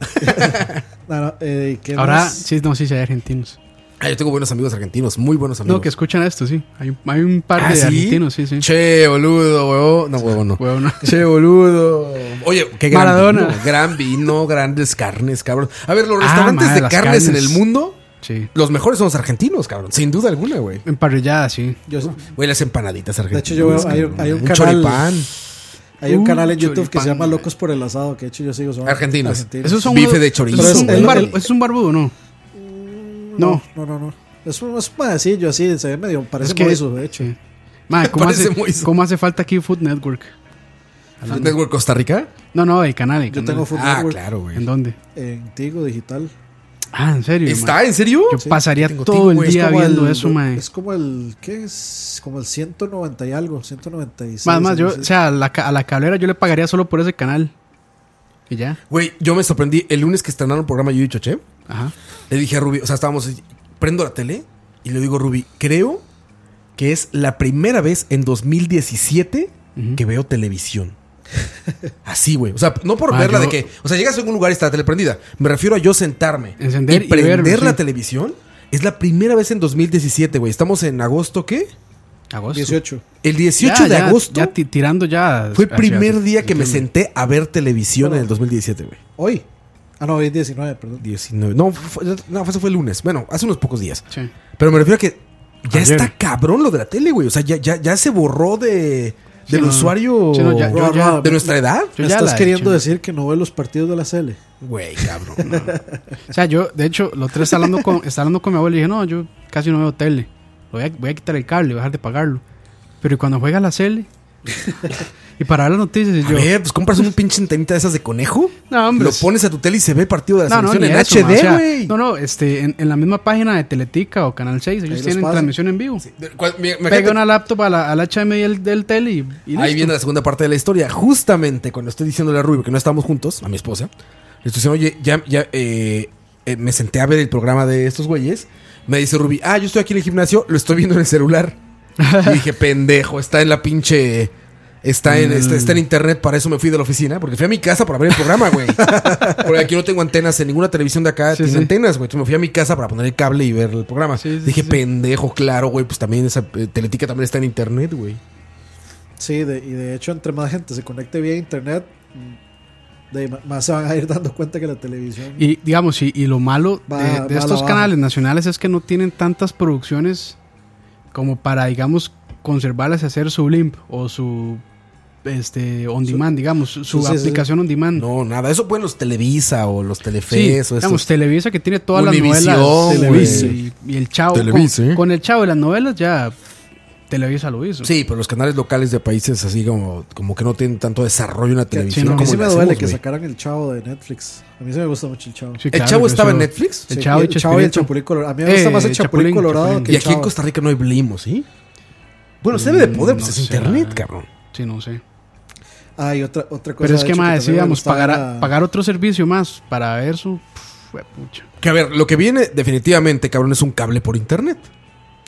Speaker 4: ¿qué
Speaker 3: Ahora,
Speaker 4: más?
Speaker 3: sí, hay argentinos.
Speaker 2: Ah, yo tengo buenos amigos argentinos, muy buenos amigos.
Speaker 3: No, que escuchan esto, sí. Hay un par
Speaker 2: ¿Ah,
Speaker 3: de
Speaker 2: sí?
Speaker 3: argentinos, sí, sí.
Speaker 2: Che, boludo, huevo. No, huevo, no.
Speaker 3: Huevo, no.
Speaker 2: Che, boludo. Oye, qué gran
Speaker 3: Maradona.
Speaker 2: vino. Gran vino, grandes carnes, cabrón. A ver, los
Speaker 3: Ah,
Speaker 2: restaurantes
Speaker 3: madre,
Speaker 2: de
Speaker 3: las
Speaker 2: carnes en
Speaker 3: carnes.
Speaker 2: el mundo,
Speaker 3: Sí.
Speaker 2: los mejores son los argentinos, cabrón. Sin duda alguna, güey.
Speaker 3: Emparrillada, sí.
Speaker 2: Güey, las empanaditas
Speaker 4: De
Speaker 2: argentinas.
Speaker 4: hecho, yo veo, hay un canal.
Speaker 2: choripán.
Speaker 4: Hay un canal en YouTube que
Speaker 3: choripán,
Speaker 4: se llama
Speaker 3: güey.
Speaker 4: Locos por el Asado, que de hecho yo sigo. Son
Speaker 2: Argentinos.
Speaker 3: Esos son
Speaker 2: Bife
Speaker 3: unos-
Speaker 2: de chorizo.
Speaker 4: Pero es-
Speaker 2: güey.
Speaker 4: el-
Speaker 3: ¿Eso es un barbudo, no? No.
Speaker 4: No. Es un madecillo así, se ve medio, parece
Speaker 3: Es que-
Speaker 4: moiso, de hecho.
Speaker 3: Sí. Madre,
Speaker 2: Parece muy-
Speaker 3: ¿cómo hace falta aquí Food Network?
Speaker 2: Food Network Costa Rica.
Speaker 3: No, el canal.
Speaker 4: Yo tengo Food
Speaker 2: Ah,
Speaker 4: Network
Speaker 2: claro, güey.
Speaker 3: ¿En dónde?
Speaker 4: en Tigo Digital.
Speaker 3: Ah, ¿en serio?
Speaker 2: ¿Está? ¿En serio?
Speaker 3: Yo
Speaker 4: Sí,
Speaker 3: pasaría
Speaker 2: tengo
Speaker 3: todo
Speaker 2: Tigo,
Speaker 3: el
Speaker 2: güey.
Speaker 3: día viendo eso, mae.
Speaker 4: Es como el, ¿qué es? Como el 190 y algo, 196.
Speaker 3: Más, yo,
Speaker 4: algo
Speaker 3: o
Speaker 4: así.
Speaker 3: sea, a la cablera yo le pagaría solo por ese canal. Y ya.
Speaker 2: Güey, yo me sorprendí. El lunes que estrenaron el programa Yo y Choché,
Speaker 3: Ajá.
Speaker 2: le dije a Ruby, o sea, estábamos, prendo la tele y le digo, Ruby, creo que es la primera vez en 2017 que veo televisión. Así, güey. O sea, no por
Speaker 3: Ah,
Speaker 2: verla
Speaker 3: yo-
Speaker 2: de que, o sea, llegas a algún lugar y está la tele prendida. Me refiero a yo sentarme
Speaker 3: Encender
Speaker 2: y
Speaker 3: y
Speaker 2: prender
Speaker 3: ver,
Speaker 2: la
Speaker 3: sí.
Speaker 2: televisión. Es la primera vez en 2017, güey. Estamos en agosto, ¿qué?
Speaker 3: Agosto.
Speaker 4: 18.
Speaker 2: El 18 de agosto
Speaker 3: Ya tirando ya.
Speaker 2: fue el
Speaker 3: hacia-
Speaker 2: primer día que me
Speaker 3: entiendo.
Speaker 2: senté a ver televisión en el 2017, güey.
Speaker 4: Hoy. Ah, no, hoy es 19, perdón.
Speaker 2: 19. No, eso fue el lunes. Bueno, hace unos pocos días.
Speaker 3: Sí.
Speaker 2: Pero me refiero a que ya
Speaker 3: Ayer.
Speaker 2: está cabrón lo de la tele, güey. O sea, ya se borró del
Speaker 3: no.
Speaker 2: usuario
Speaker 3: Sí, no, yo ya-
Speaker 2: de nuestra edad.
Speaker 3: Yo
Speaker 4: ¿Me
Speaker 3: ya
Speaker 4: estás
Speaker 3: la he
Speaker 4: queriendo
Speaker 3: hecho.
Speaker 4: decir que no ve los partidos de la Cele?
Speaker 2: Güey, cabrón.
Speaker 3: O sea, yo, de hecho, los tres estaba hablando con mi abuelo y dije, no, yo casi no veo tele. Voy a quitar el cable, voy a dejar de pagarlo. Pero cuando juega la Cele y para ver las noticias, y
Speaker 2: A
Speaker 3: yo.
Speaker 2: ver, pues compras un pinche antenita de esas de conejo.
Speaker 3: No, hombre.
Speaker 2: Lo pones a tu tele y se ve el partido de la
Speaker 3: No,
Speaker 2: selección
Speaker 3: ni
Speaker 2: en
Speaker 3: eso, ma, o
Speaker 2: HD,
Speaker 3: sea,
Speaker 2: güey.
Speaker 3: no, en la misma página de Teletica o Canal 6, ellos
Speaker 4: los
Speaker 3: tienen
Speaker 4: pasan.
Speaker 3: transmisión en vivo.
Speaker 2: Me
Speaker 3: Pega una laptop al HDMI del tele y listo.
Speaker 2: Ahí viene la segunda parte de la historia. Justamente cuando estoy diciéndole a Rubio que no estábamos juntos, a mi esposa, le estoy diciendo, oye, me senté a ver el programa de estos güeyes. Me dice Ruby, yo estoy aquí en el gimnasio, lo estoy viendo en el celular. Y dije, pendejo, está en la pinche... Está en internet, para eso me fui de la oficina. Porque fui a mi casa para ver el programa, güey. Porque aquí no tengo antenas en ninguna televisión de acá.
Speaker 3: Sí,
Speaker 2: tiene
Speaker 3: sí.
Speaker 2: antenas, güey. Entonces me fui a mi casa para poner el cable y ver el programa.
Speaker 3: Sí, sí,
Speaker 2: dije,
Speaker 3: sí.
Speaker 2: pendejo, claro, güey. Pues también esa Teletica también está en internet, güey.
Speaker 4: Sí, y de hecho, entre más gente se conecte vía internet, más se van a ir dando cuenta que la televisión.
Speaker 3: Y digamos, y lo malo
Speaker 4: Va
Speaker 3: de
Speaker 4: a la
Speaker 3: estos
Speaker 4: baja.
Speaker 3: canales nacionales es que no tienen tantas producciones como para, digamos, conservarlas y hacer su limp o su on demand, digamos, su
Speaker 4: sí, sí.
Speaker 3: aplicación on demand.
Speaker 2: No, nada. Eso pueden los Televisa o los
Speaker 3: Sí,
Speaker 2: Telefes o
Speaker 3: digamos,
Speaker 2: esos.
Speaker 3: Televisa que tiene todas
Speaker 2: Univisión,
Speaker 3: las novelas.
Speaker 2: Televisa.
Speaker 3: Y el Chavo.
Speaker 2: Televisa,
Speaker 3: Con el Chavo y las novelas ya Televisa lo hizo.
Speaker 2: Sí, pero los canales locales de países así como que no tienen tanto desarrollo en la televisión.
Speaker 3: no,
Speaker 4: a mí
Speaker 2: como
Speaker 4: sí
Speaker 2: le
Speaker 4: me duele
Speaker 2: hacemos,
Speaker 4: que
Speaker 2: güey.
Speaker 4: sacaran el Chavo de Netflix. A mí sí me gusta mucho el Chavo.
Speaker 3: Sí,
Speaker 2: ¿El
Speaker 3: claro,
Speaker 2: Chavo
Speaker 3: yo
Speaker 2: estaba en
Speaker 3: solo-
Speaker 2: Netflix?
Speaker 3: El
Speaker 4: Sí,
Speaker 3: Chavo y
Speaker 4: el Chavo y el
Speaker 3: Chespirito.
Speaker 4: Chapulín Colorado. A mí me gusta más el Chapulín
Speaker 3: Chapulín,
Speaker 4: Colorado
Speaker 3: Chapulín.
Speaker 4: que
Speaker 2: Y
Speaker 4: el
Speaker 2: aquí en
Speaker 4: Chavo.
Speaker 2: Costa Rica no hay Blimos, ¿sí? Bueno, se debe de poder, pues
Speaker 3: No
Speaker 2: es
Speaker 3: sé,
Speaker 2: internet,
Speaker 3: la-
Speaker 2: cabrón.
Speaker 3: Sí, no sé.
Speaker 4: Y otra cosa.
Speaker 3: Pero es
Speaker 4: de
Speaker 3: que
Speaker 4: hecho,
Speaker 3: más,
Speaker 4: también me
Speaker 3: digamos,
Speaker 4: gustaba
Speaker 3: pagar otro servicio más para ver su. Pucha.
Speaker 2: Que a ver, lo que viene definitivamente, cabrón, es un cable por internet.
Speaker 4: Sí.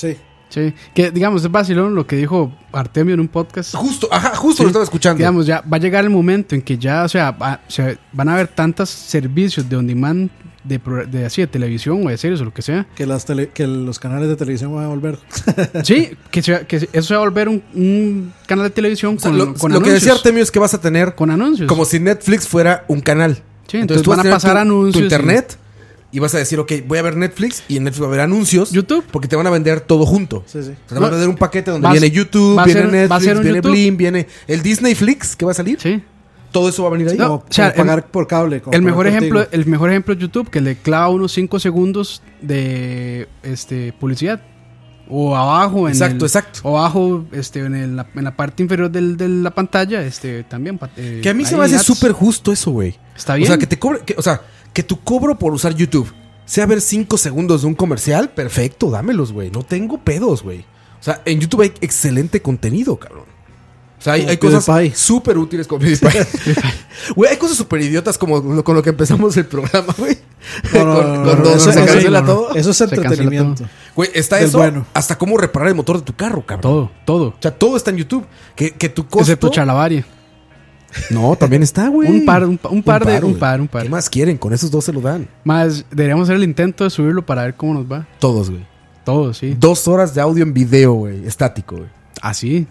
Speaker 3: Sí, que digamos, es vacilón lo que dijo Artemio en un podcast.
Speaker 2: Justo
Speaker 3: Sí,
Speaker 2: lo estaba escuchando.
Speaker 3: Digamos, ya va a llegar el momento en que ya, o sea, van a haber tantos servicios de on demand de televisión o de series o lo que sea.
Speaker 4: Que los canales de televisión van a volver.
Speaker 3: Sí, que eso se va a volver un canal de televisión
Speaker 2: O sea,
Speaker 3: con
Speaker 2: lo
Speaker 3: anuncios.
Speaker 2: que decía Artemio es que vas a tener
Speaker 3: Con anuncios.
Speaker 2: como si Netflix fuera un canal.
Speaker 3: Sí, entonces
Speaker 2: tú vas
Speaker 3: van a
Speaker 2: tener
Speaker 3: pasar anuncios
Speaker 2: tu
Speaker 3: y-
Speaker 2: internet y vas a decir, ok, voy a ver Netflix y en Netflix va a haber anuncios.
Speaker 3: YouTube.
Speaker 2: Porque te van a vender todo junto.
Speaker 4: Sí, sí.
Speaker 2: O sea, te van a vender un paquete donde
Speaker 3: Va a
Speaker 2: viene
Speaker 3: ser-
Speaker 2: YouTube,
Speaker 3: va a
Speaker 2: viene
Speaker 3: ser- va a
Speaker 2: Netflix,
Speaker 3: ser un
Speaker 2: viene
Speaker 3: YouTube.
Speaker 2: Blim, viene el Disney Flix que va a salir.
Speaker 3: Sí.
Speaker 2: Todo eso va a venir ahí.
Speaker 3: No,
Speaker 4: Como,
Speaker 3: o sea,
Speaker 4: como pagar por cable. como
Speaker 3: El
Speaker 4: pagar
Speaker 3: mejor
Speaker 4: por
Speaker 3: ejemplo,
Speaker 4: Tigo.
Speaker 3: el mejor ejemplo es YouTube, que le clava unos 5 segundos de publicidad. O abajo
Speaker 2: Exacto.
Speaker 3: o abajo en la parte inferior de la pantalla, también.
Speaker 2: Que a mí se
Speaker 3: ahí
Speaker 2: me hace
Speaker 3: ads.
Speaker 2: súper justo eso, güey.
Speaker 3: Está bien.
Speaker 2: O sea, que te cobre, que tu cobro por usar YouTube sea ver 5 segundos de un comercial, perfecto, dámelos, güey. No tengo pedos, güey. O sea, en YouTube hay excelente contenido, cabrón. O sea, hay
Speaker 4: Como
Speaker 2: cosas
Speaker 4: PewDiePie.
Speaker 2: súper útiles como PewDiePie. Güey, hay cosas súper idiotas como con lo que empezamos el programa, güey. Cuando
Speaker 4: eso-
Speaker 2: se
Speaker 4: eso-
Speaker 2: cancela todo.
Speaker 4: Eso es
Speaker 3: Se cancela
Speaker 4: entretenimiento.
Speaker 2: Güey, está
Speaker 4: Es
Speaker 2: eso
Speaker 4: bueno.
Speaker 2: hasta cómo reparar el motor de tu carro, cabrón.
Speaker 3: Todo.
Speaker 2: O sea, todo está en YouTube. Que tu costo...
Speaker 3: Excepto Chalabaria.
Speaker 2: No, también está, güey.
Speaker 3: Un par de.
Speaker 2: güey. ¿Qué más quieren? Con esos dos se lo dan.
Speaker 3: Más, deberíamos hacer el intento de subirlo para ver cómo nos va.
Speaker 2: Todos, güey.
Speaker 3: Todo, sí.
Speaker 2: 2 horas de audio en video, güey. Estático, güey.
Speaker 3: Así.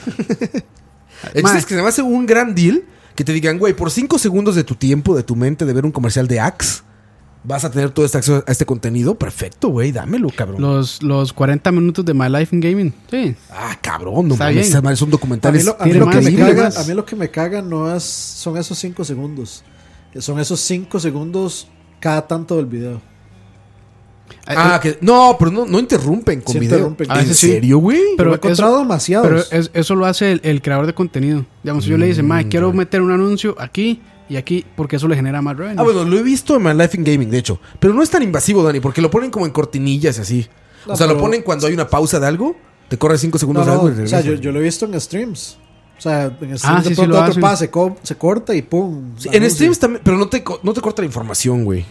Speaker 2: El chiste es que se me hace un gran deal que te digan, güey, por 5 segundos de tu tiempo, de tu mente, de ver un comercial de Axe, vas a tener todo este acceso a este contenido. Perfecto, güey. Dámelo, cabrón.
Speaker 3: Los 40 minutos de My Life in Gaming. Sí.
Speaker 2: Ah, cabrón. No
Speaker 3: Está
Speaker 2: mames.
Speaker 3: bien.
Speaker 2: Esas madres son
Speaker 4: A mí
Speaker 2: documentales.
Speaker 4: lo, a mí
Speaker 3: tiene
Speaker 4: lo que
Speaker 3: más,
Speaker 4: me
Speaker 3: tiene
Speaker 4: caga,
Speaker 3: más.
Speaker 4: a mí lo que me caga no son esos 5 segundos. Son esos 5 segundos cada tanto del video.
Speaker 2: Que no, pero no interrumpen con
Speaker 4: Sí
Speaker 2: video.
Speaker 4: interrumpen.
Speaker 3: A
Speaker 2: ¿En
Speaker 3: veces sí.
Speaker 2: serio, güey?
Speaker 4: Pero he
Speaker 3: eso,
Speaker 4: encontrado demasiados.
Speaker 3: pero eso lo hace el creador de contenido. Digamos, si yo le dice, Mae, quiero meter un anuncio aquí y aquí, porque eso le genera más revenue.
Speaker 2: Bueno, lo he visto en My Life in Gaming, de hecho. Pero no es tan invasivo, Dani, porque lo ponen como en cortinillas y así.
Speaker 4: No,
Speaker 2: o sea, lo
Speaker 4: pero-
Speaker 2: ponen cuando hay una pausa de algo, te corre 5 segundos
Speaker 4: No,
Speaker 2: de
Speaker 4: no,
Speaker 2: algo y
Speaker 4: o sea,
Speaker 2: regresa.
Speaker 4: yo lo he visto en streams. O sea, en streams
Speaker 3: sí,
Speaker 4: de
Speaker 3: sí,
Speaker 4: pronto
Speaker 3: lo
Speaker 4: otro
Speaker 3: hacen.
Speaker 4: pasa, se corta y pum.
Speaker 2: Sí, en
Speaker 4: anuncio.
Speaker 2: streams también, pero no te corta la información, güey.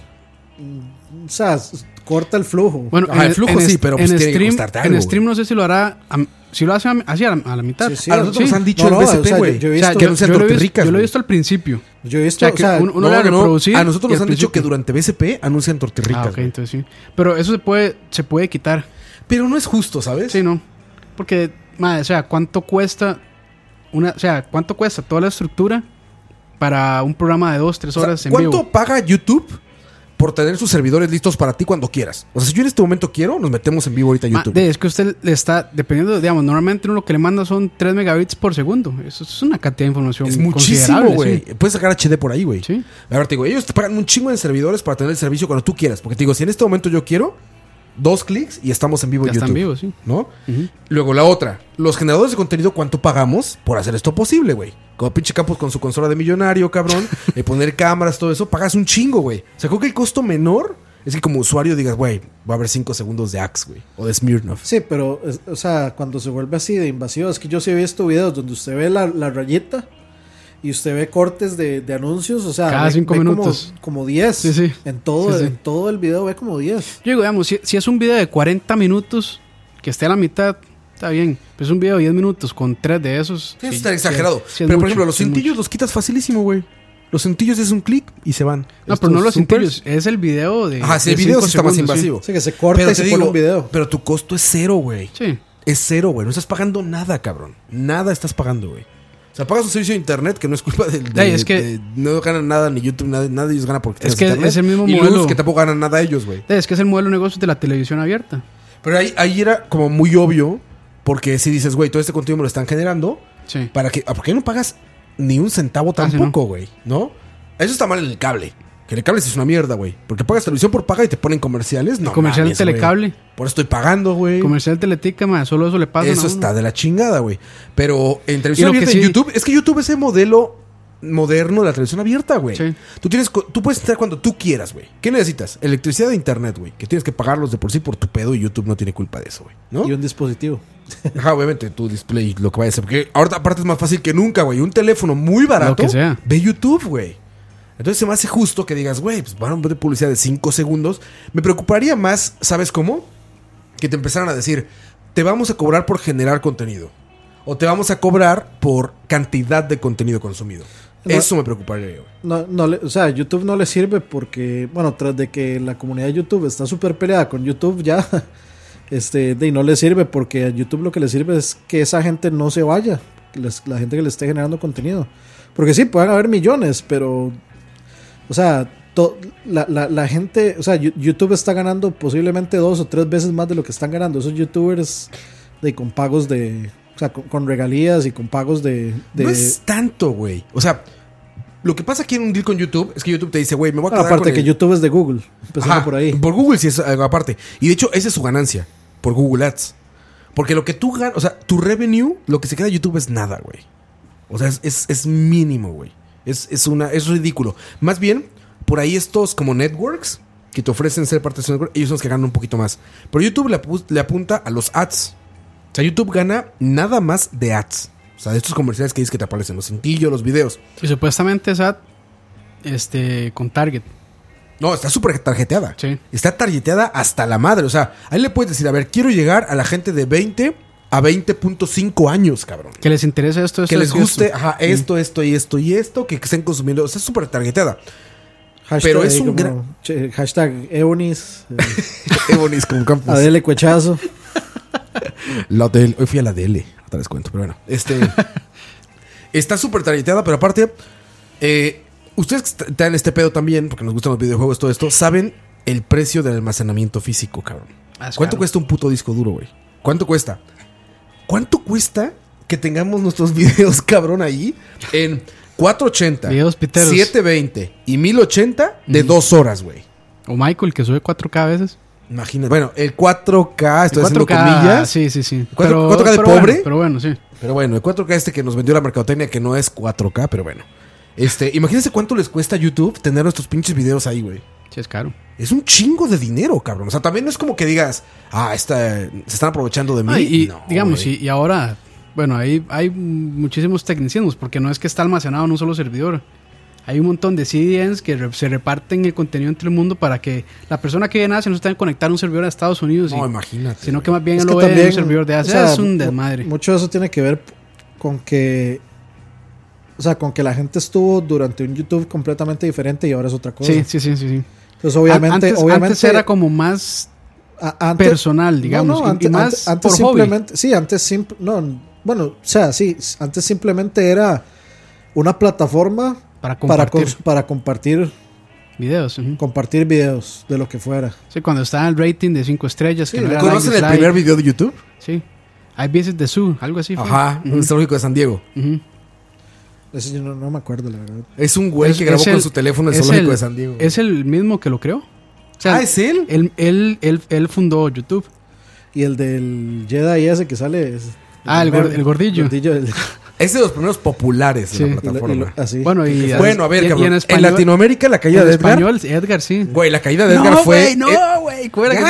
Speaker 4: O sea, corta el flujo.
Speaker 3: Bueno,
Speaker 2: Ajá, el flujo sí, pero pues
Speaker 3: en
Speaker 2: tiene que
Speaker 3: stream,
Speaker 2: costarte algo,
Speaker 3: en stream no sé si lo hará, si lo hace así a la mitad.
Speaker 4: Sí, sí,
Speaker 2: A nosotros
Speaker 4: sí.
Speaker 2: nos han dicho
Speaker 4: No,
Speaker 2: en
Speaker 4: no,
Speaker 2: BCP,
Speaker 4: o sea,
Speaker 2: güey.
Speaker 4: yo he
Speaker 3: O sea,
Speaker 4: visto-
Speaker 2: que anuncian
Speaker 3: yo lo he
Speaker 2: tortirricas,
Speaker 3: visto- yo lo he
Speaker 2: güey.
Speaker 3: visto al principio.
Speaker 4: Yo he
Speaker 3: O
Speaker 4: visto,
Speaker 3: sea, que uno le da reproducir.
Speaker 2: A nosotros
Speaker 3: y
Speaker 2: nos
Speaker 3: al
Speaker 2: han dicho que
Speaker 3: principio.
Speaker 2: durante BCP anuncian tortirricas.
Speaker 3: Ah, ok,
Speaker 2: güey.
Speaker 3: entonces sí. Pero eso se puede quitar.
Speaker 2: Pero no es justo, ¿sabes?
Speaker 3: Sí, ¿no? Porque, madre, o sea, ¿cuánto cuesta cuánto cuesta toda la estructura para un programa de 2-3
Speaker 2: O sea,
Speaker 3: horas en
Speaker 2: ¿cuánto
Speaker 3: vivo?
Speaker 2: paga YouTube por tener sus servidores listos para ti cuando quieras? O sea, si yo en este momento quiero, nos metemos en vivo ahorita a YouTube.
Speaker 3: Es que usted le está, dependiendo, digamos, normalmente uno lo que le manda son 3 megabits por segundo. Eso es una cantidad de información
Speaker 2: Es muchísimo,
Speaker 3: considerable,
Speaker 2: güey.
Speaker 3: sí.
Speaker 2: Puedes sacar HD por ahí, güey.
Speaker 3: Sí.
Speaker 2: A ver, te digo, ellos te pagan un chingo de servidores para tener el servicio cuando tú quieras. Porque te digo, si en este momento yo quiero, 2 clics y estamos en vivo en
Speaker 3: Ya
Speaker 2: YouTube.
Speaker 3: están vivos, sí.
Speaker 2: ¿No?
Speaker 3: Ujú.
Speaker 2: Luego la otra, los generadores de contenido, ¿cuánto pagamos por hacer esto posible, güey? Como pinche Campos con su consola de millonario, cabrón, poner cámaras, todo eso, pagas un chingo, güey. O sea, creo que el costo menor es que como usuario digas, güey, va a haber 5 segundos de Axe, güey, o de Smirnoff.
Speaker 4: Sí, pero, o sea, cuando se vuelve así de invasivo, es que yo sí he visto videos donde usted ve la rayita y usted ve cortes de anuncios, o sea,
Speaker 3: Cada 5
Speaker 4: ve
Speaker 3: minutos.
Speaker 4: como 10.
Speaker 3: Sí, sí.
Speaker 4: En todo,
Speaker 3: Sí, sí.
Speaker 4: en todo el video ve como 10.
Speaker 3: Yo digo, digamos, si es un video de 40 minutos, que esté a la mitad, está bien. Pero es un video de 10 minutos con 3 de esos.
Speaker 2: Sí, eso está exagerado.
Speaker 3: sí es
Speaker 2: Pero, por
Speaker 3: mucho,
Speaker 2: ejemplo, los
Speaker 3: sí es
Speaker 2: cintillos
Speaker 3: mucho.
Speaker 2: los quitas facilísimo, güey. Los cintillos es un clic y se van.
Speaker 3: No,
Speaker 2: Estos
Speaker 3: pero no los
Speaker 2: supers-
Speaker 3: cintillos, es el video de.
Speaker 2: Ajá, sí,
Speaker 3: de
Speaker 2: el video
Speaker 3: 5
Speaker 2: sí está más
Speaker 3: segundos,
Speaker 2: invasivo.
Speaker 4: O sea, que se corta y
Speaker 2: Pero
Speaker 4: se
Speaker 2: te
Speaker 4: pone
Speaker 2: digo,
Speaker 4: un video.
Speaker 2: pero tu costo es 0, güey.
Speaker 3: Sí.
Speaker 2: Es 0, güey. No estás pagando nada, cabrón. Nada estás pagando, güey. O sea, pagas un servicio de internet que no es culpa del...
Speaker 3: Ey, es que-
Speaker 2: no ganan nada ni YouTube, nada de ellos gana porque
Speaker 3: Es
Speaker 2: tienes
Speaker 3: que
Speaker 2: internet.
Speaker 3: es el mismo
Speaker 2: y
Speaker 3: modelo.
Speaker 2: Luz, que tampoco ganan nada ellos, güey.
Speaker 3: Es que es el modelo de negocios de la televisión abierta.
Speaker 2: Pero ahí era como muy obvio, porque si dices, güey, todo este contenido me lo están generando,
Speaker 3: Sí.
Speaker 2: ¿para qué? ¿Por qué no pagas ni un centavo
Speaker 3: Ah, sí,
Speaker 2: tampoco, güey? ¿No? Eso está mal en el cable. Que el cable sí es una mierda, güey. Porque pagas televisión por paga y te ponen comerciales. No,
Speaker 3: Comercial de
Speaker 2: mames, güey.
Speaker 3: telecable.
Speaker 2: Por eso estoy pagando, güey.
Speaker 3: Comercial de teletica, man, solo eso le pasa.
Speaker 2: Eso está de la chingada, güey. Pero en televisión
Speaker 3: Y lo que
Speaker 2: abierta, en
Speaker 3: sí-
Speaker 2: YouTube, es que YouTube es el modelo moderno de la televisión abierta, güey.
Speaker 3: Sí.
Speaker 2: Tú puedes entrar cuando tú quieras, güey. ¿Qué necesitas? Electricidad de internet, güey. Que tienes que pagarlos de por sí por tu pedo y YouTube no tiene culpa de eso, güey. ¿No?
Speaker 4: Y un dispositivo.
Speaker 2: Ajá, obviamente, tu display, lo que vaya a ser. Porque ahorita aparte es más fácil que nunca, güey. Un teléfono muy barato.
Speaker 3: Lo que sea.
Speaker 2: Ve YouTube, güey. Entonces se me hace justo que digas, güey, pues van a ver publicidad de 5 segundos. Me preocuparía más, ¿sabes cómo? Que te empezaran a decir, te vamos a cobrar por generar contenido. O te vamos a cobrar por cantidad de contenido consumido.
Speaker 4: No.
Speaker 2: Eso me preocuparía, güey.
Speaker 4: O sea, YouTube no le sirve porque, bueno, tras de que la comunidad de YouTube está súper peleada con YouTube ya, y no le sirve porque a YouTube lo que le sirve es que esa gente no se vaya, la gente que le esté generando contenido. Porque sí, pueden haber millones, pero, o sea, la gente, o sea, YouTube está ganando posiblemente 2 o 3 veces más de lo que están ganando esos YouTubers con pagos de... O sea, con regalías y con pagos de...
Speaker 2: No es tanto, güey. O sea, lo que pasa aquí en un deal con YouTube es que YouTube te dice, güey, me voy a quedar
Speaker 4: aparte
Speaker 2: con
Speaker 4: que
Speaker 2: el...
Speaker 4: YouTube es de Google. Empezando
Speaker 2: Ajá,
Speaker 4: por ahí.
Speaker 2: Por Google sí es algo aparte. Y de hecho, esa es su ganancia. Por Google Ads. Porque lo que tú ganas... O sea, tu revenue, lo que se queda de YouTube es nada, güey. O sea, es mínimo, güey. Es ridículo. Más bien, por ahí estos como networks que te ofrecen ser parte de su network, ellos son los que ganan un poquito más. Pero YouTube le apunta a los ads. O sea, YouTube gana nada más de ads. O sea, de estos comerciales que dices que te aparecen, los cintillos, los videos.
Speaker 3: Y supuestamente es ad con Target.
Speaker 2: No, está súper tarjeteada.
Speaker 3: Sí.
Speaker 2: Está tarjeteada hasta la madre. O sea, ahí le puedes decir, a ver, quiero llegar a la gente de 20 a 20.5 años, cabrón.
Speaker 3: Que les interese esto,
Speaker 2: que les guste,
Speaker 3: esto.
Speaker 2: ajá, esto y esto, que estén consumiendo. O sea, es súper targeteada.
Speaker 4: Hashtag,
Speaker 2: pero es un gran...
Speaker 4: Hashtag Eonis.
Speaker 2: Eonis con campus.
Speaker 4: Adele Cuechazo.
Speaker 2: La DL, hoy fui a la DL, otra vez cuento, pero bueno. Está súper targeteada, pero aparte, ustedes que están en este pedo también, porque nos gustan los videojuegos, todo esto, saben el precio del almacenamiento físico, cabrón. ¿Cuánto cuesta un puto disco duro, güey? ¿Cuánto cuesta? ¿Cuánto cuesta que tengamos nuestros videos, cabrón, ahí en 480,
Speaker 3: videos piteros,
Speaker 2: 720 y 1080 de 2 horas, güey?
Speaker 3: O Michael, que sube 4K a veces.
Speaker 2: Imagínate. Bueno, el 4K, estoy
Speaker 3: el 4K,
Speaker 2: haciendo comillas.
Speaker 3: Sí.
Speaker 2: 4K de pobre.
Speaker 3: Bueno, pero bueno, sí.
Speaker 2: Pero bueno, el 4K que nos vendió la mercadotecnia, que no es 4K, pero bueno. Imagínense cuánto les cuesta a YouTube tener nuestros pinches videos ahí, güey.
Speaker 3: Sí, es caro.
Speaker 2: Es un chingo de dinero, cabrón. O sea, también no es como que digas, se están aprovechando de mí.
Speaker 3: Y
Speaker 2: no,
Speaker 3: digamos, y ahora, bueno, hay muchísimos tecnicismos, porque no es que está almacenado en un solo servidor. Hay un montón de CDNs que se reparten el contenido entre el mundo para que la persona que viene a Asia no se tenga que conectar a un servidor de Estados Unidos.
Speaker 2: No, imagínate.
Speaker 3: Sino que más bien
Speaker 4: es
Speaker 3: lo
Speaker 4: que
Speaker 3: ve
Speaker 4: también,
Speaker 3: en un servidor de Asia. O sea, es un desmadre.
Speaker 4: Mucho de eso tiene que ver con que... O sea, con que la gente estuvo durante un YouTube completamente diferente y ahora es otra cosa.
Speaker 3: Sí.
Speaker 4: Entonces, obviamente...
Speaker 3: Antes era como más personal, digamos.
Speaker 4: Antes,
Speaker 3: y más
Speaker 4: antes
Speaker 3: por
Speaker 4: simplemente...
Speaker 3: hobby.
Speaker 4: Sí, antes bueno, o sea, sí. Antes simplemente era una plataforma... Para compartir
Speaker 3: videos.
Speaker 4: Compartir videos de lo que fuera.
Speaker 3: Sí, cuando estaba el rating de 5 estrellas.
Speaker 2: Sí, que ¿conocen el primer video de YouTube?
Speaker 3: Sí. I Visit the Zoo, algo así.
Speaker 2: Ajá, un zoológico de San Diego.
Speaker 4: Ese yo no me acuerdo, la verdad.
Speaker 2: Es un güey que grabó con su teléfono el zoológico de San Diego.
Speaker 3: Es el mismo que lo creó. O sea,
Speaker 2: ¿es él?
Speaker 3: Él fundó YouTube.
Speaker 4: Y el del Jedi ese que sale...
Speaker 3: el gordillo.
Speaker 2: Es de los primeros populares de la plataforma.
Speaker 3: Bueno,
Speaker 2: a ver, cabrón. En Latinoamérica, la caída de Edgar.
Speaker 3: Edgar, sí.
Speaker 2: Güey, la caída de Edgar fue.
Speaker 3: Güey.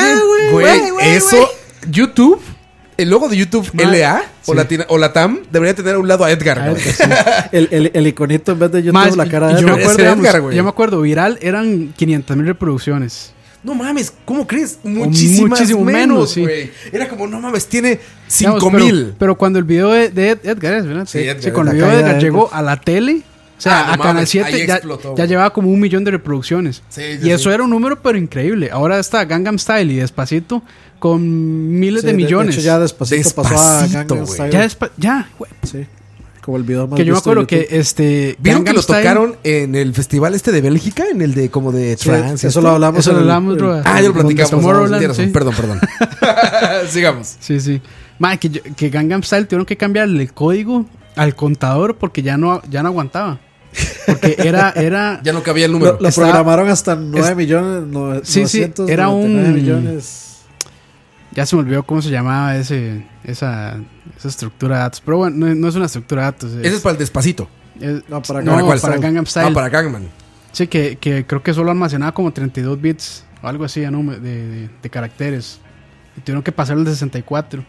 Speaker 2: Eso. YouTube. El logo de YouTube LA o la TAM debería tener a un lado a Edgar.
Speaker 4: El iconito en vez de YouTube, la cara de
Speaker 3: Edgar. Yo me acuerdo, viral eran 500,000 reproducciones.
Speaker 2: No mames, ¿cómo crees? Muchísimo menos, güey. Era como, no mames, tiene 5,000.
Speaker 3: Pero cuando el video de Edgar es, ¿verdad?
Speaker 2: Sí, Edgar,
Speaker 3: cuando el video de Edgar llegó a la tele, o sea, a Canal 7 ya llevaba como 1 millón de reproducciones. Y eso era un número pero increíble. Ahora está Gangnam Style y Despacito con miles de millones.
Speaker 4: De hecho, ya Despacito pasó a Gangnam Style.
Speaker 3: Ya, güey.
Speaker 4: Sí. Como el video más
Speaker 3: que yo me acuerdo que
Speaker 2: ¿vieron que lo tocaron en el festival de Bélgica? En el de como de trance.
Speaker 4: Eso lo hablamos.
Speaker 3: Eso lo hablamos, bro.
Speaker 2: Ya lo platicamos.
Speaker 3: Sí.
Speaker 2: Perdón. Sigamos.
Speaker 3: Sí. Que Gangnam Style tuvieron que cambiarle el código al contador porque ya no aguantaba. Porque era
Speaker 2: ya no cabía el número.
Speaker 4: Lo programaron hasta 9 millones.
Speaker 3: Sí, era un
Speaker 4: millones.
Speaker 3: Ya se me olvidó cómo se llamaba esa estructura de datos. Pero bueno, no es una estructura de datos.
Speaker 2: Ese es para el Despacito.
Speaker 3: Para Gangnam Style.
Speaker 2: Para Gangnam.
Speaker 3: Sí, que creo que solo almacenaba como 32 bits o algo así de caracteres. Y tuvieron que pasar el de 64.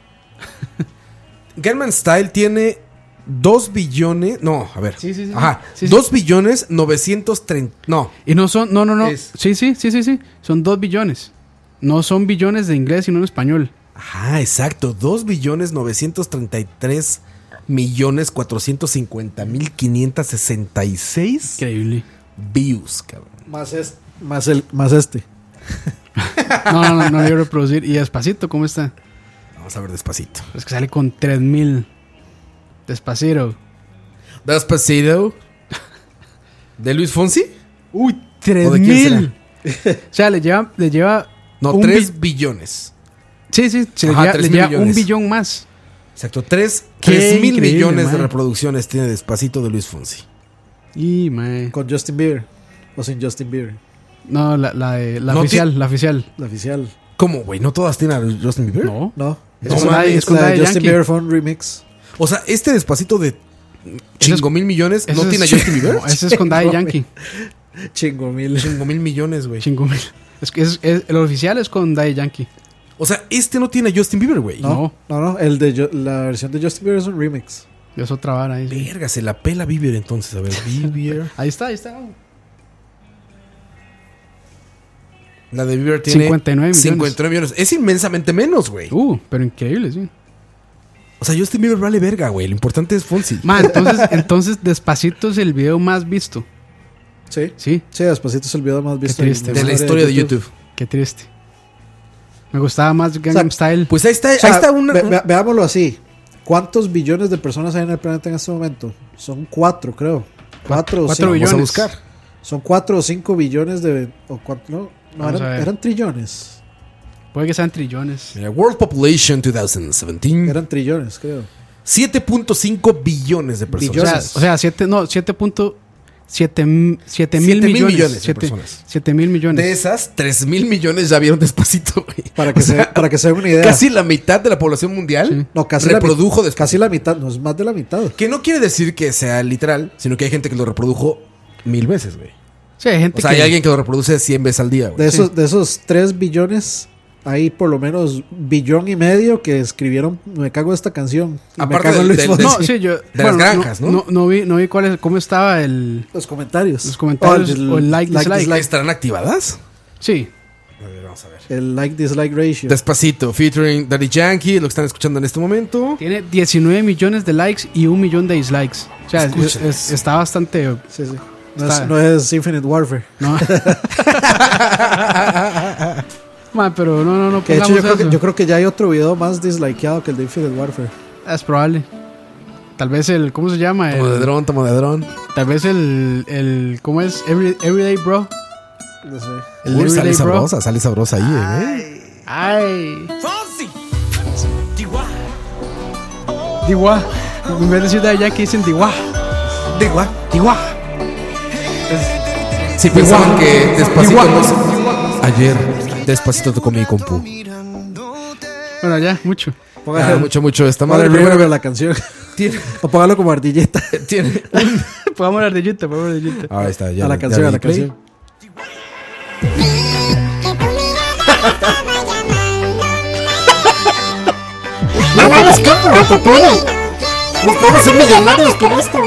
Speaker 2: Gangnam Style tiene 2 billones. No, a ver.
Speaker 3: Sí.
Speaker 2: Ajá.
Speaker 3: Sí.
Speaker 2: 2 billones 930. No.
Speaker 3: Y no son. No. Sí. Son 2 billones. No son billones de inglés, sino en español.
Speaker 2: Ajá, exacto. 2.933.450.566
Speaker 3: Increíble.
Speaker 2: views, cabrón.
Speaker 4: Más este.
Speaker 3: No voy a reproducir. Y Despacito, ¿cómo está?
Speaker 2: Vamos a ver Despacito.
Speaker 3: Es que sale con 3,000. Despacito.
Speaker 2: Despacito. ¿De Luis Fonsi?
Speaker 3: Uy,
Speaker 2: ¿O de quién
Speaker 3: 3,000. O sea, le lleva
Speaker 2: No,
Speaker 3: un
Speaker 2: 3 billones.
Speaker 3: Sí, se
Speaker 2: Ajá,
Speaker 3: le
Speaker 2: 3,000
Speaker 3: lleva
Speaker 2: millones.
Speaker 3: 1 billón más.
Speaker 2: Exacto, 3
Speaker 3: Qué
Speaker 2: mil
Speaker 3: increíble,
Speaker 2: millones de
Speaker 3: man.
Speaker 2: reproducciones tiene Despacito de Luis Fonsi.
Speaker 3: Y, mae.
Speaker 4: Con Justin Bieber. O sin Justin Bieber.
Speaker 3: No, la
Speaker 2: No
Speaker 3: oficial, la oficial.
Speaker 4: La oficial.
Speaker 2: ¿Cómo, güey? ¿No todas tienen a Justin Bieber?
Speaker 3: No.
Speaker 4: No.
Speaker 3: Es con Daddy- es con
Speaker 4: la de
Speaker 3: Daddy
Speaker 4: Justin
Speaker 3: Yankee.
Speaker 4: Bieber fue un remix.
Speaker 2: O sea, este Despacito de chingo mil millones
Speaker 3: Ese
Speaker 2: no
Speaker 3: es-
Speaker 2: tiene a Justin Bieber.
Speaker 3: No, ese es con Daddy
Speaker 4: Chingo
Speaker 3: Yankee.
Speaker 4: Chingo mil.
Speaker 2: Chingo mil millones, güey.
Speaker 3: Chingo mil. Es que el oficial es con Daddy Yankee.
Speaker 2: O sea, este no tiene a Justin Bieber, güey.
Speaker 3: No.
Speaker 4: No. La versión de Justin Bieber es un remix.
Speaker 3: Es otra vara ahí. Sí.
Speaker 2: Verga, se la pela Bieber entonces. A ver, Bieber.
Speaker 3: Ahí está.
Speaker 2: La de Bieber tiene
Speaker 3: 59 millones.
Speaker 2: 59 millones. Es inmensamente menos, güey.
Speaker 3: Pero increíble, sí.
Speaker 2: O sea, Justin Bieber vale verga, güey. Lo importante es Fonsi.
Speaker 3: Entonces Despacito es el video más visto.
Speaker 4: Sí.
Speaker 3: Sí,
Speaker 4: Sí, Despacito es el video más visto
Speaker 3: Qué triste.
Speaker 2: De la historia de YouTube.
Speaker 3: qué triste. Me gustaba más Gangnam Style.
Speaker 2: Pues ahí está,
Speaker 4: O sea,
Speaker 2: ahí está una.
Speaker 4: veámoslo así. ¿Cuántos billones de personas hay en el planeta en este momento? Son 4, creo. 4 o
Speaker 3: 4
Speaker 4: 5.
Speaker 3: billones.
Speaker 2: Vamos a buscar.
Speaker 4: Son 4 o 5 billones de... O cuatro, no,
Speaker 3: Vamos a ver.
Speaker 4: eran trillones.
Speaker 3: Puede que sean trillones.
Speaker 2: Mira, World Population 2017.
Speaker 4: Eran trillones, creo.
Speaker 2: 7.5 billones de personas.
Speaker 3: O sea, 7 mil
Speaker 2: 7 mil
Speaker 3: millones.
Speaker 2: millones de personas.
Speaker 3: 7 mil millones.
Speaker 2: De esas, 3 mil millones ya vieron Despacito, güey.
Speaker 4: Para que,
Speaker 2: O sea,
Speaker 4: para que se den una idea.
Speaker 2: casi la mitad de la población mundial
Speaker 3: Sí.
Speaker 4: No, casi
Speaker 2: reprodujo Despacito.
Speaker 4: Casi la mitad, no es más de la mitad.
Speaker 2: Que no quiere decir que sea literal, sino que hay gente que lo reprodujo 1000 veces, güey.
Speaker 3: Sí, hay gente
Speaker 2: O sea, hay alguien que lo reproduce 100 veces al día, güey.
Speaker 4: De esos 3 billones, hay por lo menos 1,5 billones que escribieron Me cago en esta canción. Y
Speaker 2: Aparte
Speaker 4: me cago en
Speaker 2: del-
Speaker 4: Luis
Speaker 2: del-
Speaker 4: Fonsi.
Speaker 3: No, sí, yo.
Speaker 2: De las granjas, ¿no?
Speaker 3: No vi cómo estaba el.
Speaker 4: Los comentarios.
Speaker 3: Los comentarios o el like, dislike.
Speaker 2: ¿Estarán activadas?
Speaker 3: Sí.
Speaker 2: A ver, vamos a ver.
Speaker 4: El like-dislike ratio.
Speaker 2: Despacito, featuring Daddy Yankee, lo que están escuchando en este momento.
Speaker 3: Tiene 19 millones de likes y 1 millón de dislikes. O sea,
Speaker 2: Escuchen
Speaker 3: está bastante.
Speaker 4: Sí.
Speaker 3: Está-
Speaker 4: No es Infinite Warfare.
Speaker 3: No. Man, pero no
Speaker 4: Que de hecho
Speaker 3: pongamos eso.
Speaker 4: yo creo que ya hay otro video más dislikeado que el de Infinite Warfare.
Speaker 3: Es probable. Tal vez el. ¿Cómo se llama?
Speaker 2: Tomo de dron.
Speaker 3: Tal vez el ¿cómo es? Everyday Bro.
Speaker 4: No sé.
Speaker 3: El
Speaker 2: Uy,
Speaker 3: Everyday Bro.
Speaker 2: sale sabrosa ahí,
Speaker 3: Ay. Diwa. En vez de decir de Yankee dicen Diwa. Diwa.
Speaker 2: Si pensaban que Despacito no se- Ayer, Despacito tocó mi compu.
Speaker 3: Bueno, ya, mucho.
Speaker 4: Póngale,
Speaker 2: Mucho. Esta
Speaker 4: póngale
Speaker 2: madre
Speaker 4: reverb
Speaker 2: primero
Speaker 4: a la canción.
Speaker 2: tiene,
Speaker 4: O póngalo como ardilleta
Speaker 2: tiene
Speaker 3: Podemos hablar de Yuta,
Speaker 2: Ahí está, ya.
Speaker 4: a la
Speaker 2: ya
Speaker 4: canción,
Speaker 2: le
Speaker 4: a
Speaker 2: di
Speaker 4: la
Speaker 2: play.
Speaker 4: canción.
Speaker 9: No lo hagas como autotune. Nos podemos ser millonarios con esto.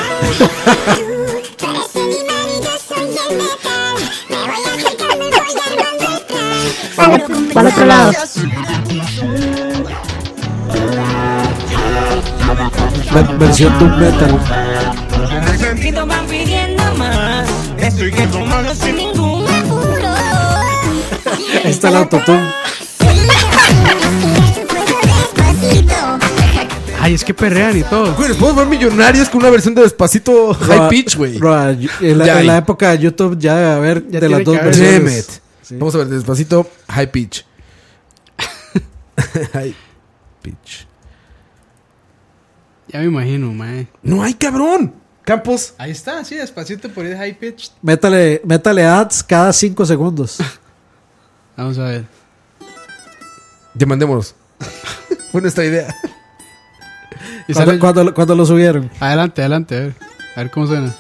Speaker 9: Para otro lado.
Speaker 4: Versión Doom Metal.
Speaker 8: Sentido van pidiendo más. Estoy que tomando sin ningún apuro.
Speaker 4: Ahí está el autotune.
Speaker 3: Ay, es que perrean y todo.
Speaker 2: Güey, nos podemos ver millonarios con una versión de Despacito High Pitch, güey.
Speaker 4: En
Speaker 2: Ya hay.
Speaker 4: la época de YouTube ya debe haber
Speaker 3: Ya
Speaker 4: de las
Speaker 3: tiene
Speaker 4: dos
Speaker 3: que haber.
Speaker 2: Damn
Speaker 4: versiones.
Speaker 2: it.
Speaker 4: Sí.
Speaker 2: Vamos a ver, Despacito High Pitch. High Pitch.
Speaker 3: Ya me imagino, mae.
Speaker 2: No hay, cabrón. Campos.
Speaker 3: Ahí está, sí, despacito por el high pitch.
Speaker 4: Métale ads cada 5 segundos.
Speaker 3: Vamos a ver.
Speaker 2: Demandémonos. Fue nuestra idea.
Speaker 3: Y sale-
Speaker 4: ¿Cuándo lo subieron?
Speaker 3: Adelante, a ver cómo suena.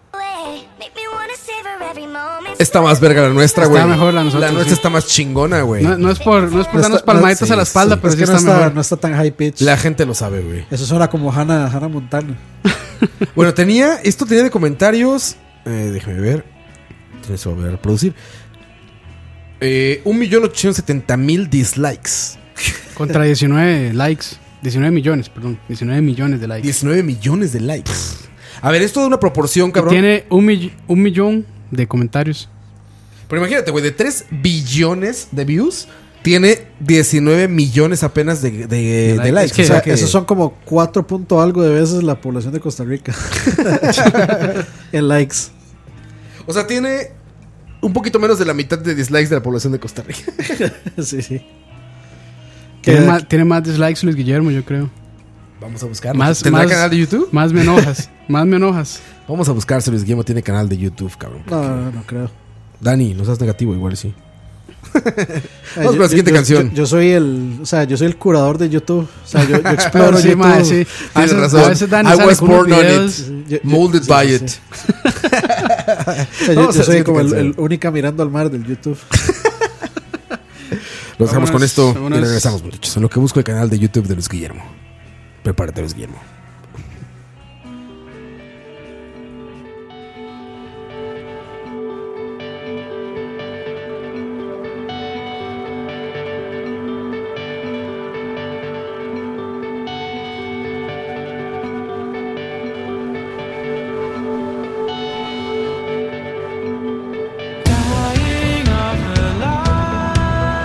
Speaker 2: Está más verga la nuestra,
Speaker 3: Está
Speaker 2: güey.
Speaker 3: mejor la nosotros,
Speaker 2: La nuestra
Speaker 3: sí.
Speaker 2: está más chingona, güey.
Speaker 3: No es por darnos
Speaker 4: está-
Speaker 3: palmaditas
Speaker 2: no,
Speaker 3: a la
Speaker 2: sí,
Speaker 3: espalda,
Speaker 2: sí.
Speaker 3: pero
Speaker 4: Es
Speaker 3: sí
Speaker 4: que
Speaker 3: está mejor.
Speaker 4: no está tan high pitch.
Speaker 2: La gente lo sabe, güey.
Speaker 4: Eso suena como Hannah Montana.
Speaker 2: Bueno, esto tenía de comentarios. Déjame ver. Tienes que volver a reproducir. 1.870.000 dislikes.
Speaker 3: Contra 19 likes. 19 millones, perdón. 19 millones de likes.
Speaker 2: 19 millones de likes. A ver, esto da una proporción,
Speaker 3: Y
Speaker 2: cabrón.
Speaker 3: tiene un millón de comentarios.
Speaker 2: Pero imagínate, güey, de 3 billones de views, tiene 19 millones apenas de likes.
Speaker 3: Es que-
Speaker 4: O sea, esos son como 4 punto algo de veces la población de Costa Rica. En likes.
Speaker 2: O sea, tiene un poquito menos de la mitad de dislikes de la población de Costa Rica.
Speaker 4: Sí, sí.
Speaker 3: Tiene más dislikes Luis Guillermo, yo creo.
Speaker 2: Vamos a buscar.
Speaker 3: Más-
Speaker 2: ¿Tendrá
Speaker 3: más-
Speaker 2: canal de YouTube?
Speaker 3: Más me enojas. Más me enojas.
Speaker 2: Vamos a buscar si Luis Guillermo tiene canal de YouTube, cabrón.
Speaker 4: No creo.
Speaker 2: Dani, no seas negativo, igual sí.
Speaker 4: Ay,
Speaker 2: Vamos con la siguiente canción.
Speaker 4: Yo soy el curador de YouTube. O sea, yo exploro
Speaker 3: Sí,
Speaker 4: YouTube.
Speaker 3: mae, sí. A
Speaker 2: Tienes
Speaker 3: veces-
Speaker 2: razón.
Speaker 3: a veces Dani
Speaker 2: I
Speaker 3: sale
Speaker 2: was
Speaker 3: con unos
Speaker 2: born on
Speaker 3: videos.
Speaker 2: it. Molded by
Speaker 4: sí,
Speaker 2: it.
Speaker 4: sí. O sea,
Speaker 2: Vamos a
Speaker 4: yo
Speaker 2: la
Speaker 4: soy
Speaker 2: siguiente
Speaker 4: como
Speaker 2: canción.
Speaker 4: el única mirando al mar del YouTube.
Speaker 2: Los dejamos con
Speaker 3: Vámonos,
Speaker 2: esto
Speaker 3: vámonos.
Speaker 2: y regresamos, muchachos. En lo que busco el canal de YouTube de Luis Guillermo. Prepárate, Luis Guillermo.
Speaker 5: Dying of the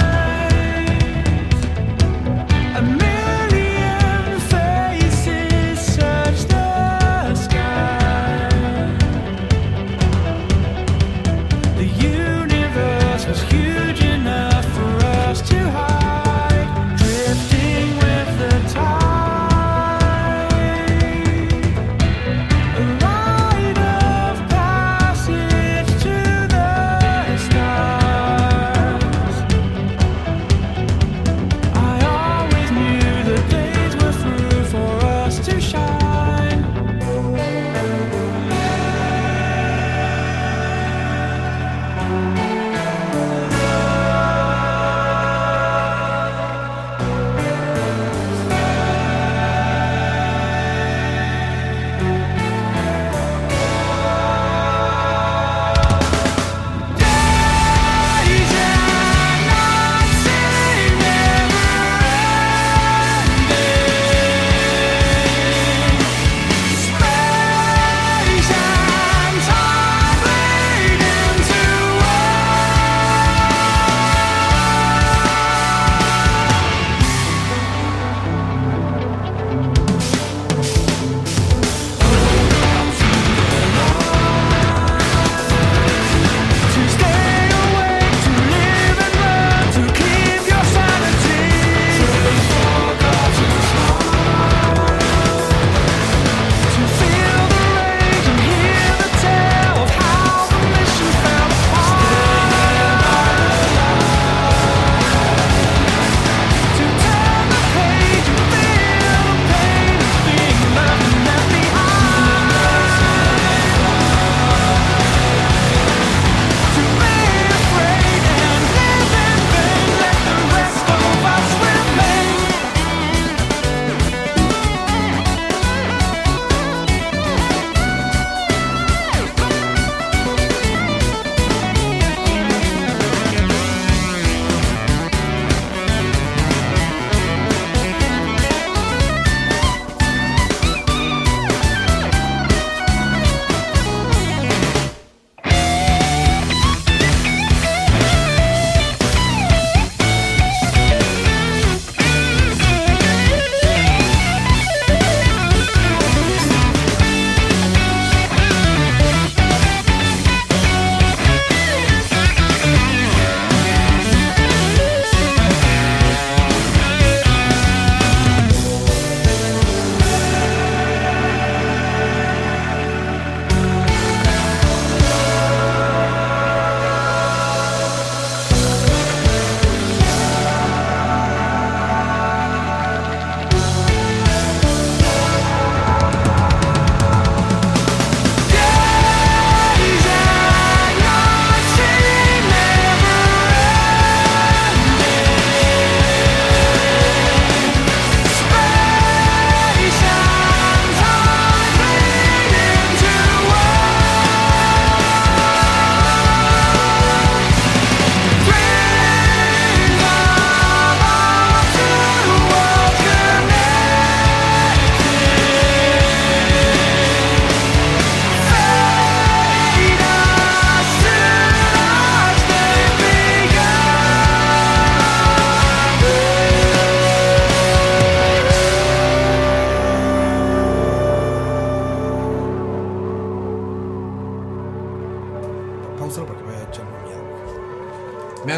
Speaker 5: light, a million faces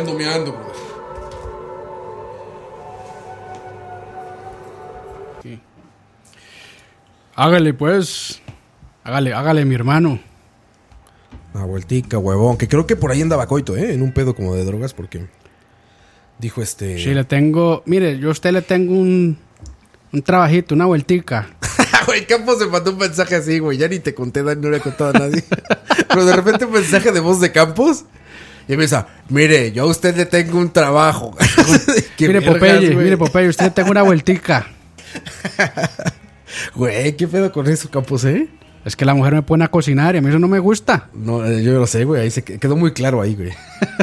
Speaker 2: ando meando, brother.
Speaker 3: Hágale, pues. Hágale, mi hermano.
Speaker 2: Una vueltica, huevón. Que creo que por ahí andaba Coito, en un pedo como de drogas, porque dijo
Speaker 3: Sí, le tengo. Mire, yo a usted le tengo un trabajito, una vueltica.
Speaker 2: Güey, Campos se mandó un mensaje así, güey. Ya ni te conté, Dani, no le he contado a nadie. Pero de repente un mensaje de voz de Campos. Y empieza, mire, yo a usted le tengo un trabajo.
Speaker 3: Mire, Popeye, usted le tengo una vueltica.
Speaker 2: Güey, ¿qué pedo con eso, Campos,
Speaker 3: Es que la mujer me pone a cocinar y a mí eso no me gusta.
Speaker 2: No, yo lo sé, güey. Ahí se quedó muy claro ahí, güey.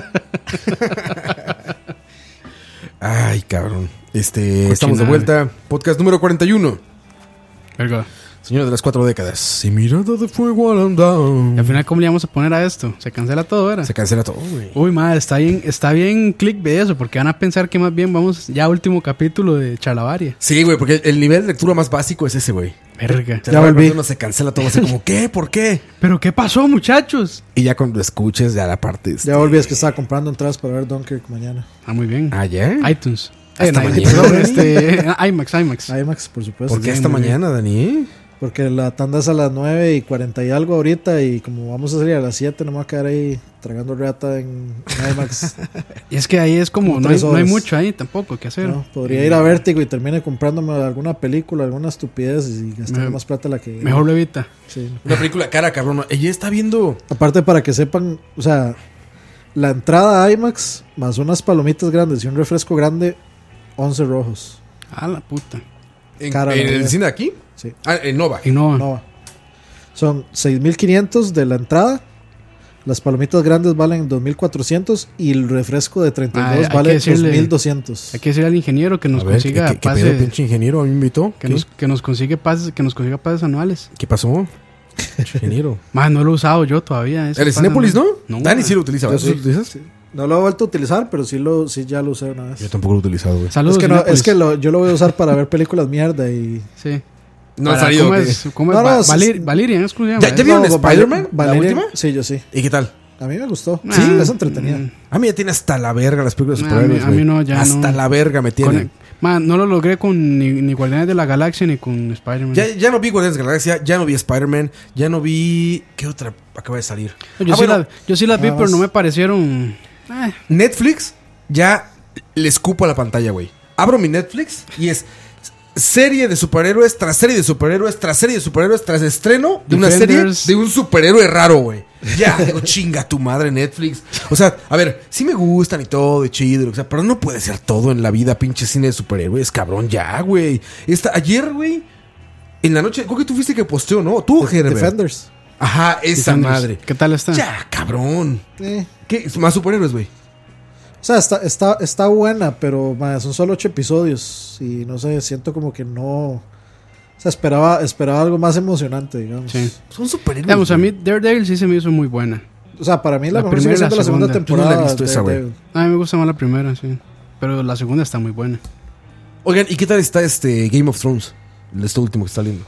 Speaker 2: Ay, cabrón. Estamos de vuelta. Podcast número 41.
Speaker 3: Verga.
Speaker 2: Señor de las 4 décadas. Y mirada de fuego al andar.
Speaker 3: Y al final, ¿cómo le vamos a poner a esto? Se cancela todo, ¿verdad?
Speaker 2: Se cancela todo, güey.
Speaker 3: Uy, madre, está bien click de eso, porque van a pensar que más bien vamos ya a último capítulo de Chalabaria.
Speaker 2: Sí, güey, porque el nivel de lectura más básico es ese, güey.
Speaker 3: Verga.
Speaker 2: Ya volví. Uno se cancela todo así como, ¿qué? ¿Por qué?
Speaker 3: ¿Pero qué pasó, muchachos?
Speaker 2: Y ya cuando escuches, ya la parte...
Speaker 4: Ya volví, es que estaba comprando entradas para ver Dunkirk mañana.
Speaker 3: Ah, muy bien.
Speaker 2: ¿Ah, ya?
Speaker 3: iTunes.
Speaker 2: Hasta mañana.
Speaker 3: IMAX,
Speaker 4: por supuesto.
Speaker 2: ¿Por qué hasta mañana, Dani?
Speaker 4: Porque la tanda es a las 9:40 y algo ahorita. Y como vamos a salir a las 7, no me voy a quedar ahí tragando reata en IMAX.
Speaker 3: Y es que ahí es como no hay mucho ahí tampoco que hacer.
Speaker 4: No, podría ir a Vértigo y termine comprándome alguna película, alguna estupidez y gastar más plata la que...
Speaker 3: Mejor levita.
Speaker 4: Sí.
Speaker 2: Una película cara, cabrón. Ella está viendo...
Speaker 4: Aparte, para que sepan, o sea, la entrada a IMAX más unas palomitas grandes y un refresco grande, 11 rojos.
Speaker 3: A la puta.
Speaker 2: ¿En el cine de aquí?
Speaker 4: Sí.
Speaker 2: Ah, en Nova.
Speaker 4: Nova. Son 6,500 de la entrada. Las palomitas grandes valen 2,400 y el refresco de 32 vale 2,200.
Speaker 3: Hay que decirle al ingeniero que nos consiga pases.
Speaker 2: ¿Qué pedo, pinche ingeniero? ¿A mí me invitó?
Speaker 3: Que nos consiga pases anuales.
Speaker 2: ¿Qué pasó? Ingeniero.
Speaker 3: Más no lo he usado yo todavía.
Speaker 2: ¿El Cinépolis no?
Speaker 3: No.
Speaker 2: Dani sí lo utiliza. ¿Tú lo utilizas?
Speaker 4: Sí. No lo he vuelto a utilizar, pero sí ya lo usé una vez.
Speaker 2: Yo tampoco lo he utilizado, güey.
Speaker 3: Saludos,
Speaker 4: yo lo voy a usar para ver películas mierda y...
Speaker 3: Sí.
Speaker 2: No ha salido.
Speaker 3: ¿Cómo es? Valerian, es como se llama.
Speaker 2: ¿Ya vieron Spider-Man? ¿La última?
Speaker 4: Sí, yo sí.
Speaker 2: ¿Y qué tal?
Speaker 4: A mí me gustó.
Speaker 3: Sí,
Speaker 4: es entretenida.
Speaker 2: A mí ya tiene hasta la verga las películas de superhéroes.
Speaker 3: A mí no, ya
Speaker 2: hasta la verga me tiene.
Speaker 3: No lo logré con ni Guardianes de la Galaxia ni con Spider-Man.
Speaker 2: Ya no vi Guardianes de la Galaxia, ya no vi Spider-Man, ya no vi... ¿Qué otra acaba de salir?
Speaker 3: Yo sí las vi, pero no me parecieron...
Speaker 2: Netflix ya le escupo a la pantalla, güey. Abro mi Netflix y es serie de superhéroes tras serie de superhéroes tras serie de superhéroes tras estreno de una serie de un superhéroe raro, güey. Ya, digo, chinga tu madre Netflix. O sea, a ver, sí me gustan y todo, y chido, y lo que sea, pero no puede ser todo en la vida, pinche cine de superhéroes, cabrón, ya, güey. Ayer, güey, en la noche, creo que tú fuiste que posteó, ¿no? Tú, Herbert.
Speaker 4: Defenders.
Speaker 2: Ajá, esa
Speaker 3: Defenders.
Speaker 2: madre.
Speaker 3: ¿Qué tal está?
Speaker 2: Ya, cabrón. ¿Qué? Más superhéroes, güey.
Speaker 4: O sea, está buena, pero son solo 8 episodios. Y no sé, siento como que no... O sea, esperaba algo más emocionante, digamos.
Speaker 3: Sí.
Speaker 2: Son superhéroes.
Speaker 3: Digamos, a mí Daredevil sí se me hizo muy buena.
Speaker 4: O sea, para mí la mejor
Speaker 3: primera
Speaker 4: sigue siendo la segunda temporada.
Speaker 2: Yo no la he visto esa, güey.
Speaker 3: A mí me gusta más la primera, sí. Pero la segunda está muy buena.
Speaker 2: Oigan, ¿y qué tal está Game of Thrones? Este último que está saliendo.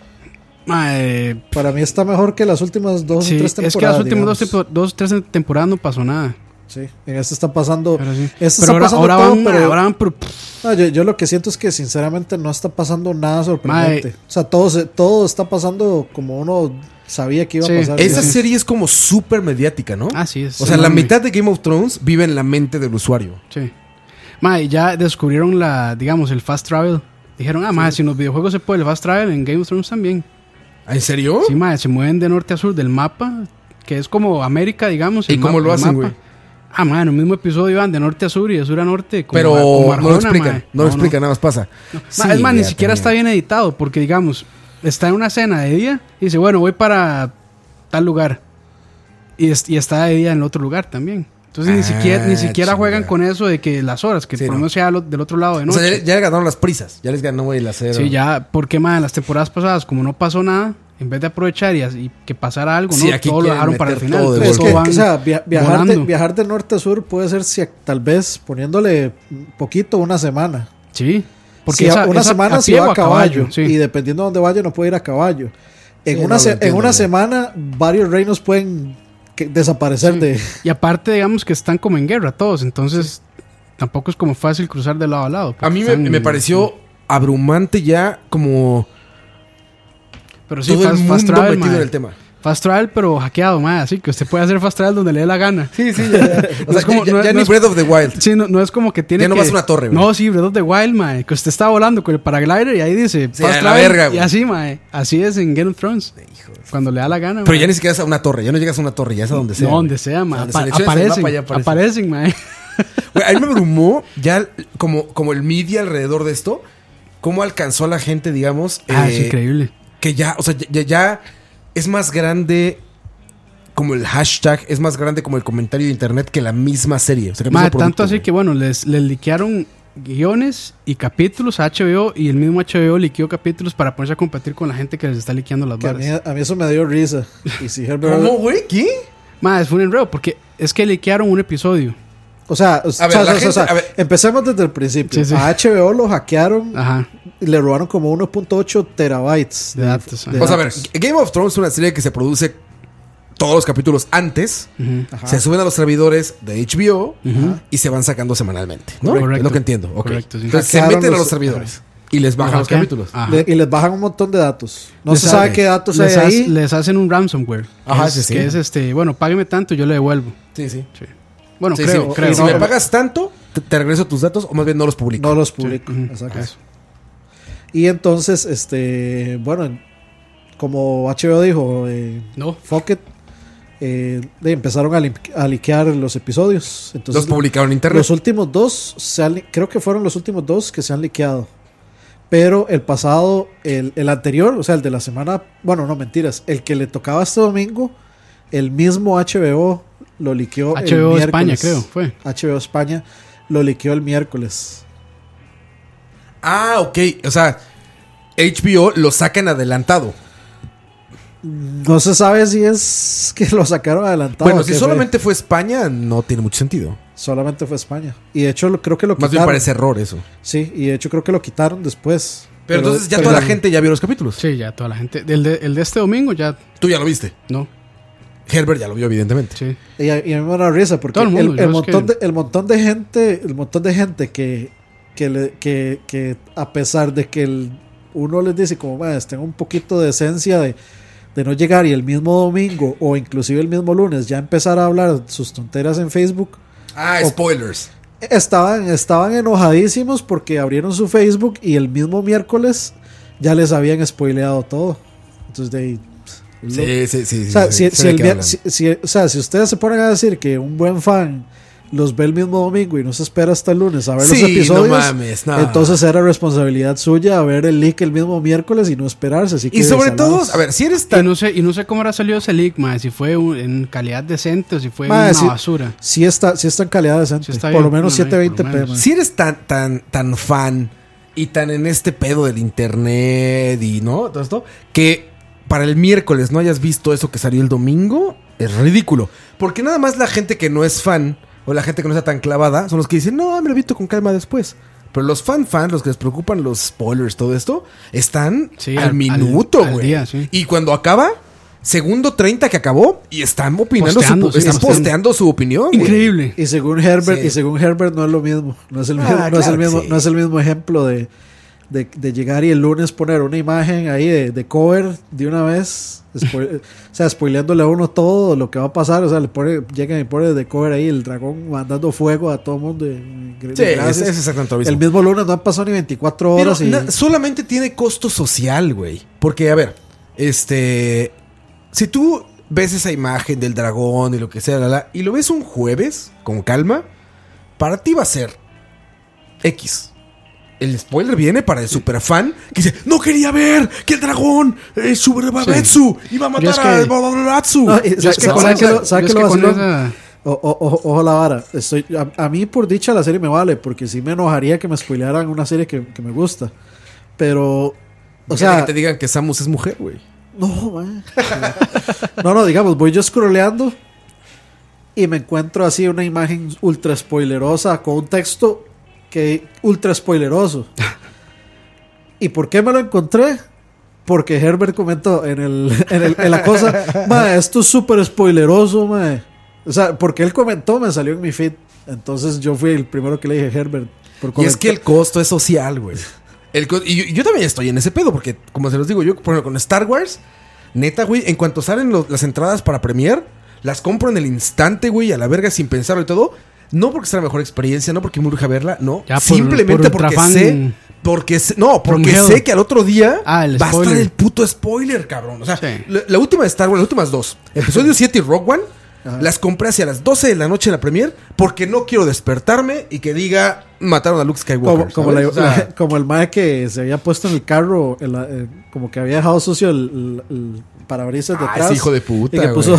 Speaker 4: Para mí está mejor que las últimas 2 o 3 temporadas.
Speaker 3: Es que las últimas 2 o 3 temporadas no pasó nada.
Speaker 4: Sí, en esta está pasando.
Speaker 3: Pero sí.
Speaker 4: Ahora
Speaker 3: van.
Speaker 4: Yo lo que siento es que sinceramente no está pasando nada sorprendente. O sea, todo está pasando como uno sabía que iba a pasar.
Speaker 2: Esa serie es como súper mediática, ¿no?
Speaker 3: Ah, sí. Es
Speaker 2: o sea, la mitad de Game of Thrones vive en la mente del usuario.
Speaker 3: Sí. Ya descubrieron el fast travel. Dijeron, si en los videojuegos se puede el fast travel, en Game of Thrones también.
Speaker 2: ¿En serio?
Speaker 3: Sí, se mueven de norte a sur del mapa, que es como América, digamos.
Speaker 2: ¿Y cómo lo hacen, güey?
Speaker 3: En el mismo episodio van de norte a sur y de sur a norte.
Speaker 2: Pero Arjona, no lo explican. No lo explican, nada más pasa.
Speaker 3: No. Sí, es más, ni siquiera está bien editado. Porque, digamos, está en una cena de día y dice, bueno, voy para tal lugar. Y está de día en otro lugar también. Entonces ni siquiera juegan con eso de que las horas, que por lo menos sea del otro lado de noche.
Speaker 2: O sea, ya le ganaron las prisas. Ya les ganó el acero.
Speaker 3: Sí, ya, porque en las temporadas pasadas, como no pasó nada, en vez de aprovechar y que pasara algo,
Speaker 2: sí,
Speaker 3: ¿no? Todo lo dejaron para el final.
Speaker 4: O sea, viajar de norte a sur puede ser tal vez poniéndole poquito una semana.
Speaker 3: Sí. Porque
Speaker 4: una semana si va a caballo.
Speaker 3: Sí.
Speaker 4: Y dependiendo de dónde vaya, no puede ir a caballo. En una semana, varios reinos pueden desaparecer de...
Speaker 3: Y aparte, digamos que están como en guerra todos, entonces tampoco es como fácil cruzar de lado a lado.
Speaker 2: A mí me pareció abrumante ya como
Speaker 3: pero sí,
Speaker 2: todo el mundo
Speaker 3: fast travel,
Speaker 2: metido
Speaker 3: mae.
Speaker 2: en el tema.
Speaker 3: Fast travel, pero hackeado, mae. Así que usted puede hacer fast travel donde le dé la gana.
Speaker 2: Sí, ya. O sea,
Speaker 3: es como-
Speaker 2: ya,
Speaker 3: no-
Speaker 2: ya
Speaker 3: no
Speaker 2: ni
Speaker 3: es-
Speaker 2: Breath of the Wild.
Speaker 3: Sí, no es como que tiene
Speaker 2: Ya no
Speaker 3: que...
Speaker 2: vas a una torre, güey.
Speaker 3: No, sí, Breath of the Wild, mae. Que usted está volando con el paraglider y ahí dice
Speaker 2: Sí, a la
Speaker 3: travel,
Speaker 2: verga,
Speaker 3: y
Speaker 2: güey.
Speaker 3: así, mae. Así es en Game of Thrones. Cuando le da la gana,
Speaker 2: Pero
Speaker 3: mae.
Speaker 2: ya ni siquiera es a una torre, ya no llegas a una torre, ya es a donde sea.
Speaker 3: No, donde
Speaker 2: güey.
Speaker 3: sea, mae.
Speaker 2: Donde selecciones el mapa, ya
Speaker 3: Aparecen, mae.
Speaker 2: Güey, a mí me abrumó ya como el media alrededor de esto, cómo alcanzó a la gente, digamos,
Speaker 3: Es increíble.
Speaker 2: que ya, o sea, ya es más grande como el hashtag, es más grande como el comentario de internet que la misma serie. O sea, que el
Speaker 3: Mae,
Speaker 2: mismo
Speaker 3: tanto
Speaker 2: producto,
Speaker 3: así
Speaker 2: güey.
Speaker 3: que, bueno, les liquearon guiones y capítulos a HBO y el mismo HBO liqueó capítulos para ponerse a competir con la gente que les está liqueando las
Speaker 4: que a
Speaker 3: varas.
Speaker 4: mí eso me dio risa. Y si Herbert...
Speaker 2: ¿Cómo, güey? ¿Qué?
Speaker 3: Mae, fue un enredo porque es que liquearon un episodio.
Speaker 4: O sea,
Speaker 2: A ver, la gente- a ver.
Speaker 4: empecemos desde el principio.
Speaker 3: Sí, sí.
Speaker 4: A HBO lo hackearon
Speaker 3: Ajá.
Speaker 4: y le robaron como 1.8 terabytes
Speaker 3: De datos, ajá.
Speaker 2: O sea, a ver, Game of Thrones es una serie que se produce todos los capítulos antes,
Speaker 3: Ujú.
Speaker 2: se suben a los servidores de HBO y se van sacando semanalmente, ¿no?
Speaker 3: Correcto.
Speaker 2: Es lo que entiendo. Ok.
Speaker 3: Correcto, sí.
Speaker 2: Entonces se
Speaker 4: Hackearon
Speaker 2: meten a
Speaker 4: los-
Speaker 2: los servidores y les bajan los
Speaker 3: ¿Qué?
Speaker 2: capítulos.
Speaker 3: Ajá.
Speaker 4: y les bajan un montón de datos. No
Speaker 2: Les
Speaker 4: se sabe
Speaker 2: sabe.
Speaker 4: qué datos
Speaker 3: Les,
Speaker 4: hay ahí.
Speaker 3: les hacen un ransomware.
Speaker 2: Ajá,
Speaker 3: que
Speaker 2: sí,
Speaker 3: es,
Speaker 2: sí.
Speaker 3: que es bueno, págueme tanto y yo le devuelvo.
Speaker 2: Sí, sí.
Speaker 3: Bueno,
Speaker 2: Sí,
Speaker 3: creo,
Speaker 2: sí.
Speaker 3: creo.
Speaker 2: Si me pagas tanto, te regreso tus datos o más bien no los publico.
Speaker 4: No los publico.
Speaker 3: Ujú.
Speaker 4: Exacto.
Speaker 3: Eso.
Speaker 4: Y entonces, bueno, como HBO dijo,
Speaker 3: No.
Speaker 4: fuck it, empezaron a liquear los episodios. Entonces,
Speaker 2: Los publicaron en internet.
Speaker 4: los últimos dos, creo que fueron los últimos dos que se han liqueado. Pero el pasado, el anterior, o sea, el de la semana, bueno, no mentiras, el que le tocaba este domingo, el mismo HBO lo liqueó el
Speaker 3: HBO España,
Speaker 4: miércoles.
Speaker 3: creo, fue.
Speaker 4: HBO España lo liqueó el miércoles.
Speaker 2: Ah, ok. O sea, HBO lo saca en adelantado.
Speaker 4: No se sabe si es que lo sacaron adelantado.
Speaker 2: Bueno,
Speaker 4: o
Speaker 2: si
Speaker 4: qué
Speaker 2: solamente fue España, no tiene mucho sentido.
Speaker 4: solamente fue España. Y de hecho creo que lo
Speaker 2: Más bien
Speaker 4: quitaron.
Speaker 2: parece error eso.
Speaker 4: Sí, y de hecho creo que lo quitaron después.
Speaker 2: Pero entonces ya toda la gente ya vio los capítulos.
Speaker 3: Sí, ya toda la gente. El de este domingo ya
Speaker 2: Tú ya lo viste.
Speaker 3: no.
Speaker 2: Herbert ya lo vio, evidentemente.
Speaker 3: Sí.
Speaker 4: Y a mí me da risa porque
Speaker 3: Todo el mundo, yo es
Speaker 4: el montón de gente que a pesar de que uno les dice como tengan un poquito de esencia de no llegar y el mismo domingo o inclusive el mismo lunes ya empezar a hablar sus tonteras en Facebook,
Speaker 2: Ah, spoilers.
Speaker 4: estaban enojadísimos porque abrieron su Facebook y el mismo miércoles ya les habían spoileado todo. Entonces de ahí,
Speaker 2: Sí.
Speaker 4: o sea,
Speaker 2: sí,
Speaker 4: si
Speaker 2: sé de
Speaker 4: el
Speaker 2: qué
Speaker 4: vier-
Speaker 2: hablan.
Speaker 4: si ustedes se ponen a decir que un buen fan los ve el mismo domingo y no se espera hasta el lunes a ver
Speaker 2: Sí,
Speaker 4: los episodios,
Speaker 2: no mames, no.
Speaker 4: entonces era responsabilidad suya ver el leak el mismo miércoles y no esperarse. Así que
Speaker 2: Y sobre
Speaker 4: salados.
Speaker 2: todo, a ver, si eres
Speaker 3: Y
Speaker 2: tan...
Speaker 3: no sé cómo habrá salido ese leak, mae, si fue en calidad decente o si fue
Speaker 4: Mae,
Speaker 3: una
Speaker 4: sí.
Speaker 3: basura.
Speaker 4: Sí está en calidad decente,
Speaker 3: Sí está
Speaker 4: por lo
Speaker 3: bien,
Speaker 4: menos
Speaker 3: no, por lo
Speaker 4: 720p.
Speaker 3: menos.
Speaker 4: man.
Speaker 2: Si eres tan fan y tan en este pedo del internet y no, todo esto, que para el miércoles no hayas visto eso que salió el domingo, es ridículo. Porque nada más la gente que no es fan o la gente que no está tan clavada son los que dicen, no, me lo visto con calma después. Pero los fans, los que les preocupan los spoilers, todo esto, están
Speaker 3: Sí,
Speaker 2: al minuto,
Speaker 3: al
Speaker 2: güey.
Speaker 3: día, sí.
Speaker 2: Y cuando acaba, segundo 30 que acabó, y están opinando,
Speaker 3: Posteando, sí,
Speaker 2: están
Speaker 3: posteando.
Speaker 2: posteando su opinión. güey.
Speaker 3: Increíble.
Speaker 4: Y según Herbert,
Speaker 2: Sí.
Speaker 4: no es lo mismo. No es el mismo,
Speaker 2: Ah,
Speaker 4: no es el
Speaker 2: claro que
Speaker 4: mismo,
Speaker 2: sí.
Speaker 4: no es el mismo ejemplo de llegar y el lunes poner una imagen ahí de cover de una vez, o sea, spoileándole a uno todo lo que va a pasar, o sea, llegan y ponen de cover ahí el dragón mandando fuego a todo el mundo.
Speaker 2: Sí, es exactamente lo mismo.
Speaker 4: El mismo lunes no han pasado ni 24
Speaker 2: Pero
Speaker 4: horas y
Speaker 2: solamente tiene costo social, güey. Porque, a ver, si tú ves esa imagen del dragón y lo que sea, y lo ves un jueves, con calma, para ti va a ser X. El spoiler viene para el superfan que dice, no quería ver que el dragón Babetsu iba a matar
Speaker 3: Yo es que-
Speaker 2: a Babatsu.
Speaker 4: No, y
Speaker 3: Yo es que
Speaker 4: ¿sabe
Speaker 3: con
Speaker 4: qué
Speaker 3: esa-
Speaker 4: lo- sabe
Speaker 3: yo
Speaker 4: qué
Speaker 3: es
Speaker 4: lo
Speaker 3: que con
Speaker 4: vacilón?
Speaker 3: esa-
Speaker 4: Ojo la vara. A mí, por dicha, la serie me vale, porque sí me enojaría que me spoilearan una serie que me gusta. Pero, o sea,
Speaker 2: que te digan que Samus es mujer, güey.
Speaker 4: no, man. No, digamos, voy yo scrolleando y me encuentro así una imagen ultra spoilerosa con un texto que ultra spoileroso. ¿Y por qué me lo encontré? porque Herbert comentó en la cosa, mae, esto es súper spoileroso, mae. O sea, porque él comentó, me salió en mi feed. Entonces yo fui el primero que le dije Herbert.
Speaker 2: Y es que el costo es social, güey. Y yo también estoy en ese pedo, porque como se los digo, yo por ejemplo, con Star Wars, neta, güey, en cuanto salen las entradas para Premiere, las compro en el instante, güey, a la verga sin pensarlo y todo. No porque sea la mejor experiencia, no porque me urge verla, no.
Speaker 3: Ya
Speaker 2: simplemente porque sé... Porque sé que al otro día va a estar el puto spoiler, cabrón. O sea,
Speaker 3: Sí.
Speaker 2: la última de Star Wars, las últimas dos, episodio 7 y Rogue One, las compré hacia las 12 de la noche en la premiere porque no quiero despertarme y que diga mataron a Luke Skywalker.
Speaker 4: Como el mae que se había puesto en el carro, como que había dejado sucio el parabrisas detrás.
Speaker 2: Ese hijo de puta,
Speaker 4: y que puso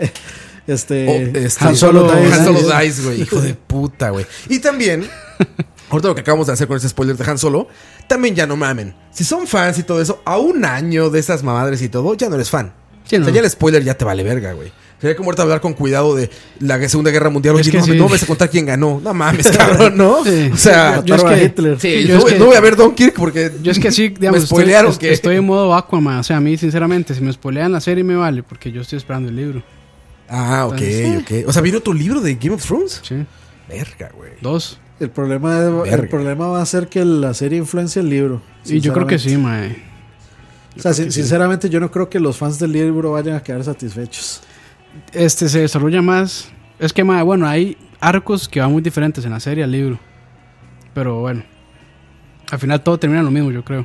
Speaker 2: Han Solo Dice, güey. Hijo de puta, güey. Y también, ahorita lo que acabamos de hacer con ese spoiler de Han Solo, también ya no mamen. Si son fans y todo eso, a un año de esas mamadres y todo, ya no eres fan.
Speaker 3: Sí,
Speaker 2: O sea,
Speaker 3: no.
Speaker 2: ya el spoiler ya te vale verga, güey. Sería como ahorita hablar con cuidado de la Segunda Guerra Mundial.
Speaker 3: Es
Speaker 2: Oye,
Speaker 3: que
Speaker 2: no,
Speaker 3: sí.
Speaker 2: no vas a contar quién ganó. No mames, cabrón, ¿no?
Speaker 3: Sí.
Speaker 2: O sea,
Speaker 3: Yo es
Speaker 4: Mataron a
Speaker 3: que-
Speaker 4: Hitler.
Speaker 2: sí,
Speaker 3: yo es que-
Speaker 2: no voy a ver Dunkirk porque
Speaker 3: Yo es que sí, digamos,
Speaker 2: me spoilearon
Speaker 3: estoy en modo Aquaman. O sea, a mí, sinceramente, si me spoilean la serie me vale, porque yo estoy esperando el libro.
Speaker 2: Ah, ok,
Speaker 3: Entonces,
Speaker 2: ok. O sea, ¿vino tu libro de Game of Thrones?
Speaker 3: Sí.
Speaker 2: Verga, güey.
Speaker 3: 2.
Speaker 4: El problema
Speaker 2: Verga.
Speaker 4: va a ser que la serie influencia el libro.
Speaker 3: Y yo creo que sí,
Speaker 4: sinceramente.
Speaker 3: mae.
Speaker 4: O sea, sinceramente yo no creo que los fans del libro vayan a quedar satisfechos.
Speaker 3: Se desarrolla más. Es que, mae, bueno, hay arcos que van muy diferentes en la serie al libro. Pero bueno. Al final todo termina lo mismo, yo creo.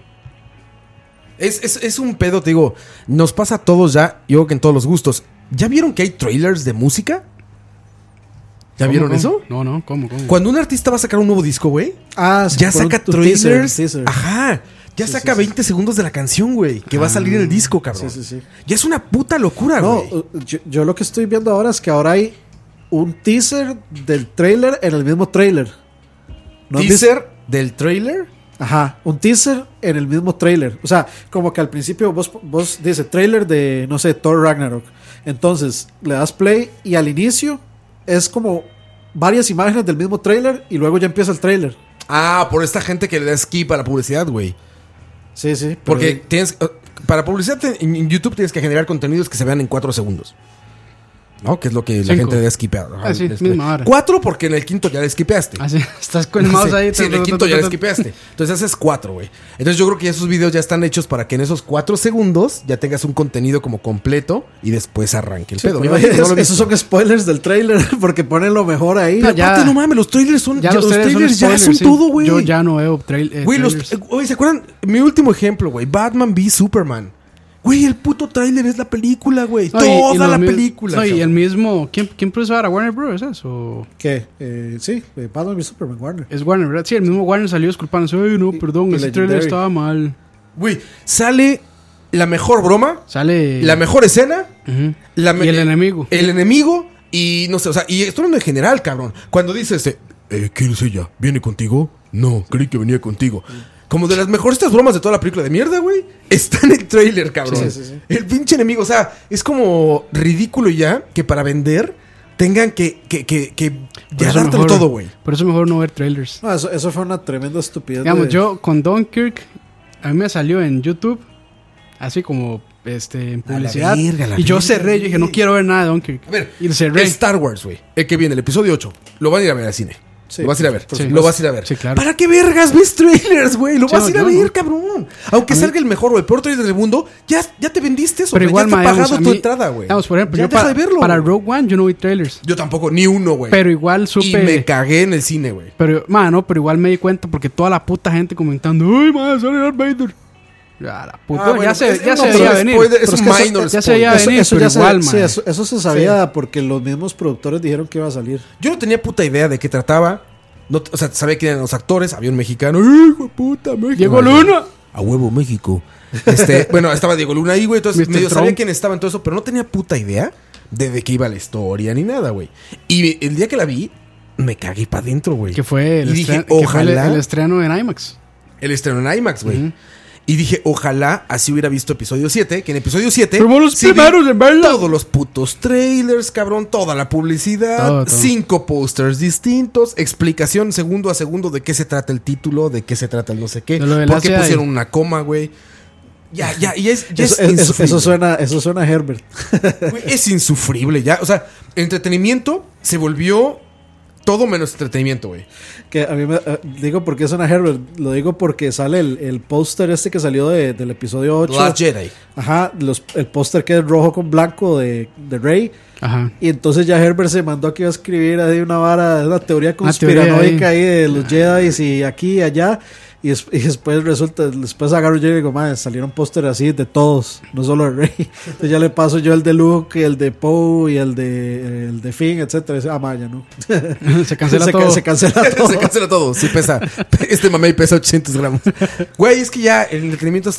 Speaker 2: Es un pedo, te digo. Nos pasa a todos ya, yo creo que en todos los gustos. ¿Ya vieron que hay trailers de música? ¿Ya
Speaker 3: ¿Cómo,
Speaker 2: vieron
Speaker 3: cómo?
Speaker 2: eso?
Speaker 3: No, ¿cómo?
Speaker 2: Cuando un artista va a sacar un nuevo disco, güey,
Speaker 4: Ah, sí,
Speaker 2: ya
Speaker 4: por
Speaker 2: saca
Speaker 4: un
Speaker 2: trailers.
Speaker 4: teaser.
Speaker 2: Ajá. Ya
Speaker 4: Sí,
Speaker 2: saca
Speaker 4: sí, sí.
Speaker 2: 20 segundos de la canción, güey, que va a salir en el disco, cabrón.
Speaker 4: Sí.
Speaker 2: Ya es una puta locura,
Speaker 4: No,
Speaker 2: güey.
Speaker 4: yo lo que estoy viendo ahora es que ahora hay un teaser del trailer en el mismo trailer. ¿No han visto?
Speaker 2: Teaser del trailer.
Speaker 4: Ajá, un teaser en el mismo trailer. O sea, como que al principio vos dice trailer de, no sé, Thor Ragnarok. Entonces le das play y al inicio es como varias imágenes del mismo trailer y luego ya empieza el trailer.
Speaker 2: Ah, por esta gente que le da skip a la publicidad, güey.
Speaker 4: Sí, pero-
Speaker 2: Porque tienes... Para publicidad en YouTube tienes que generar contenidos que se vean en 4 segundos. ¿No? Que es lo que la
Speaker 3: 5.
Speaker 2: gente le da skipear.
Speaker 3: Ah, sí, misma hora.
Speaker 2: 4 porque en el quinto ya le skipeaste.
Speaker 3: Así, estás con el mouse ahí.
Speaker 2: Sí, en el quinto ya le skipeaste. Entonces haces 4, güey. Entonces yo creo que esos videos ya están hechos para que en esos 4 segundos ya tengas un contenido como completo y después arranque el
Speaker 4: Sí,
Speaker 2: pedo.
Speaker 4: pero
Speaker 2: Me imagino que no lo he
Speaker 4: esos
Speaker 2: visto.
Speaker 4: son spoilers del trailer porque ponen lo mejor ahí.
Speaker 3: No,
Speaker 2: Aparte,
Speaker 3: ya-
Speaker 2: no mames, los trailers son...
Speaker 3: Ya
Speaker 2: ya
Speaker 3: los
Speaker 2: los
Speaker 3: trailers
Speaker 2: trailers ya
Speaker 3: spoilers,
Speaker 2: son
Speaker 3: sí.
Speaker 2: todo, güey.
Speaker 3: Yo ya no veo
Speaker 2: Güey,
Speaker 3: trailers.
Speaker 2: oye, ¿se acuerdan? Mi último ejemplo, güey. Batman v Superman. Güey, el puto trailer es la película, güey.
Speaker 3: No,
Speaker 2: Toda la
Speaker 3: mi-
Speaker 2: película.
Speaker 3: No, y
Speaker 2: cabrón.
Speaker 3: el mismo. ¿Quién produce ahora? ¿Warner Bros? ¿Eso?
Speaker 4: ¿Qué? Sí, Batman y Superman, Warner.
Speaker 3: Es Warner, ¿verdad? Sí, el mismo Warner salió disculpándose. Ay, no, perdón,
Speaker 4: y
Speaker 3: ese trailer
Speaker 4: Legendary.
Speaker 3: estaba mal.
Speaker 2: Güey, sale la mejor broma,
Speaker 3: Sale.
Speaker 2: la mejor escena,
Speaker 3: Ujú.
Speaker 2: la me-
Speaker 3: Y el enemigo.
Speaker 2: El enemigo y no sé, o sea, y esto hablando en general, cabrón. Cuando dices, ¿quién es ella? ¿Viene contigo? No, creí que venía contigo. Como de las mejores bromas de toda la película de mierda, güey. Está en el trailer, cabrón.
Speaker 4: Sí.
Speaker 2: El pinche enemigo, o sea, es como ridículo ya que para vender tengan que
Speaker 3: Por
Speaker 2: ya
Speaker 3: eso
Speaker 2: dártelo
Speaker 3: mejor-
Speaker 2: todo, güey.
Speaker 3: Por eso mejor no ver trailers.
Speaker 4: No, eso fue una tremenda estupidez.
Speaker 3: Digamos, yo con Dunkirk, a mí me salió en YouTube, así como en publicidad.
Speaker 2: verga,
Speaker 3: y yo
Speaker 2: verga,
Speaker 3: cerré, yo dije, no quiero ver nada de Dunkirk.
Speaker 2: A ver,
Speaker 3: y cerré.
Speaker 2: Star Wars, güey. El que viene, el episodio 8. Lo van a ir a ver al cine.
Speaker 4: Sí,
Speaker 2: lo vas a ir a ver.
Speaker 3: por supuesto.
Speaker 2: Lo vas a ir a ver.
Speaker 3: Sí, claro.
Speaker 2: ¿Para qué vergas ves trailers, güey? Lo
Speaker 3: Sí,
Speaker 2: vas a ir a
Speaker 3: no,
Speaker 2: ver,
Speaker 3: no.
Speaker 2: cabrón. Aunque salga el mejor o el peor trailer del mundo, ya te vendiste eso.
Speaker 3: Pero
Speaker 2: güey.
Speaker 3: igual,
Speaker 2: ya
Speaker 3: ma,
Speaker 2: está
Speaker 3: digamos,
Speaker 2: pagado
Speaker 3: a
Speaker 2: tu
Speaker 3: mí-
Speaker 2: entrada, güey.
Speaker 3: Digamos, por ejemplo,
Speaker 2: Ya
Speaker 3: yo
Speaker 2: deja de verlo,
Speaker 3: para
Speaker 2: güey.
Speaker 3: Rogue One yo no vi trailers.
Speaker 2: Yo tampoco, ni uno, güey.
Speaker 3: Pero igual supe.
Speaker 2: Y me cagué en el cine, güey.
Speaker 3: Pero igual me di cuenta porque toda la puta gente comentando, ¡ay, madre, sale Darth Vader! Ya, la puta.
Speaker 2: Ah, bueno,
Speaker 3: ya se
Speaker 2: no, pero
Speaker 3: veía venir.
Speaker 2: spoiler, es
Speaker 4: Pero es
Speaker 2: un
Speaker 4: que eso-
Speaker 2: minor
Speaker 3: ya se veía
Speaker 2: spoiler.
Speaker 3: venir, pero
Speaker 4: ya se-
Speaker 3: igual,
Speaker 4: sí,
Speaker 3: man.
Speaker 4: eso se sabía porque los mismos productores dijeron que iba a salir.
Speaker 2: Yo no tenía puta idea de qué trataba. No, o sea, sabía quién eran los actores. Había un mexicano. ¡Ay, hijo de puta, México!
Speaker 3: Diego Luna.
Speaker 2: A huevo, México. Bueno, estaba Diego Luna ahí, güey. Entonces
Speaker 3: Mr.
Speaker 2: medio sabía
Speaker 3: Trump.
Speaker 2: quién estaba en todo eso, pero no tenía puta idea de qué iba la historia ni nada, güey. Y el día que la vi, me cagué para adentro, güey.
Speaker 3: Que fue el
Speaker 2: Y dije,
Speaker 3: estreno, que fue
Speaker 2: ojalá.
Speaker 3: el estreno en IMAX.
Speaker 2: El estreno en IMAX, güey.
Speaker 3: Ujú.
Speaker 2: Y dije, ojalá así hubiera visto episodio 7. Que en episodio 7.
Speaker 3: Fuimos los
Speaker 2: sí vi
Speaker 3: primeros en verla.
Speaker 2: Todos los putos trailers, cabrón. Toda la publicidad.
Speaker 3: Todo.
Speaker 2: 5 posters distintos. Explicación segundo a segundo de qué se trata el título. De qué se trata el no sé qué.
Speaker 3: De lo del
Speaker 2: Por qué
Speaker 3: ACI.
Speaker 2: pusieron una coma, güey. Ya
Speaker 4: Eso suena a Herbert.
Speaker 2: Güey, es insufrible ya. O sea, el entretenimiento se volvió todo menos entretenimiento, güey.
Speaker 4: Que a mí digo porque es una Herbert. Lo digo porque sale el póster este que salió del episodio 8.
Speaker 2: Last Jedi.
Speaker 4: Ajá, el póster que es rojo con blanco de Rey.
Speaker 3: Ajá.
Speaker 4: Y entonces ya Herbert se mandó que iba a escribir ahí una teoría conspiranoica ahí de los Jedi y aquí y allá. Y después agarro yo y digo, madre, salieron pósteres así de todos, no solo de Rey. Entonces ya le paso yo el de Luke, y el de Poe y el de Finn, etcétera. Y dice, ya no.
Speaker 3: Se cancela todo.
Speaker 4: Se cancela todo.
Speaker 2: Se cancela todo. Sí pesa. Este mamey pesa 800 gramos. Güey, es que ya el entretenimiento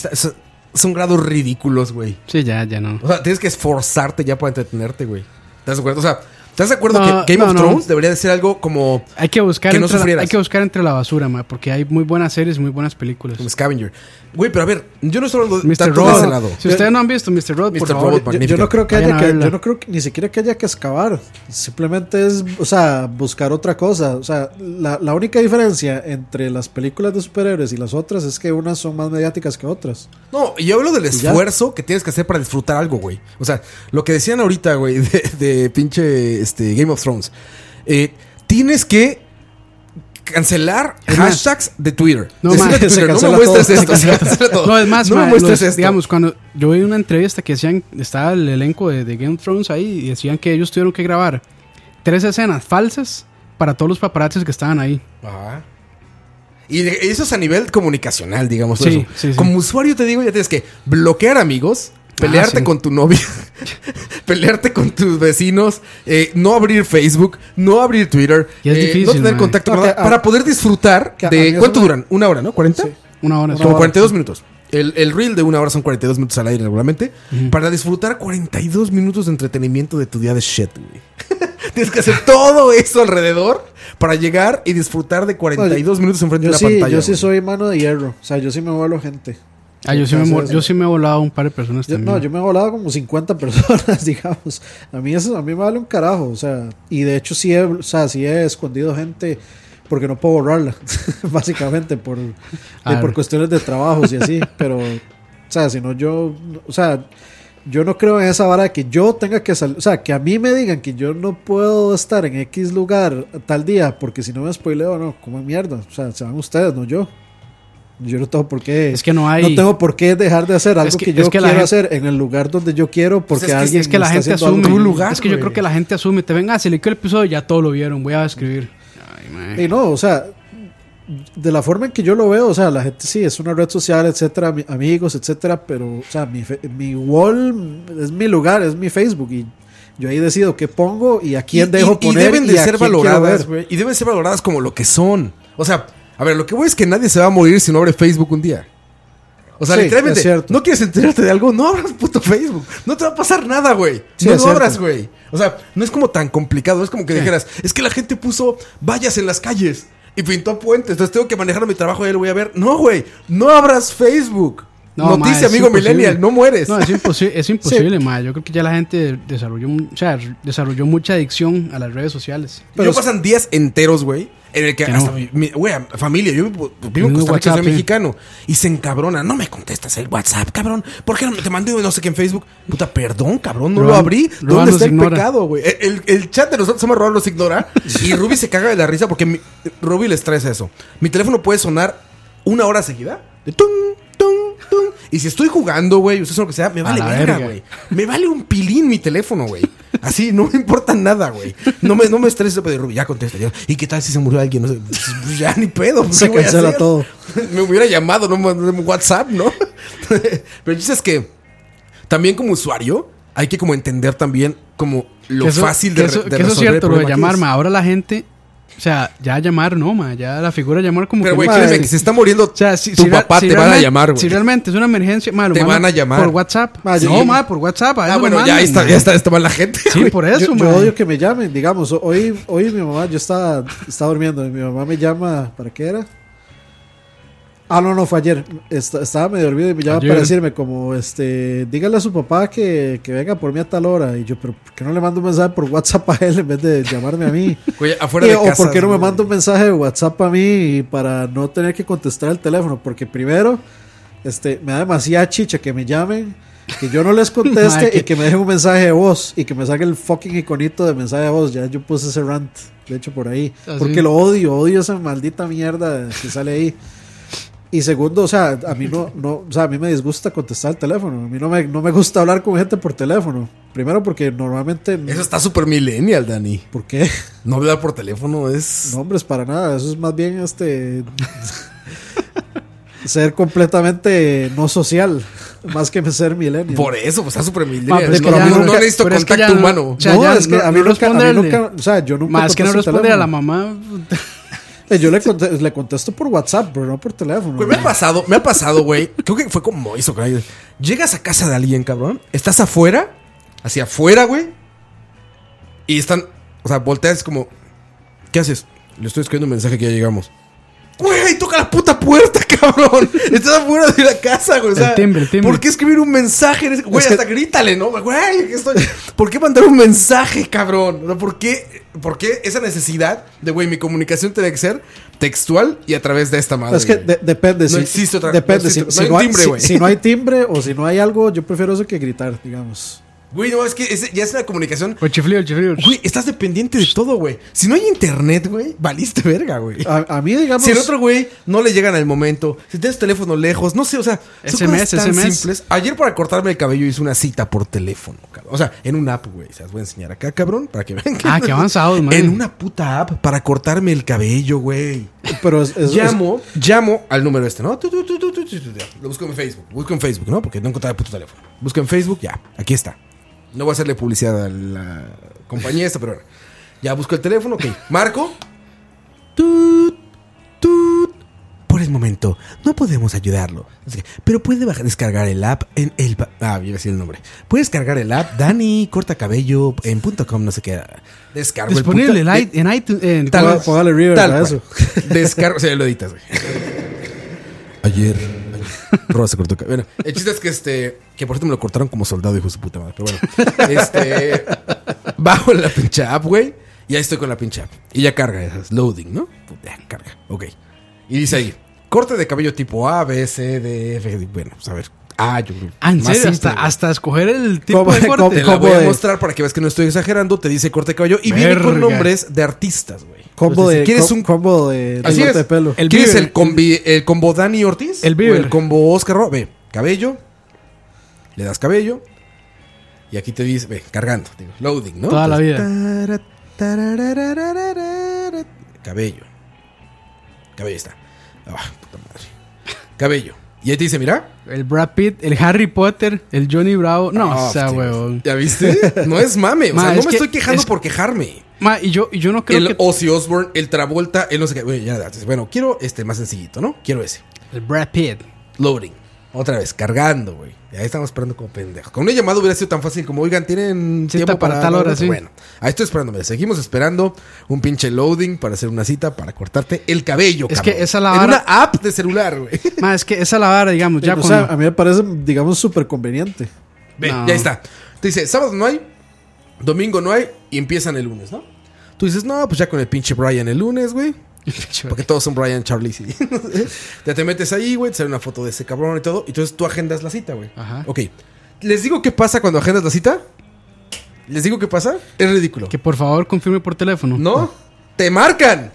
Speaker 2: son grados ridículos, güey.
Speaker 3: Sí, ya no.
Speaker 2: O sea, tienes que esforzarte ya para entretenerte, güey. ¿Estás de acuerdo? O sea, ¿estás de acuerdo que Game of Thrones debería de ser algo como
Speaker 3: hay que buscar
Speaker 2: que no sufrieras?
Speaker 3: Hay que buscar entre la basura, porque hay muy buenas series, muy buenas películas.
Speaker 2: Como Scavenger. Güey, pero a ver, yo no estoy hablando
Speaker 3: Mr.
Speaker 2: tanto
Speaker 3: Robot.
Speaker 2: de ese lado.
Speaker 3: Si ustedes no han visto Mr. Robot, por favor.
Speaker 4: Yo no creo que ni siquiera que haya que excavar. Simplemente es, o sea, buscar otra cosa. O sea, la única diferencia entre las películas de superhéroes y las otras es que unas son más mediáticas que otras.
Speaker 2: No, yo hablo del esfuerzo que tienes que hacer para disfrutar algo, güey. O sea, lo que decían ahorita, güey, de pinche Game of Thrones. Tienes que cancelar hashtags de Twitter.
Speaker 3: No,
Speaker 2: Decirle a Twitter, no me muestres esto. Se cancela todo.
Speaker 3: No, es más,
Speaker 2: no me muestres esto.
Speaker 3: Digamos, cuando yo vi una entrevista que decían, estaba el elenco de Game of Thrones ahí y decían que ellos tuvieron que grabar 3 escenas falsas para todos los paparazzis que estaban ahí.
Speaker 2: Ajá. Y eso es a nivel comunicacional, digamos.
Speaker 3: Sí,
Speaker 2: eso. Como usuario te digo, ya tienes que bloquear amigos, pelearte con tu novia, pelearte con tus vecinos, no abrir Facebook, no abrir Twitter,
Speaker 3: y es difícil,
Speaker 2: no tener contacto para poder disfrutar de... ¿Cuánto duran? ¿1 hora, no? ¿40?
Speaker 4: Sí.
Speaker 3: 1 hora.
Speaker 2: Como 42 minutos. El reel de 1 hora son 42 minutos al aire regularmente. Para disfrutar 42 minutos de entretenimiento de tu día de shit, güey. Tienes que hacer todo eso alrededor para llegar y disfrutar de 42 minutos enfrente de la pantalla.
Speaker 4: Yo sí soy mano de hierro. O sea, yo sí me vuelo gente.
Speaker 3: Yo sí me he volado un par de personas también.
Speaker 4: No, yo me he volado como 50 personas, digamos. A mí me vale un carajo. O sea, y de hecho sí he escondido gente porque no puedo borrarla. Básicamente por cuestiones de trabajos y así. Pero, o sea, si no yo no creo en esa vara de que yo tenga que salir. O sea, que a mí me digan que yo no puedo estar en X lugar tal día porque si no me spoileo, no, como mierda. O sea, se van ustedes, no yo. Yo no tengo por qué.
Speaker 3: Es que no
Speaker 4: tengo por qué dejar de hacer algo que yo quiero hacer en el lugar donde yo quiero porque alguien
Speaker 3: es que la gente asume
Speaker 2: un lugar.
Speaker 3: Es que yo creo que la gente asume. Te venga, se le quedó el episodio, ya todo lo vieron. Voy a escribir.
Speaker 4: Y no, o sea, de la forma en que yo lo veo, o sea, la gente sí es una red social, etcétera, amigos, etcétera, pero, o sea, mi wall es mi lugar, es mi Facebook y yo ahí decido qué pongo y a quién dejo poner.
Speaker 2: Y deben de ser valoradas, güey. Y deben ser valoradas como lo que son. O sea, a ver, lo que voy es que nadie se va a morir si no abre Facebook un día. O sea, literalmente, no quieres enterarte de algo, no abras puto Facebook. No te va a pasar nada, güey.
Speaker 4: Sí,
Speaker 2: no lo abras, güey. O sea, no es como tan complicado. Es como que dijeras, es que la gente puso vallas en las calles y pintó puentes. Entonces tengo que manejar mi trabajo y ya lo voy a ver. No, güey. No abras Facebook. No, noticia, amigo millennial, no mueres.
Speaker 3: No, es imposible, sí. Yo creo que ya la gente desarrolló mucha adicción a las redes sociales.
Speaker 2: Pero pasan días enteros, güey, en el que hasta güey, familia, yo vivo en Costa Rica, soy mexicano, y se encabrona, no me contestas el WhatsApp, cabrón, ¿por qué no te mandé no sé qué en Facebook? Puta, perdón, cabrón, no lo abrí. ¿Dónde está el pecado, güey? El chat de nosotros somos Rob los ignora y Ruby se caga de la risa porque Ruby le estresa eso. Mi teléfono puede sonar 1 hora seguida de tum, tum, tum. Y si estoy jugando, güey, usted sabe lo que sea, me vale verga, güey. Me vale un pilín mi teléfono, güey. Así, no me importa nada, güey. No me estreses, pero Ruby, ya contesta. Ya. ¿Y qué tal si se murió alguien? No sé, pues ya ni pedo.
Speaker 4: Se cancela todo.
Speaker 2: Me hubiera llamado, no WhatsApp, ¿no? Pero dices que también como usuario hay que como entender también como lo fácil de resolver.
Speaker 3: Que eso es cierto, lo de llamarme. Ahora la gente... O sea, ya llamar no, ma. Ya la figura de llamar como
Speaker 2: pero,
Speaker 3: que...
Speaker 2: Pero, güey, créeme que se está muriendo
Speaker 3: o sea,
Speaker 2: tu papá, te van a llamar, güey.
Speaker 3: Si realmente es una emergencia, ma,
Speaker 2: te van a llamar.
Speaker 3: Por WhatsApp. Por WhatsApp.
Speaker 2: Bueno, ya está mal la gente.
Speaker 3: Sí, güey. Por eso,
Speaker 4: yo odio que me llamen. Digamos, hoy mi mamá, yo estaba durmiendo y mi mamá me llama, ¿para qué era? No, fue ayer. Estaba medio dormido y me llama para decirme como, dígale a su papá que venga por mí a tal hora. Y yo, pero ¿por qué no le mando un mensaje por WhatsApp a él en vez de llamarme a mí?
Speaker 2: Oye, afuera de
Speaker 4: casa, o ¿por qué no me manda un mensaje de WhatsApp a mí para no tener que contestar el teléfono? Porque primero, me da demasiada chicha que me llamen, que yo no les conteste y que me dejen un mensaje de voz y que me saque el fucking iconito de mensaje de voz. Ya yo puse ese rant, de hecho, por ahí. Porque lo odio esa maldita mierda que sale ahí. Y segundo, o sea, a mí o sea, a mí me disgusta contestar el teléfono. A mí no me gusta hablar con gente por teléfono. Primero porque normalmente...
Speaker 2: Eso está súper millennial, Dani.
Speaker 4: ¿Por qué?
Speaker 2: No hablar por teléfono es...
Speaker 4: No, hombre, es para nada. Eso es más bien ser completamente no social, más que ser millennial.
Speaker 2: Por eso, pues está súper millennial.
Speaker 3: Pero es que
Speaker 2: no necesito contacto humano.
Speaker 3: O sea,
Speaker 4: no,
Speaker 3: ya
Speaker 4: es que a mí nunca, o sea, yo nunca
Speaker 3: más que no
Speaker 4: contesto
Speaker 3: responde a la
Speaker 4: teléfono.
Speaker 3: mamá.
Speaker 4: Yo le contesto por WhatsApp, pero no por teléfono.
Speaker 2: Güey, me ha pasado, güey. Creo que fue como eso, güey. Llegas a casa de alguien, cabrón. Estás afuera, hacia afuera, güey. Y están, o sea, volteas como, ¿qué haces? Le estoy escribiendo un mensaje que ya llegamos. Güey, toca la puta puerta, cabrón. Estás afuera de la casa, güey. O sea,
Speaker 3: el timbre.
Speaker 2: ¿por qué escribir un mensaje? Güey, hasta grítale, ¿no? Güey, ¿por qué mandar un mensaje, cabrón? ¿Por qué esa necesidad de, güey, mi comunicación tiene que ser textual y a través de esta madre?
Speaker 4: Es que depende.
Speaker 2: No existe otra.
Speaker 4: Depende.
Speaker 2: No
Speaker 4: Si
Speaker 2: hay
Speaker 4: no hay
Speaker 2: timbre, güey.
Speaker 4: si no hay timbre o si no hay algo, yo prefiero eso que gritar, digamos.
Speaker 2: Güey, no, es que ya es una comunicación.
Speaker 3: El chiflido.
Speaker 2: Güey, estás dependiente de todo, güey. Si no hay internet, güey, valiste verga, güey.
Speaker 4: A mí, digamos...
Speaker 2: Si el otro güey no le llegan al momento, si tienes teléfono lejos, no sé, o sea, son cosas tan simples. Ayer para cortarme el cabello hice una cita por teléfono, cabrón. O sea, en una app, güey. Se las voy a enseñar acá, cabrón, para que vean.
Speaker 3: Qué avanzados, man.
Speaker 2: En una puta app para cortarme el cabello, güey.
Speaker 4: Pero
Speaker 2: llamo al número ¿no? Lo busco en Facebook, ¿no? Porque no encontraba el puto teléfono. Busco en Facebook, ya, aquí está. No voy a hacerle publicidad a la compañía esta, pero bueno. Ya busco el teléfono, ok. Marco. Por el momento, no podemos ayudarlo. Pero puede descargar el app en el... iba a decir el nombre. Puede descargar el app Dani Corta Cabello en .com, no sé qué. Descargo
Speaker 3: disponible
Speaker 2: el puta,
Speaker 3: en iTunes.
Speaker 4: Póngale River para eso.
Speaker 2: Descargo... O sea, lo editas, güey. Ayer Roba se cortó. Bueno, el chiste es que por cierto me lo cortaron como soldado, hijo de su puta madre. Pero bueno, bajo en la pinche app, güey. Y ahí estoy con la pinche app. Y ya carga, es loading, ¿no? Ya carga, ok. Y dice ahí, corte de cabello tipo A, B, C, D, F. Bueno, pues a ver. Yo creo.
Speaker 3: ¿En serio? Hasta escoger el tipo de corte.
Speaker 2: Te la voy a mostrar para que veas que no estoy exagerando. Te dice corte de cabello y viene con nombres de artistas, güey.
Speaker 4: Combo
Speaker 2: si
Speaker 4: de
Speaker 2: quieres un
Speaker 4: combo de
Speaker 2: así
Speaker 4: corte
Speaker 2: es.
Speaker 4: de pelo.
Speaker 2: ¿Quieres el combo Dani Ortiz?
Speaker 3: El Bieber.
Speaker 2: O el combo Oscar Roa. Ve, cabello. Le das cabello. Y aquí te dice, ve, cargando. Digo, loading, ¿no?
Speaker 3: Toda la vida.
Speaker 2: Cabello. Cabello está. Puta madre. Cabello. Y ahí te dice, mira.
Speaker 3: El Brad Pitt, el Harry Potter, el Johnny Bravo. No, o sea, huevón.
Speaker 2: ¿Ya viste? No es mame. O sea, no me estoy quejando por quejarme.
Speaker 3: Y yo no creo
Speaker 2: el Ozzy Osbourne, el Travolta, el no sé qué. Bueno, quiero más sencillito, ¿no? Quiero ese.
Speaker 3: El Brad Pitt.
Speaker 2: Loading. Otra vez, cargando, güey. Ahí estamos esperando como pendejos. Con una llamada hubiera sido tan fácil como, oigan, ¿tienen tiempo
Speaker 3: para tal hora? Sí.
Speaker 2: Bueno, ahí estoy esperándome. Seguimos esperando un pinche loading para hacer una cita para cortarte el cabello,
Speaker 3: es
Speaker 2: cabrón.
Speaker 3: Que esa la vara...
Speaker 2: En una app de celular, güey.
Speaker 3: Es que esa la vara, digamos, ya
Speaker 4: cuando... O sea, a mí me parece, digamos, súper conveniente.
Speaker 2: Ve, ya está. Te dice, sábado no hay, domingo no hay y empiezan el lunes, ¿no? Tú dices, no, pues ya con el pinche Brian el lunes, güey. Porque todos son Brian, Charlie, sí. Ya te metes ahí, güey, te sale una foto de ese cabrón y todo. Y entonces tú agendas la cita, güey.
Speaker 3: Ajá.
Speaker 2: Ok. ¿Les digo qué pasa cuando agendas la cita? ¿Les digo qué pasa? Es ridículo.
Speaker 3: Que por favor confirme por teléfono.
Speaker 2: No, te marcan.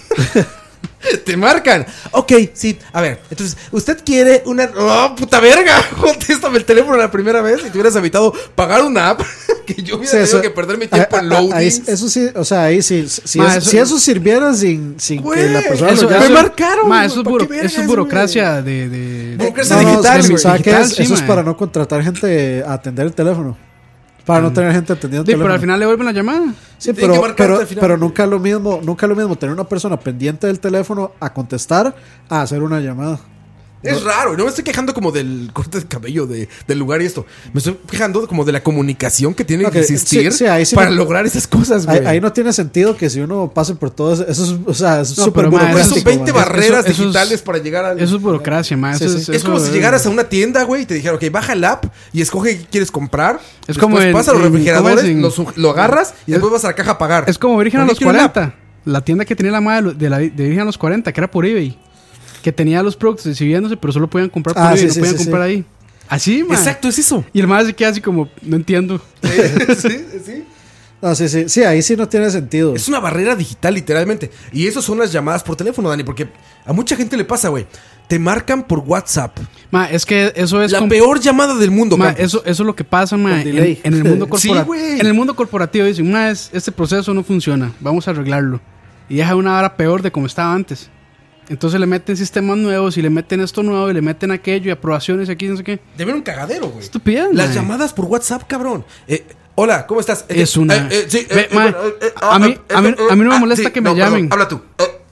Speaker 2: Te marcan. Ok, sí. A ver, entonces, ¿usted quiere una... ¡Oh, puta verga! Contéstame el teléfono la primera vez y te hubieras evitado pagar una app que yo hubiera tenido que perder mi tiempo en loading.
Speaker 4: Eso sí, o sea, ahí sí. Si eso sirviera sin
Speaker 2: güey,
Speaker 4: que la persona
Speaker 2: eso,
Speaker 4: lo llame.
Speaker 2: Me marcaron.
Speaker 3: Eso es burocracia de
Speaker 2: burocracia digital, güey.
Speaker 4: ¿Sabes qué es? Eso es para no contratar gente a atender el teléfono. Para no tener gente atendiendo el teléfono.
Speaker 3: Pero al final le vuelven la llamada.
Speaker 4: Sí, pero nunca es lo mismo tener una persona pendiente del teléfono a contestar a hacer una llamada.
Speaker 2: Es raro, no me estoy quejando como del corte de cabello del lugar y esto. Me estoy quejando como de la comunicación que tiene que existir para lograr esas cosas, güey.
Speaker 4: Ahí no tiene sentido que si uno pase por todo eso, o sea, es súper
Speaker 2: Son
Speaker 4: burocrático.
Speaker 2: 20 barreras digitales para llegar al...
Speaker 3: Eso es burocracia, más.
Speaker 2: Es como si llegaras a una tienda, güey, y te dijeran, ok, baja el app y escoge qué quieres comprar.
Speaker 3: Es como
Speaker 2: vas a los refrigeradores, lo agarras y después vas a la caja a pagar.
Speaker 3: Es como Virgen a los 40. La tienda que tenía la madre de Virgen a los 40, que era por eBay. que tenía los productos exhibiéndose, pero solo podían comprar por
Speaker 4: Ah,
Speaker 3: ahí,
Speaker 4: sí,
Speaker 3: no
Speaker 4: sí,
Speaker 3: podían
Speaker 4: sí,
Speaker 3: comprar
Speaker 4: sí.
Speaker 3: ahí. Así, man.
Speaker 2: Exacto, es eso.
Speaker 3: Y el más se queda así como, no entiendo.
Speaker 2: Sí.
Speaker 4: No, sí, ahí sí no tiene sentido.
Speaker 2: Es una barrera digital, literalmente. Y eso son las llamadas por teléfono, Dani, porque a mucha gente le pasa, güey. Te marcan por WhatsApp.
Speaker 3: Ma, es que eso es
Speaker 2: La peor llamada del mundo,
Speaker 3: ma,
Speaker 2: Campos.
Speaker 3: eso es lo que pasa, ma,
Speaker 4: Con delay.
Speaker 3: en el mundo
Speaker 2: Sí,
Speaker 3: corporativo.
Speaker 2: güey.
Speaker 3: En el mundo corporativo dicen, ma, este proceso no funciona, vamos a arreglarlo. Y deja una hora peor de como estaba antes. Entonces le meten sistemas nuevos y le meten esto nuevo y le meten aquello y aprobaciones aquí, no sé qué.
Speaker 2: Debe haber un cagadero, güey.
Speaker 3: Estupidez,
Speaker 2: Las
Speaker 3: ma.
Speaker 2: llamadas por WhatsApp, cabrón. Hola, ¿cómo estás?
Speaker 3: Es una...
Speaker 2: Sí,
Speaker 3: Ve, ma, a mí no me molesta
Speaker 2: sí,
Speaker 3: que me
Speaker 2: no,
Speaker 3: llamen.
Speaker 2: perdón, habla tú.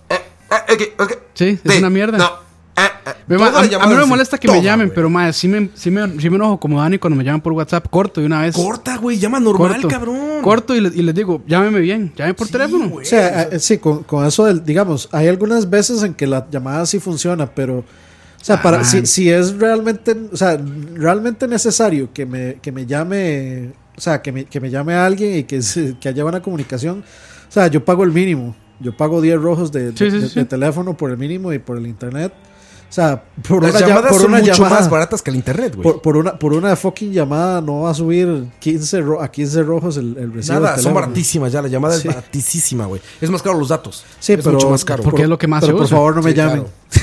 Speaker 2: Ok.
Speaker 3: Sí, es una mierda.
Speaker 2: No.
Speaker 3: Ve, ma,
Speaker 2: Todas las
Speaker 3: a mí no me
Speaker 2: llamadas,
Speaker 3: molesta que
Speaker 2: toda,
Speaker 3: me llamen,
Speaker 2: güey.
Speaker 3: pero ma, sí me enojo como Dani cuando me llaman por WhatsApp. Corto de una vez.
Speaker 2: Corta, güey. Llama normal,
Speaker 3: Corto.
Speaker 2: cabrón.
Speaker 3: Corto y les digo, llámeme bien, llame por teléfono.
Speaker 2: güey.
Speaker 4: O sea, sí, con eso del, digamos, hay algunas veces en que la llamada sí funciona, pero, o sea, para, si es realmente, o sea, realmente necesario que me llame, o sea, que me llame a alguien y que haya una comunicación, o sea, yo pago el mínimo, yo pago 10 rojos de teléfono por el mínimo y por el internet. O sea, por
Speaker 2: Las
Speaker 4: una
Speaker 2: llamadas
Speaker 4: por
Speaker 2: son
Speaker 4: una
Speaker 2: mucho
Speaker 4: llamada,
Speaker 2: más baratas que el internet, güey.
Speaker 4: por una fucking llamada no va a subir 15 rojos el recibo.
Speaker 2: Nada,
Speaker 4: del
Speaker 2: son
Speaker 4: teléfono.
Speaker 2: baratísimas ya. La llamada
Speaker 4: Sí.
Speaker 2: es baratísima, güey. Es más caro los datos.
Speaker 4: Sí,
Speaker 2: es
Speaker 4: pero
Speaker 2: mucho más caro.
Speaker 3: Porque es lo que más
Speaker 4: Pero
Speaker 3: se
Speaker 4: por
Speaker 3: usa.
Speaker 4: favor no me
Speaker 2: Sí,
Speaker 4: llamen.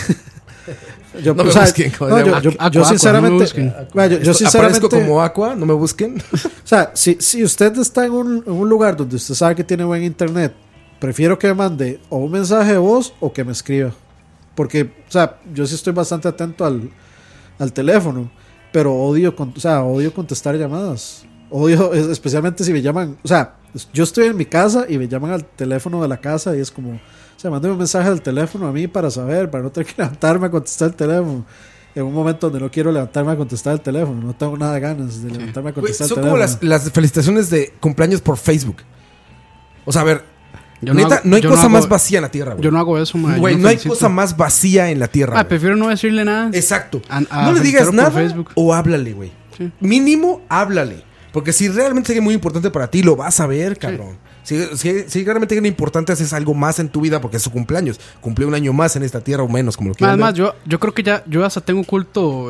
Speaker 2: claro.
Speaker 4: Yo,
Speaker 2: No me
Speaker 4: o sea,
Speaker 2: busquen,
Speaker 4: no,
Speaker 2: joder.
Speaker 4: yo
Speaker 3: Aqua,
Speaker 4: sinceramente,
Speaker 3: no me busquen.
Speaker 4: vaya, yo
Speaker 2: Aparezco
Speaker 4: sinceramente,
Speaker 2: como Aqua, no me busquen.
Speaker 4: o sea, si usted está en un lugar donde usted sabe que tiene buen internet, prefiero que me mande o un mensaje de voz o que me escriba. Porque, o sea, yo sí estoy bastante atento al teléfono, pero odio contestar llamadas. Odio, especialmente si me llaman, o sea, yo estoy en mi casa y me llaman al teléfono de la casa y es como, o sea, mándeme un mensaje al teléfono a mí para saber, para no tener que levantarme a contestar el teléfono. En un momento donde no quiero levantarme a contestar el teléfono, no tengo nada de ganas de levantarme a
Speaker 2: Güey,
Speaker 4: contestar
Speaker 2: son
Speaker 4: el
Speaker 2: como
Speaker 4: teléfono.
Speaker 2: las felicitaciones de cumpleaños por Facebook. O sea, a ver,
Speaker 3: Yo
Speaker 2: neta, no hay
Speaker 3: yo
Speaker 2: cosa
Speaker 3: hago-
Speaker 2: más vacía en la tierra, güey.
Speaker 3: Yo no hago eso, ma.
Speaker 2: Güey,
Speaker 3: yo
Speaker 2: no hay
Speaker 3: felicito.
Speaker 2: cosa más vacía en la tierra.
Speaker 3: Ah,
Speaker 2: güey.
Speaker 3: prefiero no decirle nada.
Speaker 2: Exacto.
Speaker 3: a
Speaker 2: No le digas
Speaker 3: felicitarlo por
Speaker 2: nada
Speaker 3: Facebook.
Speaker 2: o háblale, güey.
Speaker 3: Sí.
Speaker 2: Mínimo, háblale. Porque si realmente es muy importante para ti, lo vas a ver, cabrón. Si realmente es importante, haces algo más en tu vida porque es su cumpleaños. Cumple un año más en esta tierra o menos, como lo quieran
Speaker 3: Además,
Speaker 2: ver.
Speaker 3: yo creo que yo hasta tengo oculto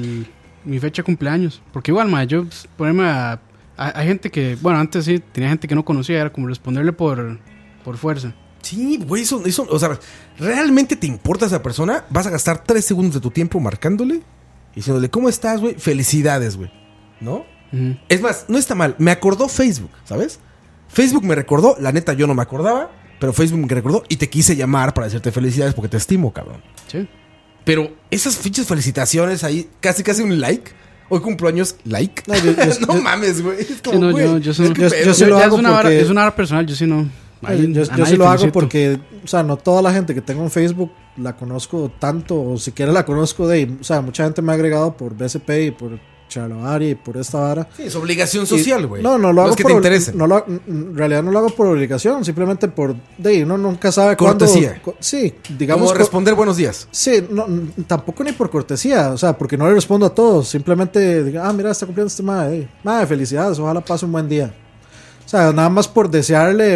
Speaker 3: mi fecha de cumpleaños. Porque igual, ma, yo ponerme hay gente que, bueno, antes sí tenía gente que no conocía, era como responderle por fuerza.
Speaker 2: Sí, güey, eso, o sea, ¿realmente te importa esa persona? Vas a gastar 3 segundos de tu tiempo marcándole y diciéndole, ¿cómo estás, güey? Felicidades, güey. ¿No?
Speaker 3: Ujú.
Speaker 2: Es más, no está mal. Me acordó Facebook, ¿sabes? Facebook me recordó, la neta yo no me acordaba, pero Facebook me recordó y te quise llamar para decirte felicidades porque te estimo, cabrón.
Speaker 3: Sí.
Speaker 2: Pero esas fichas felicitaciones ahí, casi un like. Hoy cumpleaños, like.
Speaker 4: No, yo-
Speaker 2: No mames, güey. Es como,
Speaker 3: Sí, no,
Speaker 2: güey,
Speaker 3: yo sí-
Speaker 2: es que
Speaker 4: yo-
Speaker 2: pedo.
Speaker 4: yo sí lo
Speaker 3: Ya
Speaker 4: hago
Speaker 3: es una
Speaker 4: porque-
Speaker 3: es una hora personal, yo sí no. Ahí
Speaker 4: Yo
Speaker 3: a
Speaker 4: sí
Speaker 3: nadie
Speaker 4: lo hago
Speaker 3: felicito.
Speaker 4: porque, o sea, no toda la gente que tengo en Facebook la conozco tanto, o siquiera la conozco o sea, mucha gente me ha agregado por BSP y por Charloari y por esta vara.
Speaker 2: Sí, es obligación social, güey.
Speaker 4: No lo hago
Speaker 2: Los que
Speaker 4: por
Speaker 2: te interesen.
Speaker 4: en realidad no lo hago por obligación, simplemente por uno nunca sabe
Speaker 2: Cortesía.
Speaker 4: cuándo. Sí, digamos.
Speaker 2: Como responder buenos días.
Speaker 4: Sí, no, tampoco ni por cortesía, o sea, porque no le respondo a todos, simplemente diga, mira, está cumpliendo este madre, felicidades, ojalá pase un buen día. O sea, nada más por desearle,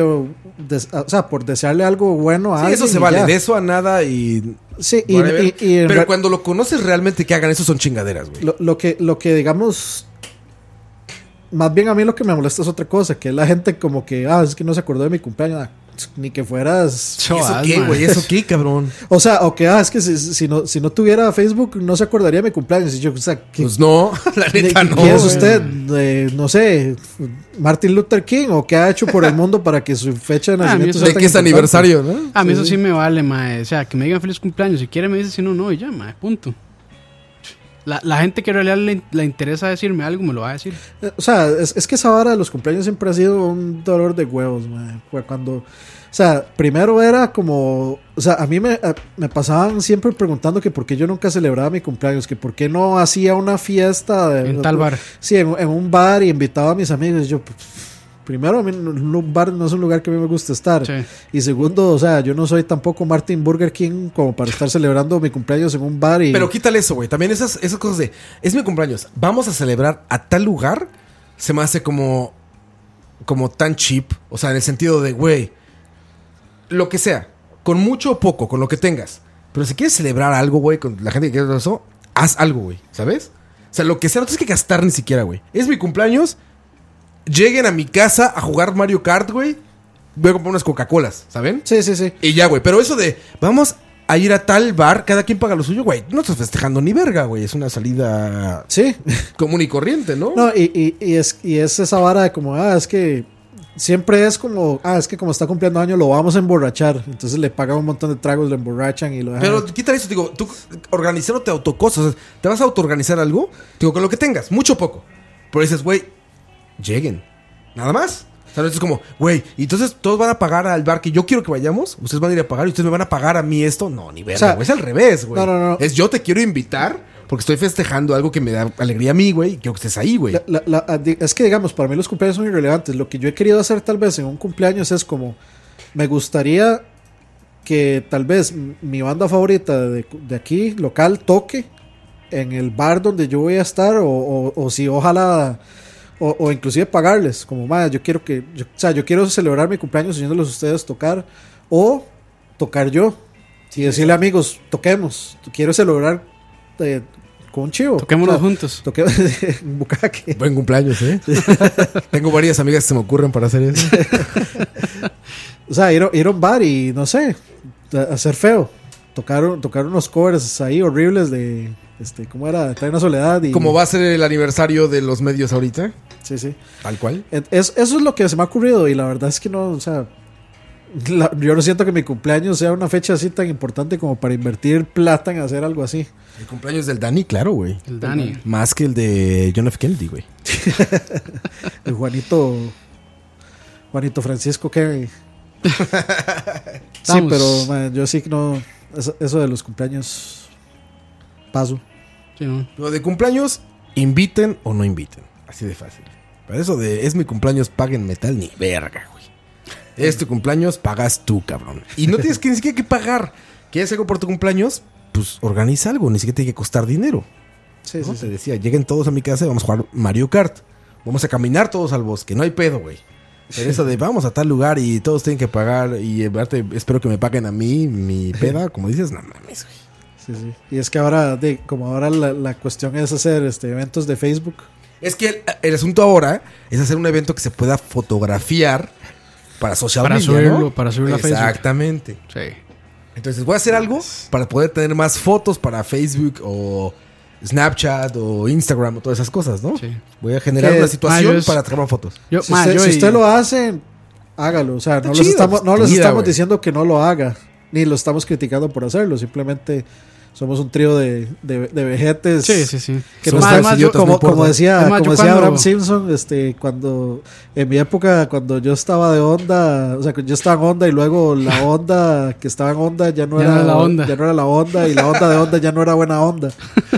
Speaker 4: por desearle algo bueno a
Speaker 2: Sí,
Speaker 4: alguien.
Speaker 2: eso se
Speaker 4: y
Speaker 2: vale.
Speaker 4: ya.
Speaker 2: De eso a nada y...
Speaker 4: Sí,
Speaker 2: whatever.
Speaker 4: en
Speaker 2: Pero cuando lo conoces realmente que hagan eso son chingaderas, güey.
Speaker 4: lo que digamos, más bien a mí lo que me molesta es otra cosa, que es la gente como que, es que no se acordó de mi cumpleaños, ni que fueras...
Speaker 2: ¿Eso
Speaker 3: Chavas,
Speaker 2: qué,
Speaker 3: ma.
Speaker 2: güey? ¿Eso qué, cabrón?
Speaker 4: O sea, o que, es que si no tuviera Facebook no se acordaría de mi cumpleaños. Y yo, o sea,
Speaker 2: Pues no, la neta no.
Speaker 4: ¿quién es
Speaker 2: güey.
Speaker 4: usted? No sé, Martin Luther King, o qué ha hecho por el mundo para que su fecha de
Speaker 3: a mí
Speaker 4: nacimiento
Speaker 3: eso-
Speaker 2: ¿De
Speaker 4: tan
Speaker 2: qué es
Speaker 4: importante?
Speaker 2: aniversario, no?
Speaker 3: A mí eso sí me vale, mae. O sea, que me digan feliz cumpleaños. Si quiere me dice, si no, no, y ya, mae, punto. La gente que en realidad le interesa decirme algo me lo va a decir.
Speaker 4: O sea, es que esa vara de los cumpleaños siempre ha sido un dolor de huevos, man. Fue cuando, o sea, primero era como, o sea, a mí me pasaban siempre preguntando que por qué yo nunca celebraba mi cumpleaños, que por qué no hacía una fiesta
Speaker 3: En tal bar.
Speaker 4: Sí, en un bar y invitaba a mis amigos. Yo, primero, a mí un bar no es un lugar que a mí me gusta estar.
Speaker 3: Sí.
Speaker 4: Y segundo, o sea, yo no soy tampoco Martin Burger King como para estar celebrando mi cumpleaños en un bar y...
Speaker 2: Pero quítale eso, güey. También esas cosas de... Es mi cumpleaños. Vamos a celebrar a tal lugar. Se me hace como tan cheap. O sea, en el sentido de, güey... Lo que sea. Con mucho o poco. Con lo que tengas. Pero si quieres celebrar algo, güey, con la gente que quiere eso, haz algo, güey, ¿sabes? O sea, lo que sea, no tienes que gastar ni siquiera, güey. Es mi cumpleaños, lleguen a mi casa a jugar Mario Kart, güey. Voy a comprar unas Coca-Colas, ¿saben?
Speaker 4: Sí, sí, sí.
Speaker 2: Y ya, güey. Pero eso de, vamos a ir a tal bar, cada quien paga lo suyo, güey. No estás festejando ni verga, güey. Es una salida
Speaker 4: Sí.
Speaker 2: común y corriente, ¿no?
Speaker 4: No, y es esa vara de como, es que siempre es como, es que como está cumpliendo años lo vamos a emborrachar. Entonces le pagan un montón de tragos, lo emborrachan y lo dejan.
Speaker 2: Pero quita eso, digo, tú organizándote autocosas, o sea, ¿te vas a autoorganizar algo? Digo, con lo que tengas, mucho o poco. Pero dices, güey, lleguen. Nada más. O sea, es como, güey, y entonces todos van a pagar al bar que yo quiero que vayamos. Ustedes van a ir a pagar y ustedes me van a pagar a mí esto. No, ni verga,
Speaker 4: O sea,
Speaker 2: güey. Es al revés, güey.
Speaker 4: no.
Speaker 2: Es yo te quiero invitar porque estoy festejando algo que me da alegría a mí, güey. Y quiero que estés ahí, güey.
Speaker 4: Es que, digamos, para mí los cumpleaños son irrelevantes. Lo que yo he querido hacer tal vez en un cumpleaños es como, me gustaría que tal vez mi banda favorita de aquí, local, toque en el bar donde yo voy a estar o si ojalá... O inclusive pagarles, como yo quiero yo quiero celebrar mi cumpleaños oyéndolos a ustedes tocar, o tocar yo, y decirle amigos, toquemos, quiero celebrar con un chivo.
Speaker 3: Toquémonos juntos.
Speaker 4: Un bucaque.
Speaker 2: Buen cumpleaños, ¿eh? Tengo varias amigas que se me ocurren para hacer eso.
Speaker 4: O sea, ir a un bar y no sé, hacer feo. Tocar unos covers ahí horribles de ¿cómo era? Trae una soledad y...
Speaker 2: Como va a ser el aniversario de los medios ahorita.
Speaker 4: Sí, sí.
Speaker 2: Tal cual.
Speaker 4: Eso es lo que se me ha ocurrido y la verdad es que no, o sea, yo no siento que mi cumpleaños sea una fecha así tan importante como para invertir plata en hacer algo así.
Speaker 2: El cumpleaños del Dani, claro, güey.
Speaker 3: El Dani.
Speaker 2: Más que el de John F. Kennedy, güey.
Speaker 4: El Juanito Francisco Kerry. Sí, pero man, yo sí que no, eso de los cumpleaños paso.
Speaker 3: Sí, ¿no?
Speaker 2: Lo de cumpleaños, inviten o no inviten. Así de fácil. Para eso de es mi cumpleaños, paguen metal, ni verga, güey. Es tu cumpleaños, pagas tú, cabrón. Y no tienes que ni siquiera que pagar. ¿Quieres algo por tu cumpleaños? Pues organiza algo, ni siquiera tiene que costar dinero.
Speaker 4: Sí,
Speaker 2: ¿No?
Speaker 4: sí,
Speaker 2: Te decía, lleguen todos a mi casa y vamos a jugar Mario Kart. Vamos a caminar todos al bosque, no hay pedo, güey. Pero eso de vamos a tal lugar y todos tienen que pagar y aparte espero que me paguen a mí mi peda, como dices, no mames, güey.
Speaker 4: Sí, sí. Y es que ahora, como ahora la cuestión es hacer eventos de Facebook.
Speaker 2: Es que el asunto ahora es hacer un evento que se pueda fotografiar para social media, ¿no?
Speaker 3: Para subirlo a Facebook.
Speaker 2: Exactamente.
Speaker 3: Sí.
Speaker 2: Entonces voy a hacer algo para poder tener más fotos para Facebook o Snapchat o Instagram o todas esas cosas, ¿no?
Speaker 3: Sí.
Speaker 2: Voy a generar
Speaker 4: Que-
Speaker 2: una situación
Speaker 3: yo
Speaker 2: para tomar fotos.
Speaker 3: Yo,
Speaker 4: Si usted lo hace, hágalo. O sea, no les
Speaker 2: chido,
Speaker 4: estamos
Speaker 2: güey.
Speaker 4: diciendo que no lo haga, ni lo estamos criticando por hacerlo. Simplemente somos un trío de vejetes.
Speaker 3: Sí, sí, sí.
Speaker 4: Que
Speaker 2: Somos
Speaker 4: no
Speaker 2: tres
Speaker 4: están,
Speaker 2: idiotas, no
Speaker 4: como
Speaker 2: importa.
Speaker 4: decía,
Speaker 3: Es más,
Speaker 4: como
Speaker 3: yo
Speaker 4: decía
Speaker 3: cuando-
Speaker 4: Abraham Simpson, cuando en mi época, cuando yo estaba de onda, o sea, yo estaba en onda y luego la onda que estaba en onda ya no
Speaker 3: Ya
Speaker 4: era
Speaker 3: no era la onda.
Speaker 4: ya no era la onda y la onda de onda ya no era buena onda.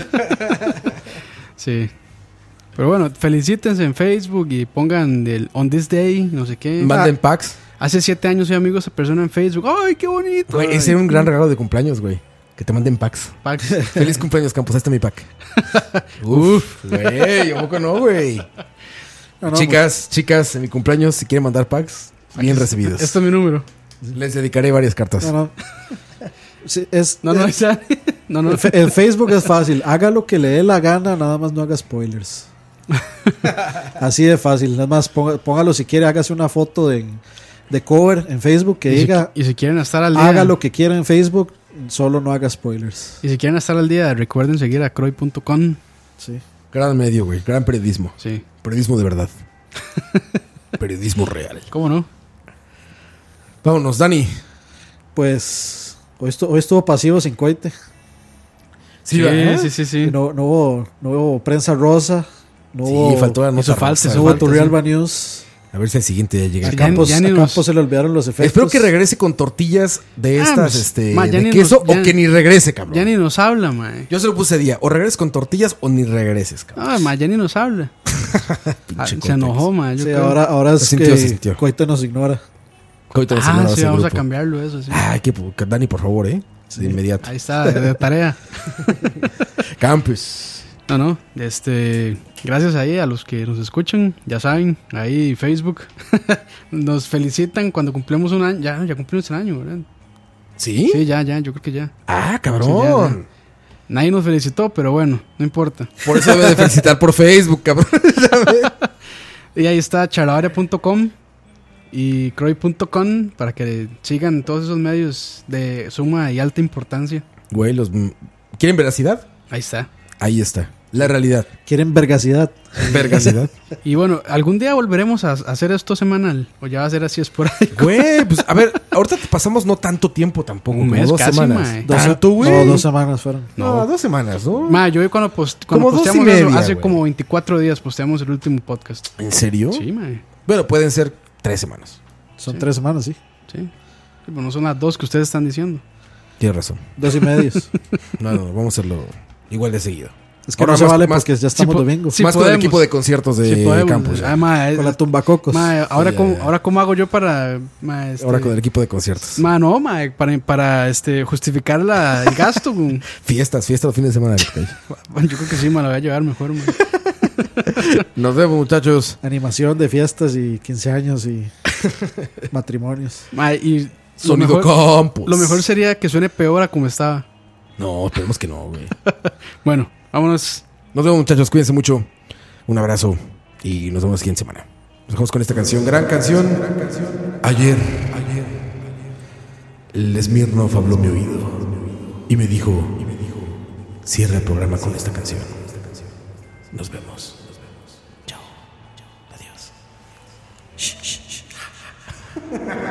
Speaker 3: Sí. Pero bueno, felicítense en Facebook y pongan el On This Day, no sé qué.
Speaker 2: Manden packs.
Speaker 3: Hace 7 años soy amigo de esa persona en Facebook. ¡Ay, qué bonito!
Speaker 2: Güey, ese era un gran regalo de cumpleaños, güey. Que te manden packs.
Speaker 3: Pax.
Speaker 2: Feliz cumpleaños, Campos. Este es mi pack. Uf, güey. ¿A poco no, güey?
Speaker 4: No,
Speaker 2: Chicas, en mi cumpleaños, si quieren mandar packs, bien recibidos.
Speaker 3: Este es mi número.
Speaker 2: Les dedicaré varias cartas.
Speaker 4: no. Sí,
Speaker 3: No, ya. No, no.
Speaker 4: En Facebook es fácil. Haga lo que le dé la gana, nada más no haga spoilers. Así de fácil. Nada más póngalo si quiere, hágase una foto de cover en Facebook que diga
Speaker 3: Y si quieren estar al día.
Speaker 4: haga lo que quiera en Facebook, solo no haga spoilers.
Speaker 3: Y si quieren estar al día, recuerden seguir a croy.com.
Speaker 4: Sí.
Speaker 2: Gran medio, güey. Gran periodismo.
Speaker 3: Sí.
Speaker 2: Periodismo de verdad. Periodismo real.
Speaker 3: ¿Cómo no?
Speaker 2: Vámonos, Dani.
Speaker 4: Pues hoy estuvo pasivo sin coite.
Speaker 3: Sí,
Speaker 2: ¿verdad?
Speaker 3: sí.
Speaker 4: Y no hubo prensa rosa. No
Speaker 2: Sí,
Speaker 4: hubo,
Speaker 2: faltó la nota
Speaker 3: hizo falta,
Speaker 2: rosa.
Speaker 3: hizo
Speaker 4: no hubo
Speaker 3: falta,
Speaker 4: Turrialba News.
Speaker 2: A ver si al siguiente ya llega.
Speaker 4: A
Speaker 3: Sí,
Speaker 4: Campos,
Speaker 3: ya ni
Speaker 4: a
Speaker 3: nos-
Speaker 4: Campos se le olvidaron los efectos.
Speaker 2: Espero que regrese con tortillas de estas,
Speaker 3: pues, ma, ya
Speaker 2: de
Speaker 3: ni
Speaker 2: queso,
Speaker 3: nos- ya-
Speaker 2: o que ni regrese, cabrón.
Speaker 3: Ya ni nos habla, mae.
Speaker 2: Yo se lo puse día, o regreses con tortillas o ni regreses, cabrón.
Speaker 3: Ah, mae, ya ni nos habla.
Speaker 2: Pinche
Speaker 3: Se
Speaker 2: Coite.
Speaker 3: enojó, mae. Yo
Speaker 4: Sí,
Speaker 3: creo.
Speaker 4: ahora es
Speaker 2: Se sintió, se
Speaker 4: que
Speaker 2: sintió.
Speaker 4: Coite nos ignora.
Speaker 2: Coite nos ignora
Speaker 3: Ah, sí,
Speaker 2: ese
Speaker 3: vamos a
Speaker 2: grupo.
Speaker 3: cambiarlo eso, sí.
Speaker 2: Ay, que Dani, por favor, de inmediato.
Speaker 3: Ahí está, de tarea.
Speaker 2: Campus.
Speaker 3: No, gracias ahí a los que nos escuchan, ya saben, ahí Facebook nos felicitan cuando cumplimos un año, ya cumplimos un año, ¿verdad?
Speaker 2: ¿Sí?
Speaker 3: Sí, ya, yo creo que ya.
Speaker 2: Ah, cabrón.
Speaker 3: Sí, ya. Nadie nos felicitó, pero bueno, no importa.
Speaker 2: Por eso debe de felicitar por Facebook, cabrón.
Speaker 3: Y ahí está charlavaria.com y croy.com para que sigan todos esos medios de suma y alta importancia.
Speaker 2: Güey, ¿quieren veracidad?
Speaker 3: Ahí está.
Speaker 2: Ahí está. La realidad.
Speaker 4: ¿Quieren vergacidad?
Speaker 2: Vergacidad.
Speaker 3: Y bueno, ¿algún día volveremos a hacer esto semanal? ¿O ya va a ser así esporádico?
Speaker 2: Güey, pues a ver, ahorita te pasamos no tanto tiempo tampoco.
Speaker 3: Un
Speaker 2: como
Speaker 3: mes
Speaker 2: 2
Speaker 3: casi,
Speaker 2: semanas.
Speaker 3: mae.
Speaker 2: ¿Tanto, güey?
Speaker 4: No, 2 semanas fueron.
Speaker 2: No, 2 semanas, ¿no?
Speaker 3: Ma, yo cuando
Speaker 2: Como
Speaker 3: posteamos
Speaker 2: 2 y
Speaker 3: eso,
Speaker 2: media,
Speaker 3: hace
Speaker 2: güey.
Speaker 3: como 24 días posteamos el último podcast.
Speaker 2: ¿En serio?
Speaker 3: Sí, ma.
Speaker 2: Bueno, pueden ser 3 semanas.
Speaker 4: Son 3 semanas, sí.
Speaker 3: Sí. Pero no son las 2 que ustedes están diciendo.
Speaker 2: Tienes razón.
Speaker 4: 2 y medios.
Speaker 2: No, vamos a hacerlo igual de seguido.
Speaker 4: Es que
Speaker 2: Ahora
Speaker 4: no se
Speaker 2: más-
Speaker 4: vale
Speaker 2: más-
Speaker 4: porque ya estamos domingo.
Speaker 3: sí
Speaker 2: más con el
Speaker 3: podemos.
Speaker 2: equipo de conciertos de
Speaker 3: Sí, podemos.
Speaker 2: campus.
Speaker 3: Ah, ma,
Speaker 4: Con la tumbacocos.
Speaker 3: ma, ahora,
Speaker 2: Ya,
Speaker 3: cómo,
Speaker 2: ya.
Speaker 3: ahora cómo hago yo para... Ma,
Speaker 2: Ahora con el equipo de conciertos.
Speaker 3: Ma, no, ma, para justificar el gasto. Bueno,
Speaker 2: Fiestas los fines de semana.
Speaker 3: yo creo que sí, me la voy a llevar mejor, ma.
Speaker 2: Nos vemos, muchachos.
Speaker 4: Animación de fiestas y 15 años y matrimonios.
Speaker 3: Ma, y lo
Speaker 2: Sonido
Speaker 3: mejor,
Speaker 2: Campus.
Speaker 3: lo mejor sería que suene peor a como estaba.
Speaker 2: No, esperemos que no, güey.
Speaker 3: Bueno, vámonos.
Speaker 2: Nos vemos, muchachos. Cuídense mucho. Un abrazo. Y nos vemos la siguiente semana. Nos dejamos con esta canción. Gran canción. Ayer. El Smirnoff habló mi oído. Y me dijo. Cierra el programa con esta canción. Nos vemos. Chao. Adiós.